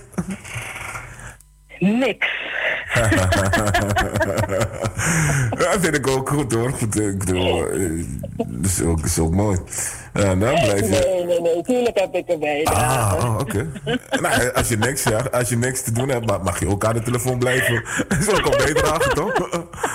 Niks. Dat vind ik ook goed hoor. Goed, ik bedoel, dat is ook, is ook mooi. Uh, nou, blijf je... Nee, nee, nee, tuurlijk heb ik een bijdrage. Ah, oké. Okay. Nou, als je niks, ja, als je niks te doen hebt, mag je ook aan de telefoon blijven. Dat is ook een bijdrage, toch?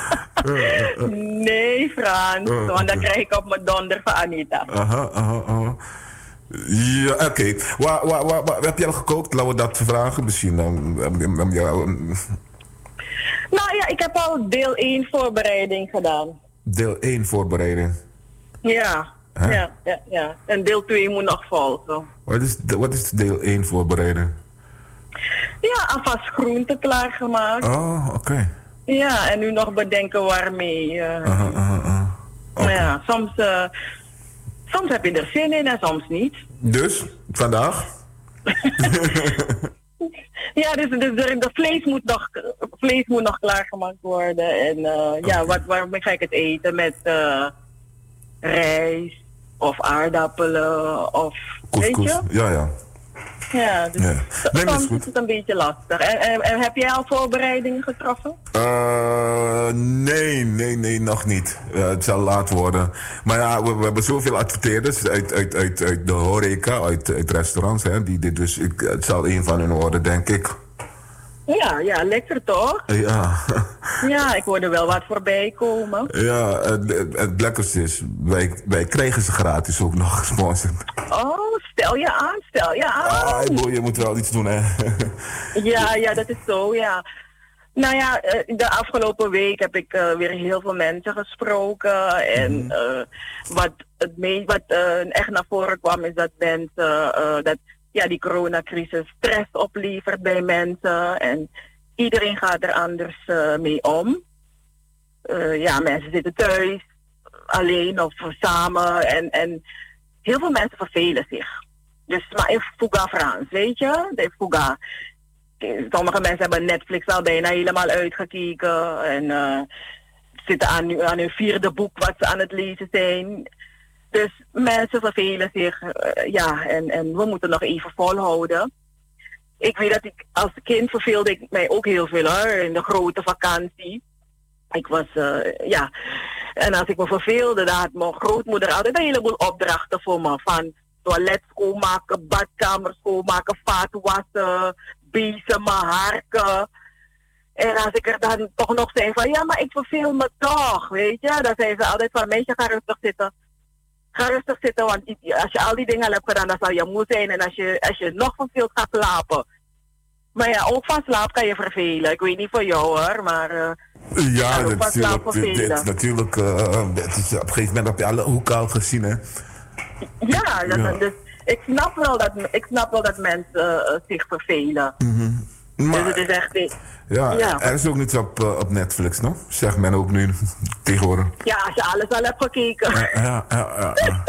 Nee, Frans, uh, want dan krijg ik op mijn donder van Anita. Aha, aha, aha. Ja, oké. Okay. Waar, waar, waar, waar heb je al gekookt? Laten we dat vragen misschien. Dan, ja, nou ja, ik heb al deel één voorbereiding gedaan. Deel één voorbereiding? Ja, huh? ja, ja, ja. En deel twee moet nog volgen. Wat is, wat is deel één voorbereiding? Ja, alvast groenten klaargemaakt. Oh, oké. Okay. Ja, en nu nog bedenken waarmee. Uh, uh, uh, uh. Okay. Ja, soms, uh, soms heb je er zin in en soms niet. Dus, vandaag? Ja, dus, dus de, de vlees, moet nog, vlees moet nog klaargemaakt worden. En uh, okay. ja, wat, waarmee ga ik het eten? Met uh, rijst of aardappelen of... Couscous. Weet je? Ja, ja. Ja, dus ja. Nee, soms is, is het een beetje lastig. En, en, en heb jij al voorbereidingen getroffen? Uh, nee, nee, nee, nog niet. Uh, het zal laat worden. Maar ja, we, we hebben zoveel adverteerders uit, uit, uit, uit de horeca, uit, uit restaurants. Hè, die dit dus, ik, het zal een van hun worden, denk ik. Ja, ja, lekker toch? Ja. Ja, ik hoorde wel wat voorbij komen. Ja, het, het lekkerste is, wij, wij krijgen ze gratis ook nog gesponsord. Oh, stel je aan, stel je aan. Ah, boy, je moet wel iets doen, hè. Ja, ja, dat is zo, ja. Nou ja, de afgelopen week heb ik uh, weer heel veel mensen gesproken. En uh, wat, het me- wat uh, echt naar voren kwam is dat mensen... Uh, dat ja, die coronacrisis stress oplevert bij mensen. En iedereen gaat er anders uh, mee om. Uh, ja, mensen zitten thuis, alleen of samen. En, en heel veel mensen vervelen zich. Dus maar in fuga Frans, weet je? De fuga. Sommige mensen hebben Netflix al bijna helemaal uitgekeken. En uh, zitten aan, aan hun vierde boek wat ze aan het lezen zijn. Dus mensen vervelen zich, uh, ja, en, en we moeten nog even volhouden. Ik weet dat ik als kind verveelde ik mij ook heel veel hoor, in de grote vakantie. Ik was, uh, ja, en als ik me verveelde, dan had mijn grootmoeder altijd een heleboel opdrachten voor me. Van toilet schoonmaken, badkamer schoonmaken, vaat wassen, bezemen, harken. En als ik er dan toch nog zei van, ja, maar ik verveel me toch, weet je. Dan zei ze altijd van, meisje, ga rustig zitten. Ga rustig zitten, want als je al die dingen al hebt gedaan, dan zal je moe zijn. En als je, als je nog verveeld gaat slapen. Maar ja, ook van slaap kan je vervelen. Ik weet niet voor jou hoor, maar... Uh, ja, dat is natuurlijk... Dit is natuurlijk uh, dit is, op een gegeven moment heb je alle hoeken al gezien, hè? Ja, dat, ja. Dus ik snap wel dat, ik snap wel dat mensen uh, zich vervelen. Mm-hmm. Maar, dus het is echt... Ja, ja, er is ook niets op, uh, op Netflix, no? Zegt men ook nu tegenwoordig. Ja, als je alles al hebt gekeken. Ja, ja, ja. ja, ja.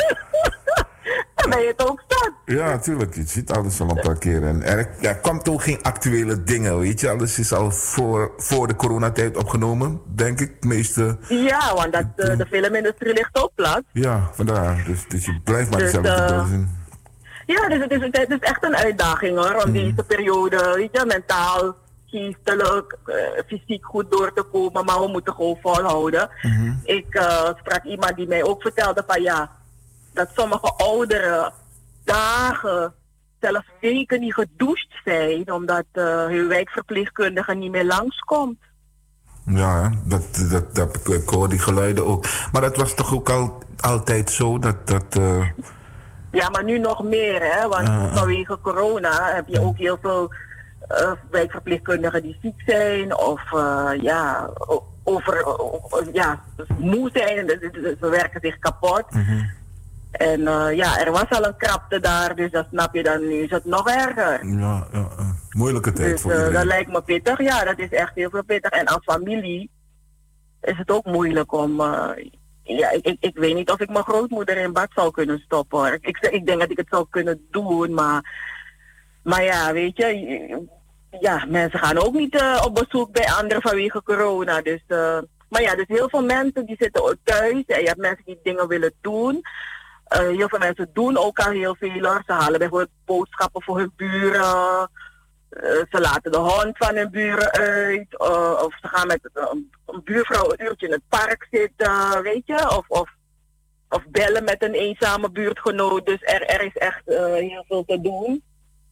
Dan ben je het ook staan. Ja, natuurlijk. Je ziet alles al een paar keer. En er, er kwam toch geen actuele dingen, weet je. Alles is al voor, voor de coronatijd opgenomen, denk ik. Meeste. Ja, want dat, uh, de filmindustrie ligt ook plat. Ja, vandaar. Dus, dus je blijft maar dus, dezelfde uh, doen. Ja, dus het is, het is echt een uitdaging hoor. Om mm. deze periode, weet je, mentaal, geestelijk, uh, fysiek goed door te komen. Maar we moeten gewoon volhouden. Mm-hmm. Ik uh, sprak iemand die mij ook vertelde van ja, dat sommige ouderen dagen, zelfs weken niet gedoucht zijn, omdat uh, hun wijkverpleegkundige niet meer langskomt. Ja, hè, dat, dat, dat, ik, ik hoor die geluiden ook. Maar dat was toch ook al, altijd zo dat... dat uh... Ja, maar nu nog meer, hè? Want uh, vanwege corona heb je ook heel veel uh, wijkverpleegkundigen die ziek zijn of uh, ja, over, uh, ja, moe zijn. Ze werken zich kapot. Uh-huh. En uh, ja, er was al een krapte daar, dus dat snap je dan. Nu is het nog erger. Ja, ja uh, moeilijke tijd dus, voor uh, iedereen. Dat lijkt me pittig. Ja, dat is echt heel veel pittig. En als familie is het ook moeilijk om... Uh, ja, ik, ik, ik weet niet of ik mijn grootmoeder in bad zou kunnen stoppen. Ik, ik, ik denk dat ik het zou kunnen doen, maar... Maar ja, weet je... Ja, mensen gaan ook niet uh, op bezoek bij anderen vanwege corona. Dus, uh, maar ja, dus heel veel mensen die zitten ook thuis. En je hebt mensen die dingen willen doen... Uh, heel veel mensen doen ook al heel veel. Ze halen bijvoorbeeld boodschappen voor hun buren. Uh, ze laten de hond van hun buren uit. Uh, of ze gaan met uh, een buurvrouw een uurtje in het park zitten, weet je. Of, of, of bellen met een eenzame buurtgenoot. Dus er, er is echt uh, heel veel te doen.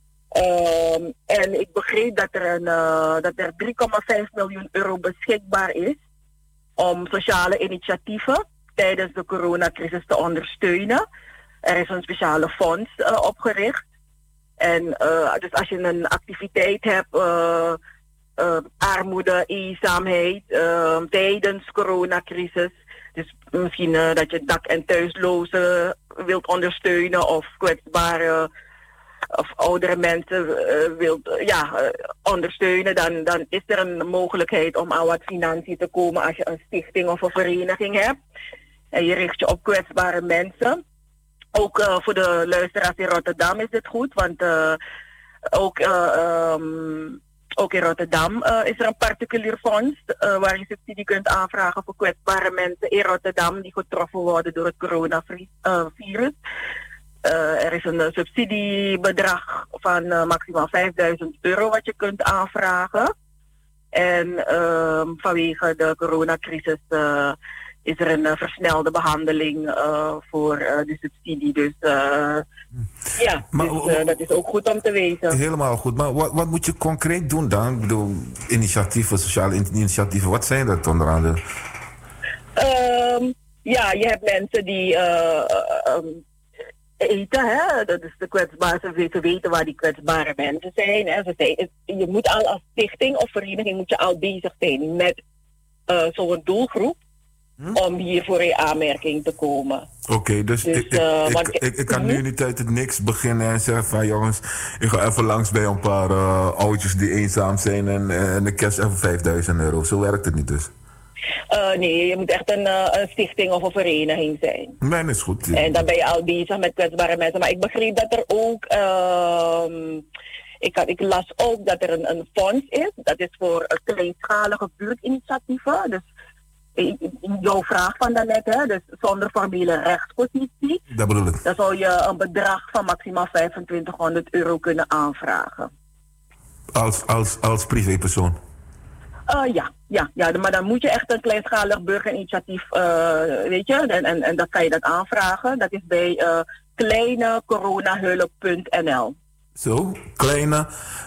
Um, en ik begreep dat er, een, uh, dat er drie komma vijf miljoen euro beschikbaar is om sociale initiatieven tijdens de coronacrisis te ondersteunen. Er is een speciale fonds uh, opgericht. En uh, dus als je een activiteit hebt, uh, uh, armoede, eenzaamheid, uh, tijdens coronacrisis. Dus misschien uh, dat je dak- en thuislozen wilt ondersteunen of kwetsbare of oudere mensen uh, wilt uh, ja, uh, ondersteunen, dan, dan is er een mogelijkheid om aan wat financiën te komen als je een stichting of een vereniging hebt. En je richt je op kwetsbare mensen. Ook uh, voor de luisteraars in Rotterdam is dit goed, want uh, ook, uh, um, ook in Rotterdam uh, is er een particulier fonds uh, waar je subsidie kunt aanvragen voor kwetsbare mensen in Rotterdam die getroffen worden door het coronavirus. Uh, er is een uh, subsidiebedrag van uh, maximaal vijfduizend euro wat je kunt aanvragen. En uh, vanwege de coronacrisis uh, is er een uh, versnelde behandeling uh, voor uh, de subsidie. Dus uh, ja, maar, dus, uh, dat is ook goed om te weten. Helemaal goed. Maar wat, wat moet je concreet doen dan? Ik bedoel, initiatieven, sociale initiatieven, wat zijn dat onder andere? Um, ja, je hebt mensen die... Uh, um, eten, hè? Dat is de kwetsbare, ze weten waar die kwetsbare mensen zijn. Hè? Ze zijn je moet al als stichting of vereniging moet je al bezig zijn met uh, zo'n doelgroep hm? om hier voor in aanmerking te komen. Oké, okay, dus, dus ik, uh, ik, ik, ik, ik kan nu niet uit het niks beginnen en zeggen van jongens, ik ga even langs bij een paar uh, oudjes die eenzaam zijn en, en ik cash even vijfduizend euro. Zo werkt het niet dus. Uh, nee, je moet echt een, uh, een stichting of een vereniging zijn. Nee, dat is goed. Ja. En dan ben je al bezig met kwetsbare mensen. Maar ik begreep dat er ook... Uh, ik, had, ik las ook dat er een, een fonds is. Dat is voor uh, kleinschalige buurtinitiatieven. Dus jouw vraag van daarnet, hè, dus zonder formele rechtspositie. Dat bedoel ik. Dan zou je een bedrag van maximaal vijfentwintighonderd euro kunnen aanvragen. Als, als, als privépersoon? Uh, ja, ja, ja, maar dan moet je echt een kleinschalig burgerinitiatief, uh, weet je, en, en, en dat kan je dat aanvragen. Dat is bij uh, kleine coronahulp punt n l. Zo, kleine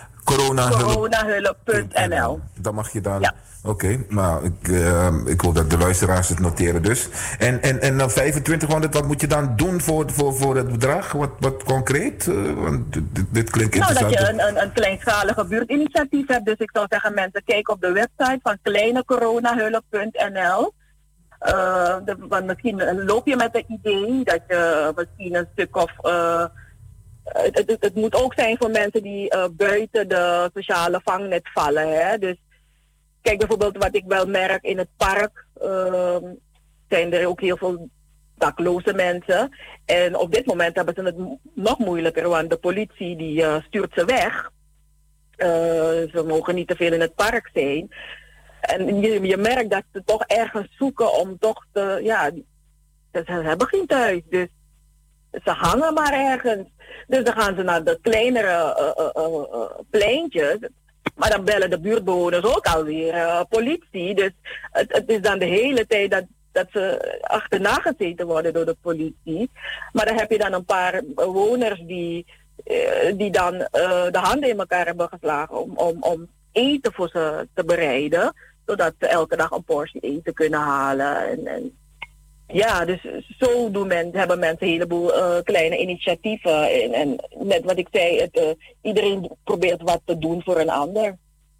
coronahulp punt n l. Dan mag je dan... Ja. Oké, okay, maar ik, uh, ik hoop dat de luisteraars het noteren dus. En, en, en dan vijfentwintighonderd, wat moet je dan doen voor, voor, voor het bedrag? Wat, wat concreet? Uh, want dit, dit klinkt nou, interessant. Dat je een, een, een kleinschalige buurtinitiatief hebt. Dus ik zou zeggen, mensen, kijk op de website van kleine coronahulp punt n l. Uh, de, want misschien loop je met het idee dat je misschien een stuk of... Uh, het, het, het moet ook zijn voor mensen die uh, buiten de sociale vangnet vallen. Hè? Dus kijk bijvoorbeeld wat ik wel merk in het park, uh, zijn er ook heel veel dakloze mensen. En op dit moment hebben ze het nog moeilijker, want de politie die uh, stuurt ze weg. Uh, ze mogen niet te veel in het park zijn. En je, je merkt dat ze toch ergens zoeken om toch te, ja, ze hebben geen thuis. Dus ze hangen maar ergens. Dus dan gaan ze naar de kleinere uh, uh, uh, pleintjes. Maar dan bellen de buurtbewoners ook alweer uh, politie. Dus het, het is dan de hele tijd dat, dat ze achterna gezeten worden door de politie. Maar dan heb je dan een paar bewoners die, uh, die dan uh, de handen in elkaar hebben geslagen om, om, om eten voor ze te bereiden. Zodat ze elke dag een portie eten kunnen halen. En, en ja, dus zo doen men, hebben mensen een heleboel uh, kleine initiatieven. En, en net wat ik zei, het, uh, iedereen probeert wat te doen voor een ander.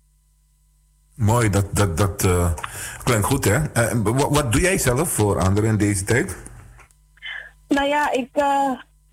Mooi, dat, dat, dat uh, klinkt goed, hè? Uh, wat, wat doe jij zelf voor anderen in deze tijd? Nou ja, ik, uh,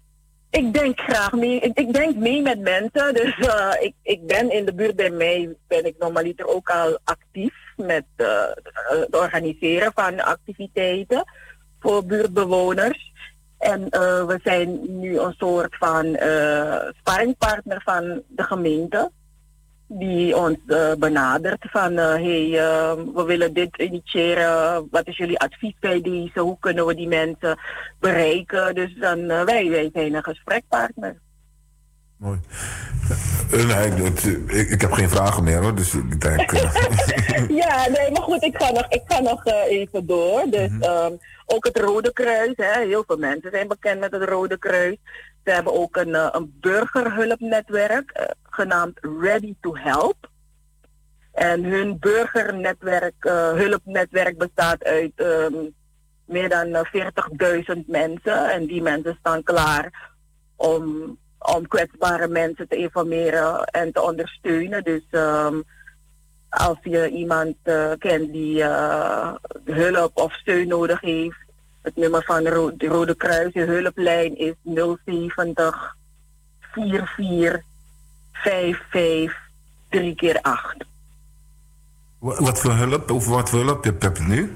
ik denk graag mee. Ik, ik denk mee met mensen. Dus uh, ik, ik ben in de buurt bij mij, ben ik normaliter ook al actief met uh, het organiseren van activiteiten voor buurtbewoners. En uh, we zijn nu een soort van uh, sparringpartner van de gemeente. Die ons uh, benadert van, uh, hey, uh, we willen dit initiëren. Wat is jullie advies bij deze? Hoe kunnen we die mensen bereiken? Dus dan, uh, wij, wij zijn een gesprekpartner. Mooi. Uh, nee, het, ik, ik heb geen vragen meer hoor, dus ik denk... Uh... ja, nee, maar goed, ik ga nog, ik ga nog uh, even door. Dus mm-hmm. um, ook het Rode Kruis, hè, heel veel mensen zijn bekend met het Rode Kruis. Ze hebben ook een, uh, een burgerhulpnetwerk uh, genaamd Ready to Help. En hun burgernetwerk, uh, hulpnetwerk bestaat uit um, meer dan uh, veertigduizend mensen. En die mensen staan klaar om, om kwetsbare mensen te informeren en te ondersteunen. Dus um, als je iemand uh, kent die uh, hulp of steun nodig heeft, het nummer van de Ro- de Rode Kruis, de hulplijn is nul zeventig vier vier vijf vijf drie keer acht. Wat, wat voor hulp? Over wat voor hulp heb je nu?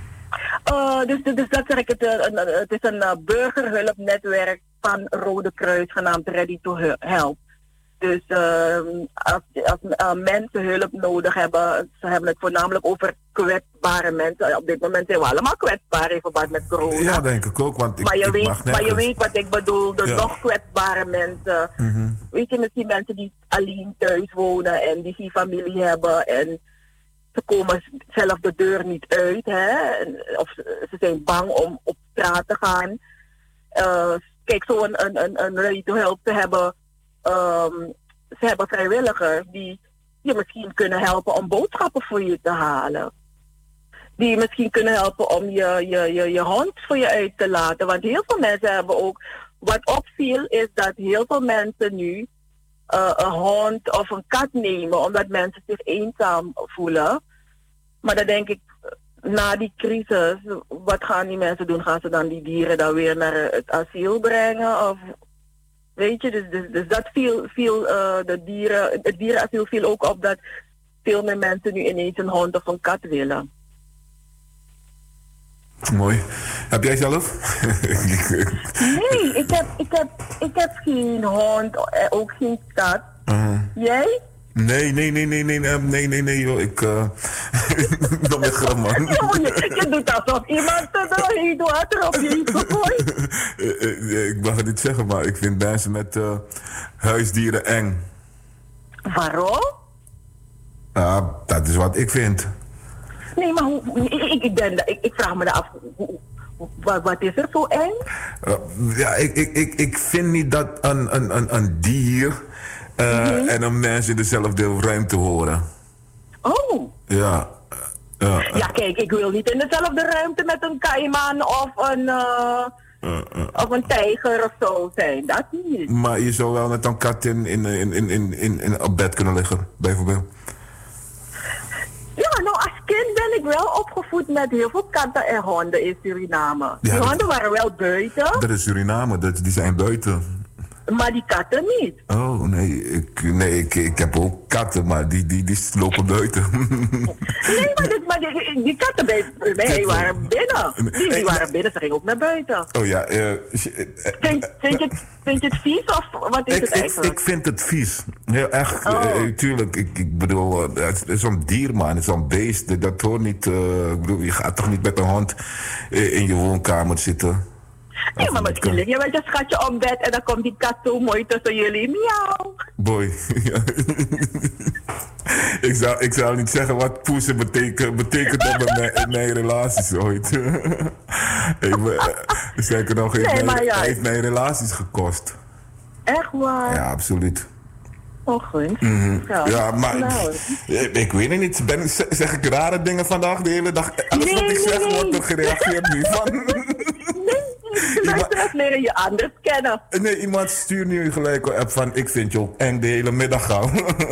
Uh, dus, dus dat zeg ik, het, uh, het is een uh, burgerhulpnetwerk van Rode Kruis genaamd Ready to Help. Dus uh, als, als uh, mensen hulp nodig hebben, ze hebben het voornamelijk over kwetsbare mensen. Op dit moment zijn we allemaal kwetsbaar in verband met corona. Ja, denk ik ook, want ik, maar, je ik weet, mag maar je weet wat ik bedoel, de ja. nog kwetsbare mensen. Mm-hmm. Weet je, misschien mensen die alleen thuis wonen en die geen familie hebben en ze komen zelf de deur niet uit, hè? Of ze zijn bang om op straat te gaan. Uh, kijk, zo een, een, een, een Ready to Help te hebben. Um, ze hebben vrijwilligers die je misschien kunnen helpen om boodschappen voor je te halen. Die misschien kunnen helpen om je, je, je, je hond voor je uit te laten. Want heel veel mensen hebben ook... Wat opviel is dat heel veel mensen nu uh, een hond of een kat nemen omdat mensen zich eenzaam voelen. Maar dan denk ik, na die crisis, wat gaan die mensen doen? Gaan ze dan die dieren dan weer naar het asiel brengen? Of... Weet je, dus, dus, dus dat viel, viel uh, de dieren, het dierenasiel viel ook op dat veel meer mensen nu ineens een hond of een kat willen. Mooi. Heb jij zelf? Nee, ik heb, ik, heb, ik heb geen hond, ook geen kat. Uh-huh. Jij? Nee, nee, nee, nee, nee, nee, nee, nee, nee, joh. Ik, uh... dat met grap, man. je, je doet alsof iemand er water op je heeft gegooid. Ik mag het niet zeggen, maar ik vind mensen met uh, huisdieren eng. Waarom? Ja, dat is wat ik vind. Nee, maar hoe, ik, ik, ben, ik, ik vraag me af, hoe, wat, wat is er zo eng? Uh, ja, ik, ik, ik, ik vind niet dat een, een, een, een dier... Uh, mm-hmm. en een mens in dezelfde ruimte horen. Oh. Ja. Uh, uh, ja, kijk, ik wil niet in dezelfde ruimte met een kaiman of een, uh, uh, uh, of een tijger of zo zijn. Dat niet. Maar je zou wel met een kat in, in, in, in, in, in, in op bed kunnen liggen, bijvoorbeeld. Ja, nou als kind ben ik wel opgevoed met heel veel katten en honden in Suriname. Ja, die honden dat, waren wel buiten. Dat is Suriname, dat, die zijn buiten. Maar die katten niet. Oh, nee, ik, nee ik, ik heb ook katten, maar die, die, die lopen buiten. Nee, maar, dit, maar die, die katten bij mij waren binnen. Die, die waren binnen, ze gingen ook naar buiten. Oh ja. Uh, vind, vind, je, vind je het vies of wat is ik, het eigenlijk? Ik, ik vind het vies. Heel echt, oh. uh, tuurlijk. Ik, ik bedoel, uh, het is zo'n dier, man. Het is zo'n beest. Dat hoort niet... Uh, ik bedoel, je gaat toch niet met een hond uh, in je woonkamer zitten? Nee, maar misschien lig je met je schatje op bed en dan komt die kat zo mooi tussen jullie. Miauw. Boy. ik, zou, ik zou niet zeggen wat poesen betekent, betekent dat in mijn, in mijn relaties ooit. Zeker nog, heeft, nee, mijn, ja. heeft mijn relaties gekost. Echt waar? Ja, absoluut. ongunst. Mhm. Ja, Ja, maar nou. ik, ik weet het niet. Ben, zeg zeg ik rare dingen vandaag de hele dag? Alles Nee, wat ik nee, zeg nee. wordt er gereageerd nu van. De luisteraars leren je anders kennen. Nee, iemand stuurt nu gelijk een app van ik vind je ook eng de hele middag gaan.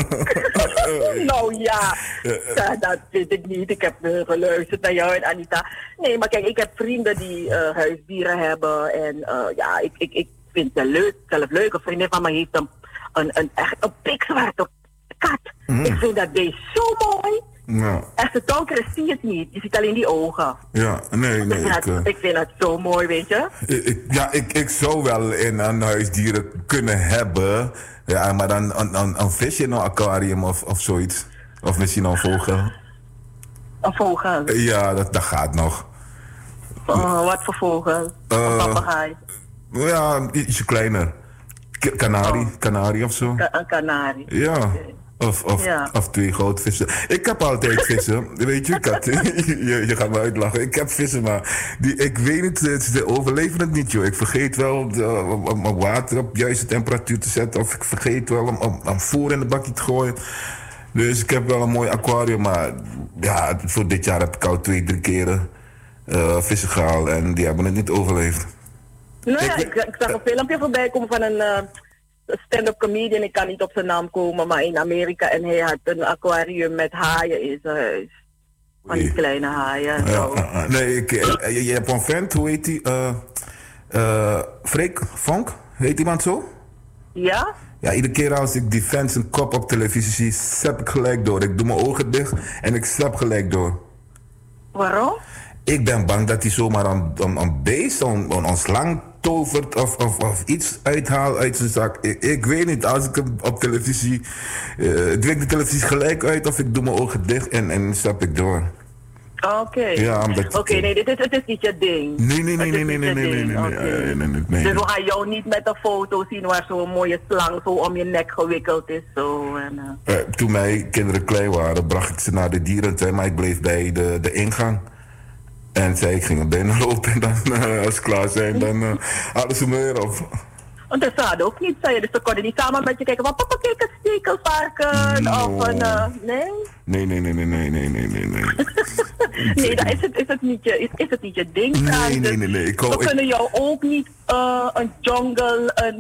Nou ja, ja, dat weet ik niet. Ik heb uh, geluisterd naar jou en Anita. Nee, maar kijk, ik heb vrienden die uh, huisdieren hebben. En uh, ja, ik, ik, ik vind het leuk, zelf leuk. Een vriendin van me heeft een, een, een, echt een pikzwarte kat. Mm. Ik vind dat beest zo mooi. Ja, Als het donker is, zie je het niet. Je ziet alleen die ogen. ja, nee, nee. ik, vind Ik, dat, eh, ik vind dat zo mooi, weet je. ik, ik- ja, ik, ik zou wel in een huisdieren kunnen hebben. Ja, maar dan een, een, een visje in een aquarium of, of zoiets. Of misschien een vogel. Een vogel. Ja, dat, dat gaat nog. Oh, wat voor vogel? Eh, Een papegaai. Ja, ietsje kleiner. K- Kanarie, kanarie of zo. Ka- een kanarie. Ja. Of, of, Ja. of twee goudvissen. Ik heb altijd vissen. Weet je, Kat? je, je gaat me uitlachen. Ik heb vissen, maar die, ik weet niet, ze- ze overleven het niet, joh. Ik vergeet wel de, om, om- om water op juiste temperatuur te zetten. Of ik vergeet wel om, om, om voer in de bakje te gooien. Dus ik heb wel een mooi aquarium, maar ja, voor dit jaar heb ik al twee, drie keren eh, vissen gehaald. En die hebben het niet overleefd. Nou ja, ik, ik zag een filmpje voorbij komen van een eh, stand-up comedian. Ik kan niet op zijn naam komen, maar in Amerika. En hij had een aquarium met haaien in zijn huis. Van die kleine haaien. en Ja, zo. ja, ja. Nee, ik, eh, je, je hebt een vent, hoe heet die? Eh eh Freek Vonk, heet iemand zo? Ja? Ja, iedere keer als ik die vent zijn kop op televisie zie, zap ik gelijk door. Ik doe mijn ogen dicht en ik zap gelijk door. Waarom? Ik ben bang dat hij zomaar een, een, een beest, een, een, een slang tovert of, of, of iets uithaalt uit zijn zak. Ik, ik weet niet, als ik hem op televisie... Uh, ik druk de televisie gelijk uit of ik doe mijn ogen dicht en, en stap ik door. Oké. Ja, omdat- Oké, nee, dit is, het is niet je ding. Nee, nee, nee, Het nee, is nee, niet nee, je nee, nee, ding, nee, nee, oké. nee, nee, nee, nee, Dus we nee. gaan jou niet met een foto zien waar zo'n mooie slang zo om je nek gewikkeld is. Zo, en, eh. Eh, toen mijn kinderen klein waren, bracht ik ze naar de dierentuin, maar ik bleef bij de, de ingang. En zei ik ging er binnen lopen en dan, eh, als ze klaar zijn, dan uh, hadden ze me weer op. Want dat zou ook niet zijn. Dus ze konden niet samen met je kijken. Want papa, kijk een stekelvarken. No. Of een... eh, nee? Nee, nee, nee, nee, nee, nee, nee, nee, nee. Nee, dan is het, is het, niet, je, is, is het niet je ding. Nee, Frans. nee, nee, nee. Ik We hou- ik- kunnen jou ook niet uh, een jungle, een,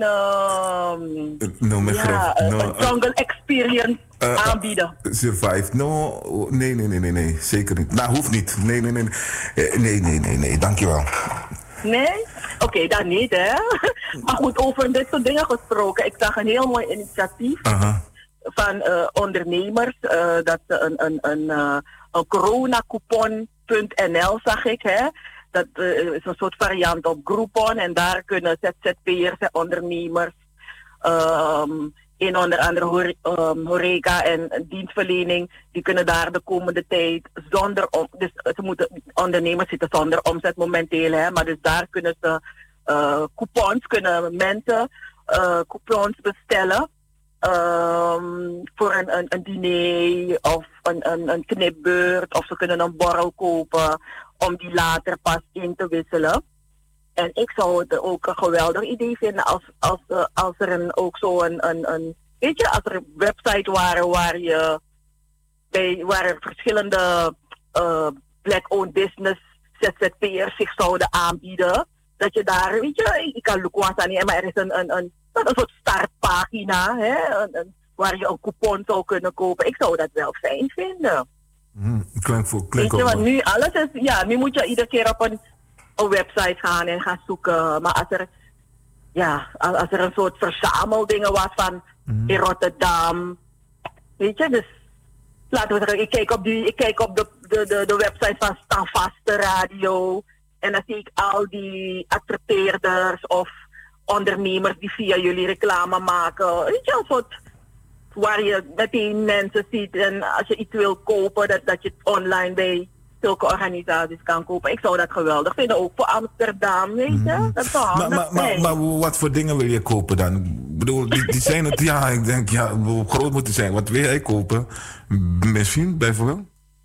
uh, No, mijn ja, graf. een, No, een jungle experience eh, eh, aanbieden. Survive. No, nee, nee, nee, nee, nee, zeker niet. Nou, hoeft niet. Nee, nee, nee. Eh, Nee, nee, nee, nee, dankjewel. Nee? Oké, dan niet, hè. Maar goed, over dit soort dingen gesproken. Ik zag een heel mooi initiatief Aha. van eh, ondernemers. eh, dat ze een, een, een, eh, een coronacoupon punt n l zag ik, hè. Dat eh, is een soort variant op Groupon. En daar kunnen Z Z P'ers en ondernemers ehm, in onder andere hore- ehm, horeca en dienstverlening, die kunnen daar de komende tijd zonder om, dus ze moeten, ondernemers zitten zonder omzet momenteel, hè, maar dus daar kunnen ze eh, coupons, kunnen mensen eh, coupons bestellen ehm, voor een, een, een diner of een, een, een knipbeurt, of ze kunnen een borrel kopen om die later pas in te wisselen. En ik zou het ook een geweldig idee vinden als, als, uh, als er een, ook zo een, een, een, weet je, als er een website waren waar je, bij, waar er verschillende uh, black-owned business Z Z P'ers zich zouden aanbieden. Dat je daar, weet je, ik kan Lukwasa niet, maar er is een, een, een, een soort startpagina, hè, een, een, waar je een coupon zou kunnen kopen. Ik zou dat wel fijn vinden. Hm, klinkt voor, Weet klinkt je, ook want wel. nu alles is, ja, nu moet je iedere keer op een, een website gaan en gaan zoeken. Maar als er, ja, als, als er een soort verzameldingen was van in Rotterdam, weet je, dus laten we zeggen, ik kijk op, die, ik kijk op de, de, de, de website van Standvaste Radio en dan zie ik al die adverteerders of ondernemers die via jullie reclame maken. Weet je, een soort waar je meteen mensen ziet en als je iets wil kopen, dat, dat je het online bij zulke organisaties kan kopen. Ik zou dat geweldig vinden, ook voor Amsterdam, weet je. Dat zou Maar, handig maar, maar, zijn. maar wat voor dingen wil je kopen dan? Ik bedoel, die, die zijn het, ja, ik denk, ja, hoe groot moet die zijn? Wat wil jij kopen? Misschien, bijvoorbeeld?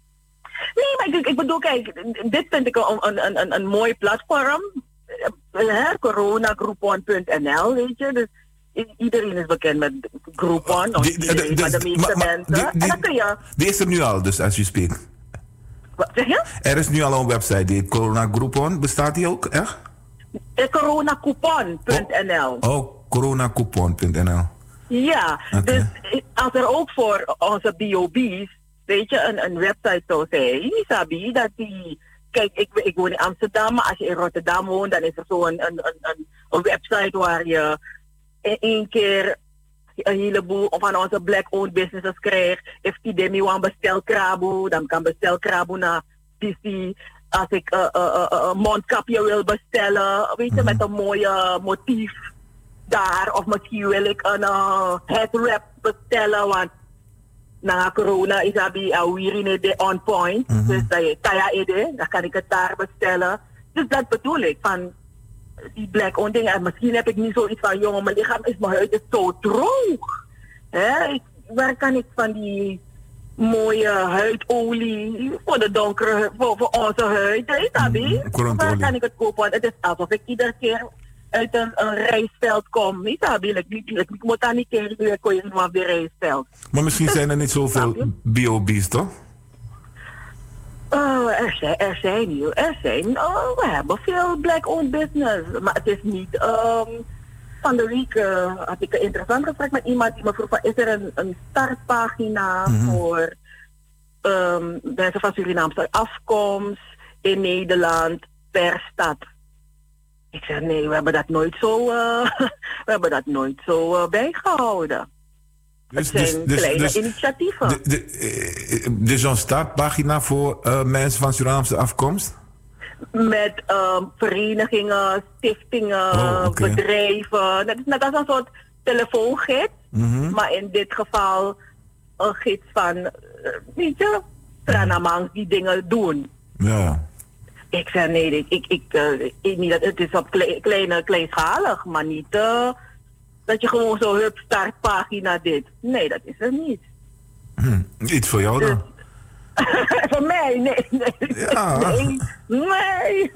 Nee, maar ik, ik bedoel, kijk, dit vind ik een, een, een, een, een mooi platform. Eh, coronagroupon punt n l, weet je. Dus i- iedereen is bekend met Groupon. Of Die- die, de- de- maar de meeste maar- maar mensen. die- en die- dan kun je... Die is er nu al, dus als u spreekt. Wat zeg je? Er is nu al een website, die Corona Groupon. Bestaat die ook, echt? coronacoupon punt n l. Oh, coronacoupon punt n l. Ja, Oké. dus als er ook voor onze B O B's, weet je, een, een website zou zijn, Sabi, dat die... Kijk, ik, ik woon in Amsterdam, maar als je in Rotterdam woont, dan is er zo een, een, een, een website waar je in één keer een heleboel van onze black-owned businesses krijgt. If die demi wan bestel krabo, dan kan bestel krabo naar D C. Als ik een uh, uh, uh, mondkapje wil bestellen, weet je, met een mooie motief daar. Of misschien wil ik een uh, headwrap bestellen, want na corona is dat bij Awirine on point. Mhm. Dus dat je kaya ide, dan kan ik het daar bestellen. Dus dat bedoel ik, van die black-owned dingen. En misschien heb ik niet zoiets van, jongen, mijn lichaam is, mijn huid is zo droog. Hè? Ik, waar kan ik van die mooie huidolie voor de donkere, voor, voor onze huid, weet je dat, mm, waar kan ik het kopen? Want het is alsof ik iedere keer uit een, een rijstveld kom, weet je dat, ik, ik, ik, ik moet daar niet tegen weer komen van weer rijstveld. Maar misschien zijn er niet zoveel B O B's, toch? Uh, er zijn, er zijn hier, er zijn, uh, we hebben veel black-owned business, maar het is niet, um, van de week uh, had ik een interessant gesprek met iemand die me vroeg van, is er een, een startpagina mm-hmm. voor um, mensen van Surinaamse afkomst in Nederland per stad? Ik zeg nee, we hebben dat nooit zo, uh, we hebben dat nooit zo uh, bijgehouden. Dus, het zijn dus, kleine dus, initiatieven. De, de, eh, dus zo'n startpagina voor uh, mensen van Surinaamse afkomst? Met uh, verenigingen, stichtingen, oh, okay. bedrijven. Dat is net als een soort telefoongids, mm-hmm. maar in dit geval een gids van, uh, weet je, Tranamangs die dingen doen. Ja. Ik zei nee, ik, ik, ik, uh, ik niet, het is op kle, kleine, kleinschalig, maar niet uh, dat je gewoon zo hup startpagina dit. Nee, dat is er niet. Hm, iets voor jou dan? Voor mij? Nee, nee. Ja. Nee, nee.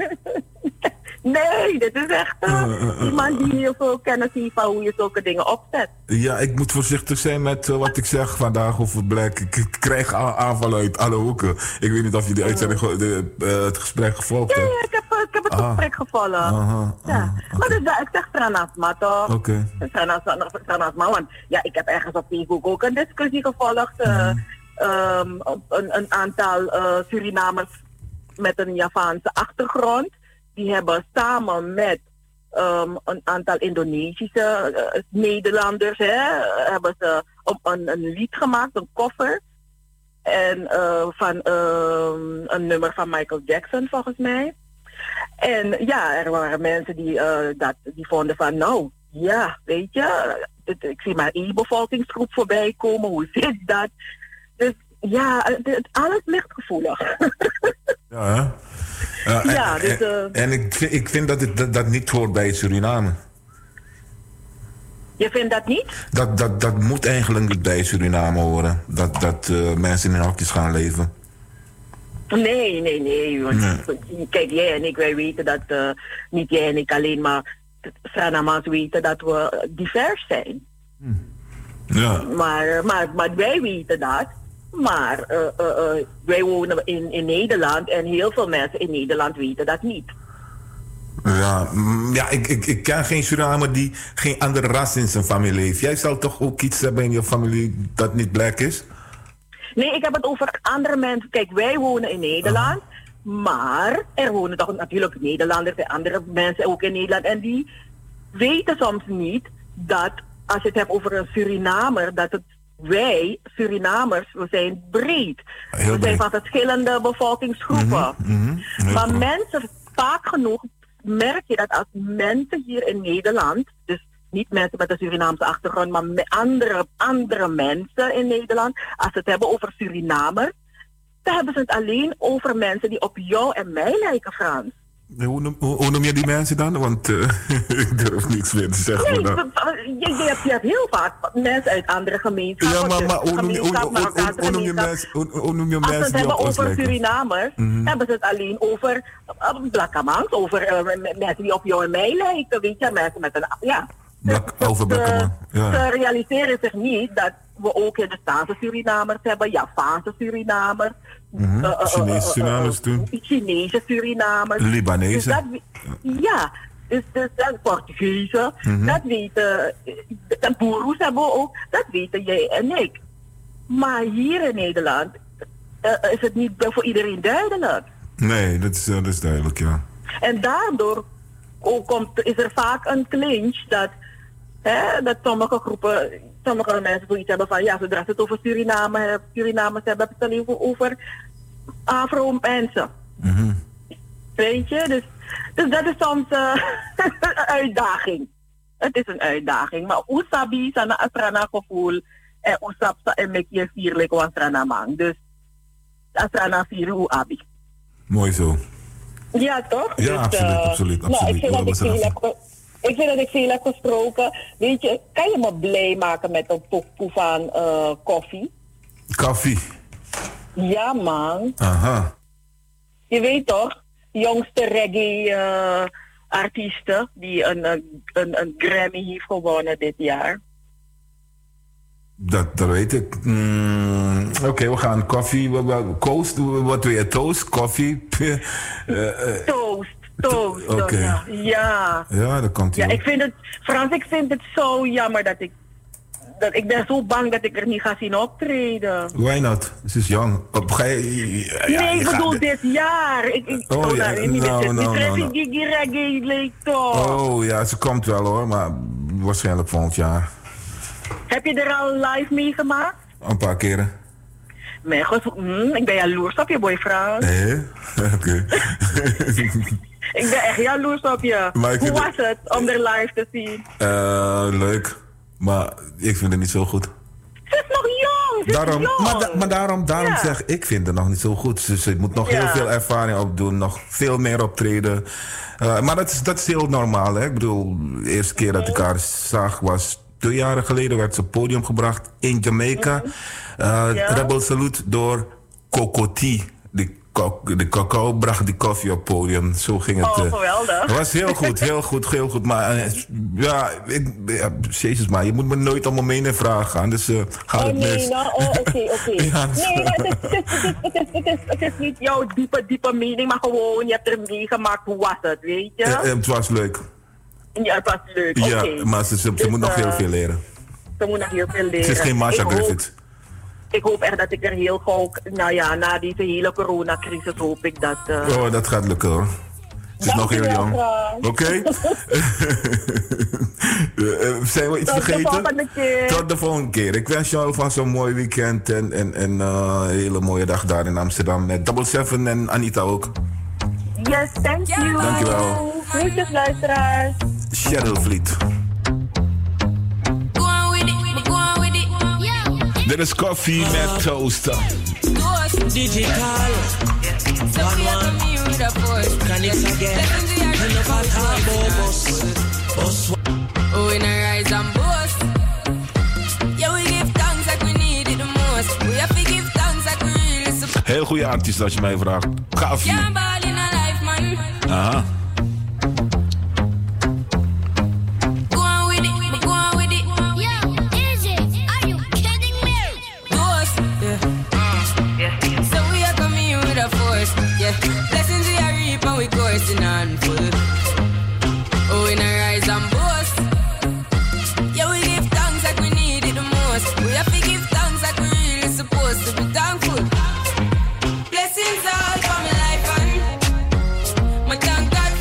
Nee, dit is echt uh, uh, uh, uh, iemand die heel veel kennis heeft van hoe je zulke dingen opzet. Ja, ik moet voorzichtig zijn met uh, wat ik zeg vandaag over Black. Ik, ik krijg aanvallen uit alle hoeken. Ik weet niet of je die uitzending, de, uh, het gesprek gevolgd ja, hebt. Ja, ik heb, ik heb het ah. gesprek gevolgd. Aha, ja. aha, okay. Maar dus, ik zeg Tranasma toch? Oké. Okay. Tranasma, want ja, ik heb ergens op Facebook ook een discussie gevolgd. Uh, mm. um, een, een aantal uh, Surinamers met een Javaanse achtergrond. Die hebben samen met um, een aantal Indonesische uh, Nederlanders, hè, hebben ze um, een, een lied gemaakt, een cover. En uh, van uh, een nummer van Michael Jackson volgens mij. En ja, er waren mensen die, uh, dat, die vonden van nou, ja, weet je, het, ik zie maar één bevolkingsgroep voorbij komen, hoe zit dat? Dus ja, het, het, alles ligt gevoelig. Ja, hè? Uh, ja, en, dus, uh, en, en ik, vind, ik vind dat het dat, dat niet hoort bij Suriname. Je vindt dat niet? Dat, dat, dat moet eigenlijk niet bij Suriname horen. Dat, dat uh, mensen in hokjes gaan leven. Nee, nee, nee. Want, nee. Kijk, jij en ik, wij weten dat, uh, niet jij en ik alleen, maar Surinamers weten dat we divers zijn. Hm. Ja. Maar, maar, maar wij weten dat. Maar uh, uh, uh, wij wonen in, in Nederland en heel veel mensen in Nederland weten dat niet. Ja, ja ik, ik, ik ken geen Surinamer die geen andere ras in zijn familie heeft. Jij zal toch ook iets hebben in je familie dat niet black is? Nee, ik heb het over andere mensen. Kijk, wij wonen in Nederland, uh-huh. maar er wonen toch natuurlijk Nederlanders en andere mensen ook in Nederland. En die weten soms niet dat, als je het hebt over een Surinamer, dat het wij, Surinamers, we zijn breed. Heel we breed. zijn van verschillende bevolkingsgroepen. Mm-hmm, mm-hmm. Maar goed. Mensen, vaak genoeg merk je dat als mensen hier in Nederland, dus niet mensen met een Surinaamse achtergrond, maar met andere, andere mensen in Nederland, als ze het hebben over Surinamers, dan hebben ze het alleen over mensen die op jou en mij lijken, Frans. Hoe noem, hoe, hoe noem je die mensen dan? Want uh, ik durf niks meer te zeggen. Nee, je, je, hebt, je hebt heel vaak mensen uit andere gemeenschappen. Ja, maar, maar hoe, noem je, hoe, hoe, hoe, hoe noem je mensen, hoe, hoe noem je mensen Als ze het hebben over lijken? Surinamers, mm-hmm. hebben ze het alleen over uh, Blakkamans, over uh, mensen die op jou en mij lijken, weet je, mensen met een, ja. Blak, over Blakkerman. Ja. Ze realiseren zich niet dat we ook in de Staatse Surinamers hebben, Javaanse Surinamers, Mm-hmm. uh, uh, uh, Chinese uh, Surinamers toen. Chinese Surinamers. Libanese. Dus dat, ja, dus, dus dat Portugezen, Mhm. dat weten, de Boeroes hebben we ook, dat weten jij en ik. Maar hier in Nederland uh, is het niet voor iedereen duidelijk. Nee, dat is, uh, dat is duidelijk, ja. En daardoor ook komt, is er vaak een clinch dat, hè, dat sommige groepen, sommige mensen zoiets hebben van ja, zodra ze het over Suriname, Surinamers hebben, hebben ze het alleen over Afro-mensen. Mm-hmm. Weet je, dus, dus dat is soms uh, een uitdaging. Het is een uitdaging, maar usabi sana asrana gevoel en usapsa en mekje vierlijk was asrana mang. Dus asrana vier abi. Mooi zo. Ja, toch? Ja, dus, absoluut, uh, absoluut, Nou, absoluut. ik vind, dat ik, Horen we veel ze heb, ge- ik vind dat ik veel heb gesproken. Weet je, kan je me blij maken met een pokoe van uh, koffie? Koffie. Ja, man. Aha. Je weet toch, jongste reggae-artiesten die een, een, een, een Grammy heeft gewonnen dit jaar. Dat, dat weet ik. Mm, Oké, okay, we gaan koffie. Coast, wat doe je? Toast? Koffie? Uh, uh, toast, toast. Oké. Okay. Ja. ja. Ja, dat komt Ja, wel. ik vind het, Frans, ik vind het zo jammer dat ik, dat ik ben zo bang dat ik er niet ga zien optreden. Why not? Ze is jong. Op, ga je, ja, nee, je ik bedoel gaat- dit jaar. Ik, ik, Oh, oh, ja, nou, niet nou, dit- nou, die nou, Traffy nou. Gigi Reggae leek toch. Oh ja, ze komt wel hoor, maar waarschijnlijk volgend jaar. Heb je er al live meegemaakt? Een paar keren. Nee, goed, mm, ik ben jaloers op je, boy Frans. Nee? Oké. Ik ben echt jaloers op je. Maar ik Hoe vind was het om er live te zien? Eh, leuk. Maar ik vind het niet zo goed. Ze is nog jong, ze Daarom, is jong. maar, da- maar daarom, daarom Ja. zeg ik, vind het nog niet zo goed. Ze, ze moet nog Ja. heel veel ervaring opdoen, nog veel meer optreden. Uh, maar dat is, dat is heel normaal. Hè? Ik bedoel, de eerste keer dat ik haar zag was twee jaren geleden. Werd ze op het podium gebracht in Jamaica. Uh, Ja. Rebel Salute door Cocoti. De, co- de cacao bracht die koffie op het podium. Zo ging het. Oh, uh, geweldig. Het was heel goed, heel goed, heel goed. Maar uh, ja, ik, ja, jezus maar, je moet me nooit om mijn mening vragen. Dus uh, gaat Oh het nee, mis. nou, oh, oké, oké. Ja, dat is- Nee, maar het is, het, is, het, is, het, is, het, is, het is niet jouw diepe, diepe mening, maar gewoon, je hebt er meegemaakt, hoe was het, weet je? Eh, eh, het was leuk. Ja, het was leuk, Ja, oké. maar ze, ze, ze Dus, moet nog heel eh, veel leren. Ze moet nog heel veel leren. Ze is geen Marsha Ik hoop- Griffiths. Ik hoop echt dat ik er heel gauw, nou ja, na deze hele coronacrisis hoop ik dat... Uh, Oh, dat gaat lukken hoor. Ze is nog heel Dankjewel, jong. Frans. Oké? Eh, eh, zijn we iets Tot de vergeten? volgende keer. Tot de volgende keer. Ik wens je alvast een mooi weekend en, en, en uh, een hele mooie dag daar in Amsterdam. Met Double Seven en Anita ook. Yes, thank you. Dankjewel. Groetjes, luisteraars. Shadowfleet. Go on with it, go on with it. Yeah. Dit is koffie met toaster. Digital. So we are coming with a force. Connects again. Enough of time, boss. Boss. Oh, in a rise and boast. Yeah, we give thanks like we need it the most. We have to give thanks like we really support. Heel goede artiest als je mij vraagt. Koffie. Can't ball in a life, man. Aha. Go on with it, go on with it. Yo, is it? Are you kidding me? Ghost, yeah. yeah. So we are coming with a force, yeah. Blessings we are reap and we coursing on full. Oh, in a rise and boast. Yeah, we give thanks like we need it the most. We have to give thanks like we really supposed to be thankful. Blessings all for my life and my thank God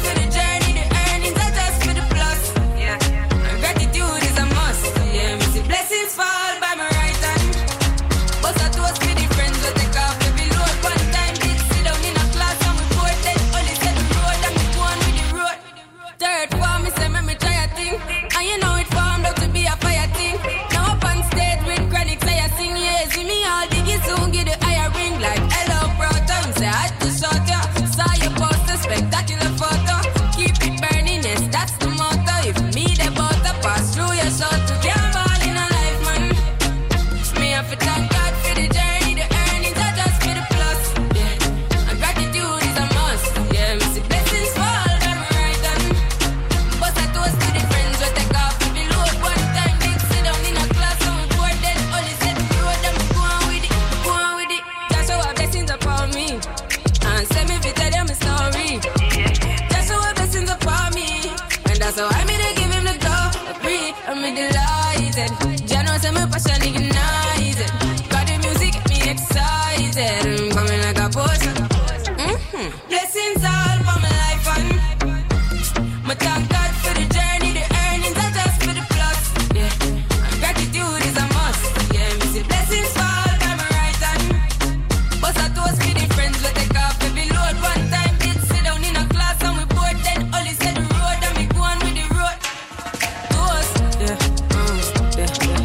I'm delighted. Jano say my passion ignited. Got the music get me excited. I'm coming like a potion. Mm-hmm. Blessings all for my life and my thank God for the journey, the earnings are just for the plus. Yeah, and gratitude is a must. Yeah, me say blessings fall by my right hand. But I toast for the friends we take off every load. One time did sit down in a class and we bored. Then all he said the road and me go on with the road. Toast, yeah, mm, yeah, yeah.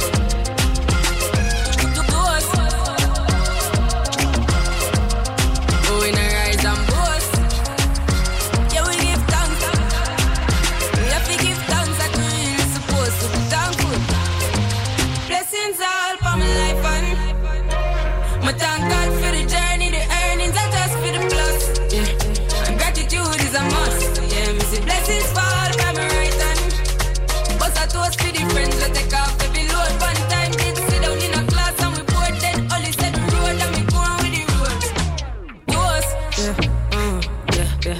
Toast. Oh, we na rise and boast. Yeah, we give thanks. We have to give thanks like we really supposed to be thankful. Blessings all for my life and my thank God for the journey, the earnings are just for the plus. Yeah, and gratitude is a must. Yeah, me say blessings fall by my right hand. But I toast for the friends we take off every load. One time did sit down in a class and we bored. Then all he said the road and we go on with the road. Toast, yeah, mm, yeah, yeah.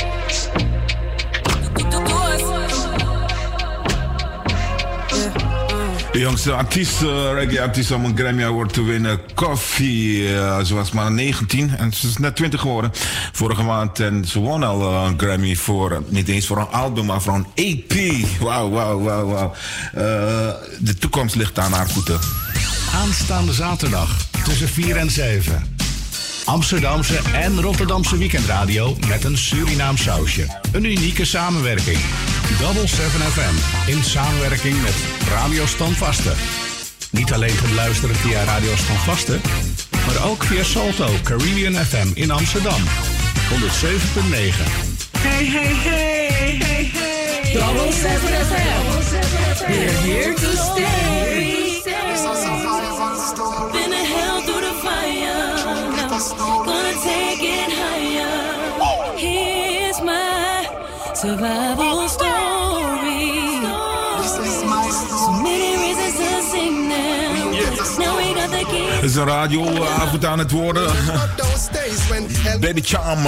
De jongste artiest, uh, reggae-artiest om een Grammy Award te winnen, Koffee. Uh, ze was maar negentien en ze is net twintig geworden vorige maand. En ze won al uh, een Grammy voor, uh, niet eens voor een album, maar voor een E P. Wauw, wauw, wauw, wauw. Uh, de toekomst ligt aan haar voeten. Aanstaande zaterdag tussen vier en zeven. Amsterdamse en Rotterdamse weekendradio met een Surinaam sausje. Een unieke samenwerking. Double seven F M in samenwerking met Radio Standvaste. Niet alleen te beluisteren via Radio Standvaste, maar ook via Salto Caribbean F M in Amsterdam. honderd zeven punt negen. Hey, hey, hey, hey, hey. Double seven F M. We're here to stay. Been a hell through the fire. Now, gonna take it higher. Here's my survival story. So many reasons to sing now. Now we got the key. Het is een radioavond aan het worden. Baby Charm.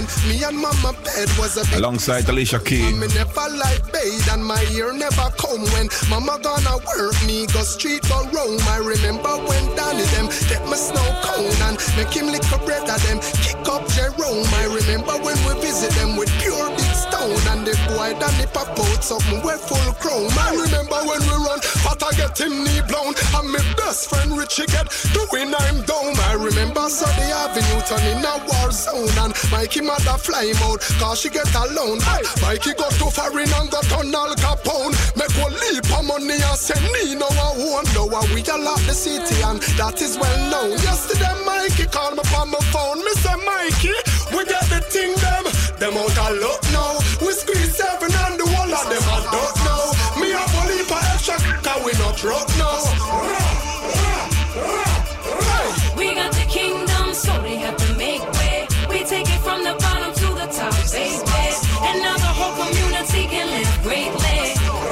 Alongside Alicia Keys. Me never like bathe and my ear never come when mama gonna work me go street go roam. I remember when Danny them get my snow cone and make him lick a bread of them kick up Jerome. I remember when we visit them with pure big stone and the boy Danny pop out something with full chrome. I remember when we run but I get him knee blown and my best friend Richie get doing I'm down. I remember Sunday Avenue turn in a war zone and Mikey mother fly him out cause she get alone. Hey, Mikey got to foreign and got on Al Capone. Make one leap of money and send me no I won't know how we all lock the city and that is well known. Yesterday Mikey called me on my phone. Me say Mikey, we get the thing them. Them out a look now. We squeeze seven and the whole of them I don't know. Me a bully for extra cause we not drunk now. We got the kingdom, so they have to make way. We take it from the bottom to the top, baby. And now the whole community can live greatly.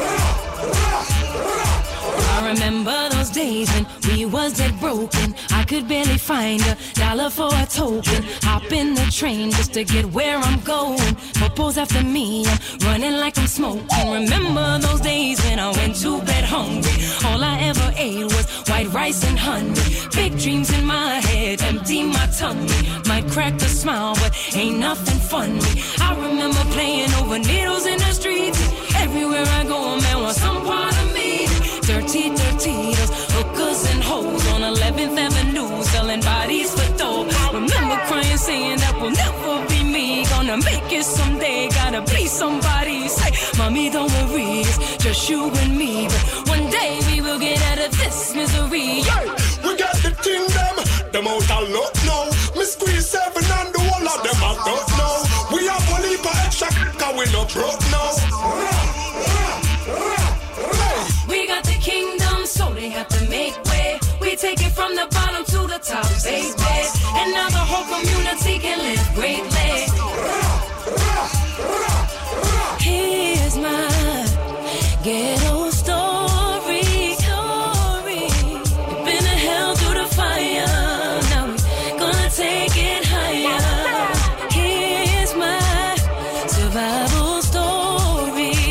I remember those days when we was dead broken. I could barely find a dollar for a token. Hop in the train just to get where I'm going. Popo's after me, I'm running like I'm smoking. Remember those days when I went to bed hungry. All I ever ate was white rice and honey. Big dreams in my head, empty my tummy. Might crack a smile, but ain't nothing funny. I remember playing over needles in the streets. Everywhere I go, a man wants some part of me. Dirty, dirty, those hookers and hoes on eleventh Avenue selling bodies for dope. Remember crying, saying that will never be me. Gonna make it someday, gotta be somebody. Say, mommy, don't worry, it's just you and me. But one day we will get out of this misery. Hey, we got the thing them, them out a lot now. Me squeeze seven and the whole of them I don't know. We have a leap of extra cause we not broke now. We got the kingdom, so they have to make way. We take it from the bottom to the top, baby. And now the whole community can live greatly. Here's my ghetto story. story. We've been to hell through the fire. Now we're gonna take it higher. Here's my survival story.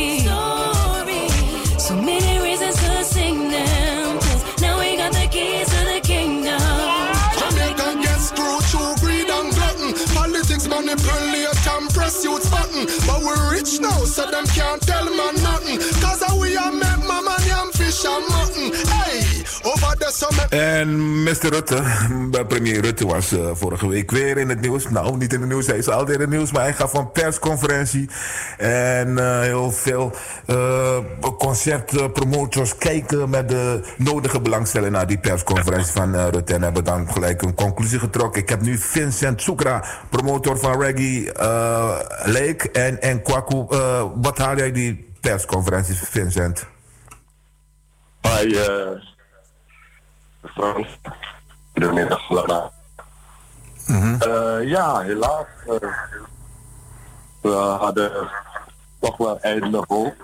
now, so them can't tell man nothing. Cause we are make mama yam fish and mutton. Hey, over the summer. En mister Rutte, premier Rutte was uh, vorige week weer in het nieuws. Nou, niet in het nieuws, hij is altijd in het nieuws, maar hij gaf een persconferentie. En uh, heel veel uh, concertpromotors kijken met de nodige belangstelling naar die persconferentie van uh, Rutte. En hebben dan gelijk een conclusie getrokken. Ik heb nu Vincent Soekra, promotor van Reggae uh, Lake en, en Kwaku. Uh, wat haal jij die persconferentie, Vincent? Hi, uh, Frans. Goedemiddag, Lama. Mm-hmm. Uh, ja, helaas. Uh, we hadden toch wel eindelijk hoop.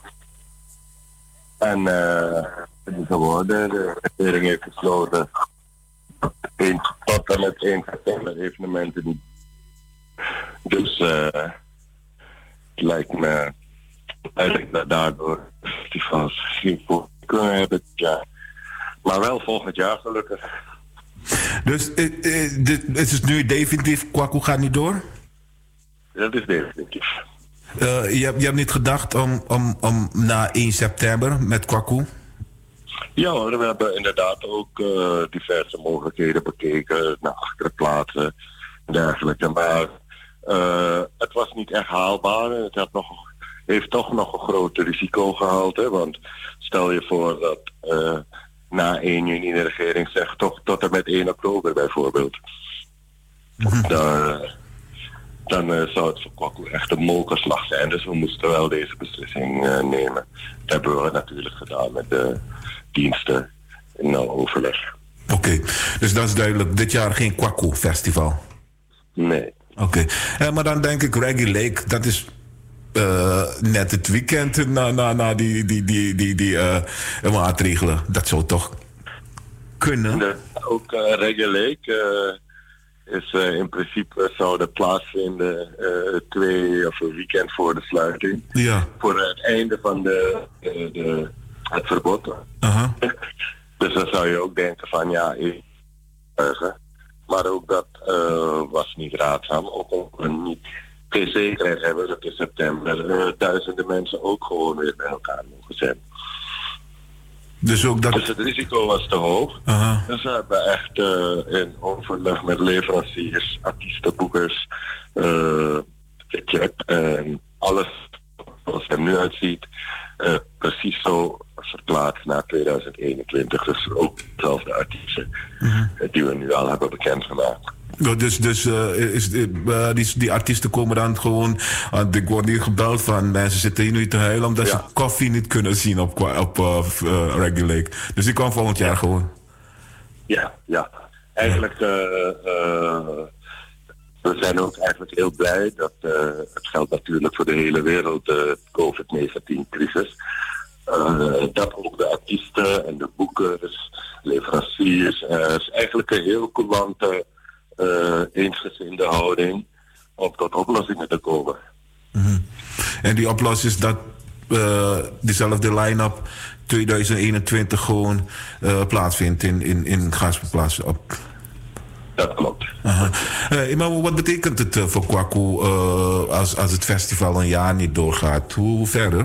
En uh, het is geworden. De regering heeft besloten tot en met één september evenementen niet. Dus uh, het lijkt me eigenlijk dat daardoor festivals geen voor kunnen hebben. Ja. Maar wel volgend jaar gelukkig. Dus uh, uh, dit, het is nu definitief, Kwaku gaat niet door? Dat is definitief. Uh, je, hebt, je hebt niet gedacht om, om, om na één september met Kwaku? Ja hoor, we hebben inderdaad ook uh, diverse mogelijkheden bekeken, naar achterplaatsen en dergelijke. Maar uh, het was niet echt haalbaar. Het had nog, heeft toch nog een groot risicogehalte. Want stel je voor dat uh, na één juni de regering zegt toch tot en met één oktober bijvoorbeeld. Mm-hmm. Dan, dan uh, zou het voor Kwaku echt een molkenslag zijn. Dus we moesten wel deze beslissing uh, nemen. Dat hebben we natuurlijk gedaan met de diensten in nauw overleg. Oké, okay. Dus dat is duidelijk. Dit jaar geen Kwaku festival? Nee. Oké, okay. uh, maar dan denk ik Reggae Lake, dat is uh, net het weekend na, na, na die, die, die, die, die uh, maatregelen. Dat zou toch kunnen? De, ook uh, Reggae Lake uh, is uh, in principe zou dat plaatsvinden uh, twee of een weekend voor de sluiting. Ja. Voor het einde van de, de, de het verbod. Uh-huh. Dus dan zou je ook denken van ja, ik, maar ook dat uh, was niet raadzaam. Ook omdat we niet geen zekerheid hebben dat in september uh, duizenden mensen ook gewoon weer bij elkaar mogen zijn. Dus, ook dat... dus het risico was te hoog. Uh-huh. Dus we hebben echt uh, in overleg met leveranciers, artiesten, boekers, uh, gecheckt en alles zoals het er nu uitziet, uh, precies zo verplaatst naar tweeduizend eenentwintig. Dus ook dezelfde artiesten uh-huh. die we nu al hebben bekendgemaakt. Ja, dus dus uh, is, uh, die, die artiesten komen dan gewoon... Uh, ik word hier gebeld van mensen zitten hier nu te huilen omdat ja. ze koffie niet kunnen zien op, op uh, uh, Reggae Lake. Dus die kwam volgend jaar gewoon. Ja, ja. Eigenlijk... Uh, uh, we zijn ook eigenlijk heel blij dat... Uh, het geldt natuurlijk voor de hele wereld, de covid negentien crisis. Uh, dat ook de artiesten en de boekers, leveranciers... Uh, is eigenlijk een heel coulante... Uh, eensgezinde houding om tot oplossingen te komen. Mm-hmm. En die oplossing is dat uh, diezelfde line-up tweeduizend eenentwintig gewoon uh, plaatsvindt in, in, in Gaasperplaats op. Dat klopt. Uh-huh. Uh, maar wat betekent het uh, voor Kwaku uh, als, als het festival een jaar niet doorgaat? Hoe, hoe verder?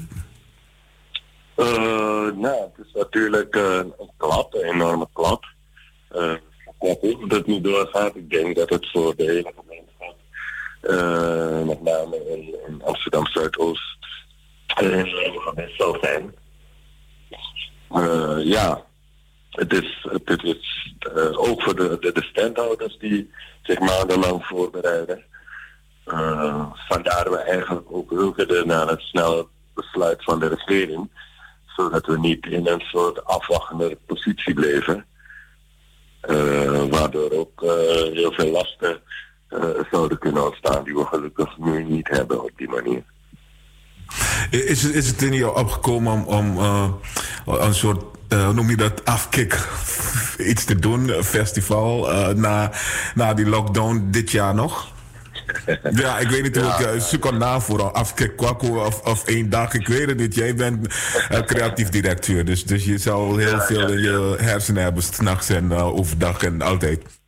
Uh, nou, het is natuurlijk uh, een klap, een enorme klap. Uh, Dat het niet doorgaat. Ik denk dat het voor de hele gemeenschap, uh, met name in, in Amsterdam Zuidoost, een enorme gemis zal zijn. Uh, ja, het is, het is uh, ook voor de, de, de standhouders die zich maandenlang voorbereiden. Uh, vandaar we eigenlijk ook wilden naar het snelle besluit van de regering, zodat we niet in een soort afwachtende positie bleven. Uh, waardoor ook uh, heel veel lasten uh, zouden kunnen ontstaan die we gelukkig nu niet hebben op die manier. Is, is het in jou opgekomen om, om uh, een soort, uh, hoe noem je dat, afkick iets te doen, een festival, uh, na, na die lockdown dit jaar nog? Ja, ik weet niet hoe ja, ik uh, zoek een naam voor een afkick Kwaku of, of één dag, ik weet het niet. Jij bent uh, creatief directeur, dus, dus je zal heel ja, veel in ja, je hersenen hebben, 's nachts en uh, overdag en altijd.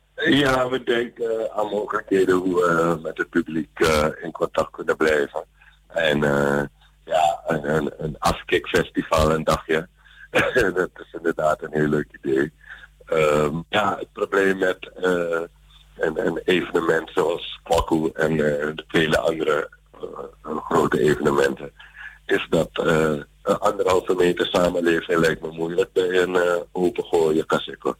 Ja, we denken uh, aan mogelijkheden hoe we uh, met het publiek uh, in contact kunnen blijven. En uh, ja, een, een, een afkikfestival een dagje. Dat is inderdaad een heel leuk idee. Um, ja, het probleem met uh, een, een evenement zoals Kwaku en uh, de vele andere uh, grote evenementen, is dat uh, een anderhalve meter samenleving lijkt me moeilijk bij een uh, opengooien kasseco.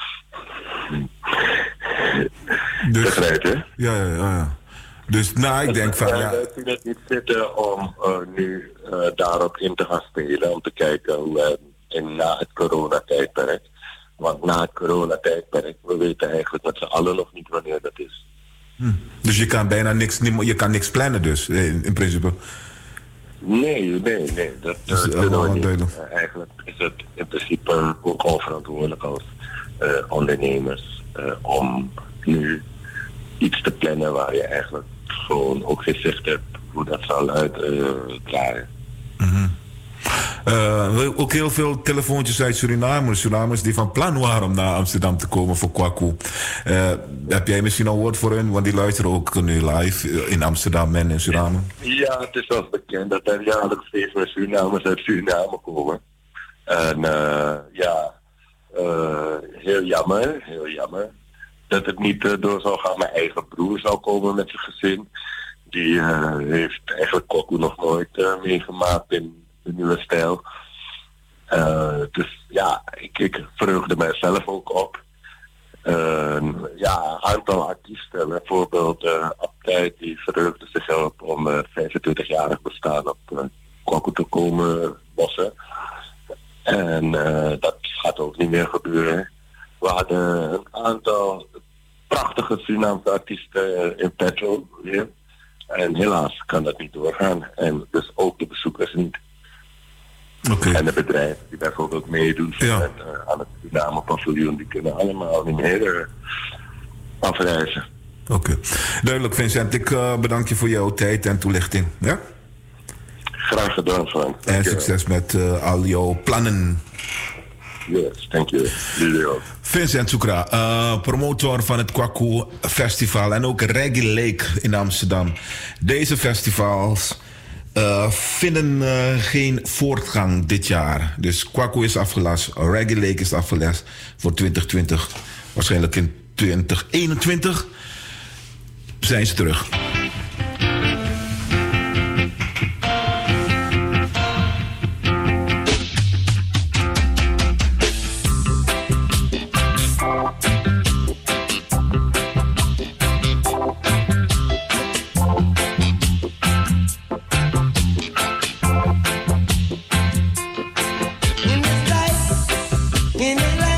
Dus, Begrijp je? Ja, ja, ja. ja. Dus nou, ik denk van ja. Ik vind het niet zitten om uh, nu uh, daarop in te gaan spelen, om te kijken uh, in, na het coronatijdperk. Want na het coronatijdperk, we weten eigenlijk met z'n allen nog niet wanneer dat is. Hm. Dus je kan bijna niks, je kan niks plannen dus, in, in principe? Nee, nee, nee. Dat, dat is uh, niet. Uh, eigenlijk is het in principe ook onverantwoordelijk als uh, ondernemers uh, om nu iets te plannen waar je eigenlijk gewoon ook geen zicht hebt hoe dat zal uitdraaien. Uh, mm-hmm. uh, ook heel veel telefoontjes uit Suriname, Surinamers die van plan waren om naar Amsterdam te komen voor Kwaku. Uh, heb jij misschien een woord voor hen? Want die luisteren ook nu live in Amsterdam en in Suriname. Ja, het is wel bekend dat er jaarlijks steeds meer Surinamers uit Suriname komen. En uh, ja, uh, heel jammer, heel jammer. Dat het niet uh, door zou gaan. Mijn eigen broer zou komen met zijn gezin. Die uh, heeft eigenlijk Kwaku nog nooit uh, meegemaakt in de nieuwe stijl. Uh, dus ja, ik, ik verheugde mijzelf ook op. Uh, ja, een aantal artiesten, bijvoorbeeld uh, Abtij, die verheugde zich op om uh, vijfentwintigjarig bestaan op uh, Kwaku te komen bossen. En uh, dat gaat ook niet meer gebeuren. We hadden een aantal prachtige Surinaamse artiesten in petto weer. En helaas kan dat niet doorgaan. En dus ook de bezoekers niet. Okay. En de bedrijven die bijvoorbeeld meedoen ja. met, uh, aan het Suriname paviljoen, die kunnen allemaal niet meer uh, afreizen. Oké. Okay. Duidelijk, Vincent. Ik uh, bedank je voor jouw tijd en toelichting. Ja? Graag gedaan, Frank. En succes met uh, al jouw plannen. Yes, thank you. Jullie ook. Vincent Soekra, uh, promotor van het Kwaku Festival en ook Reggae Lake in Amsterdam. Deze festivals uh, vinden uh, geen voortgang dit jaar. Dus Kwaku is afgelast, Reggae Lake is afgelast voor twintig twintig. Waarschijnlijk in twintig eenentwintig zijn ze terug. In this life, in this life.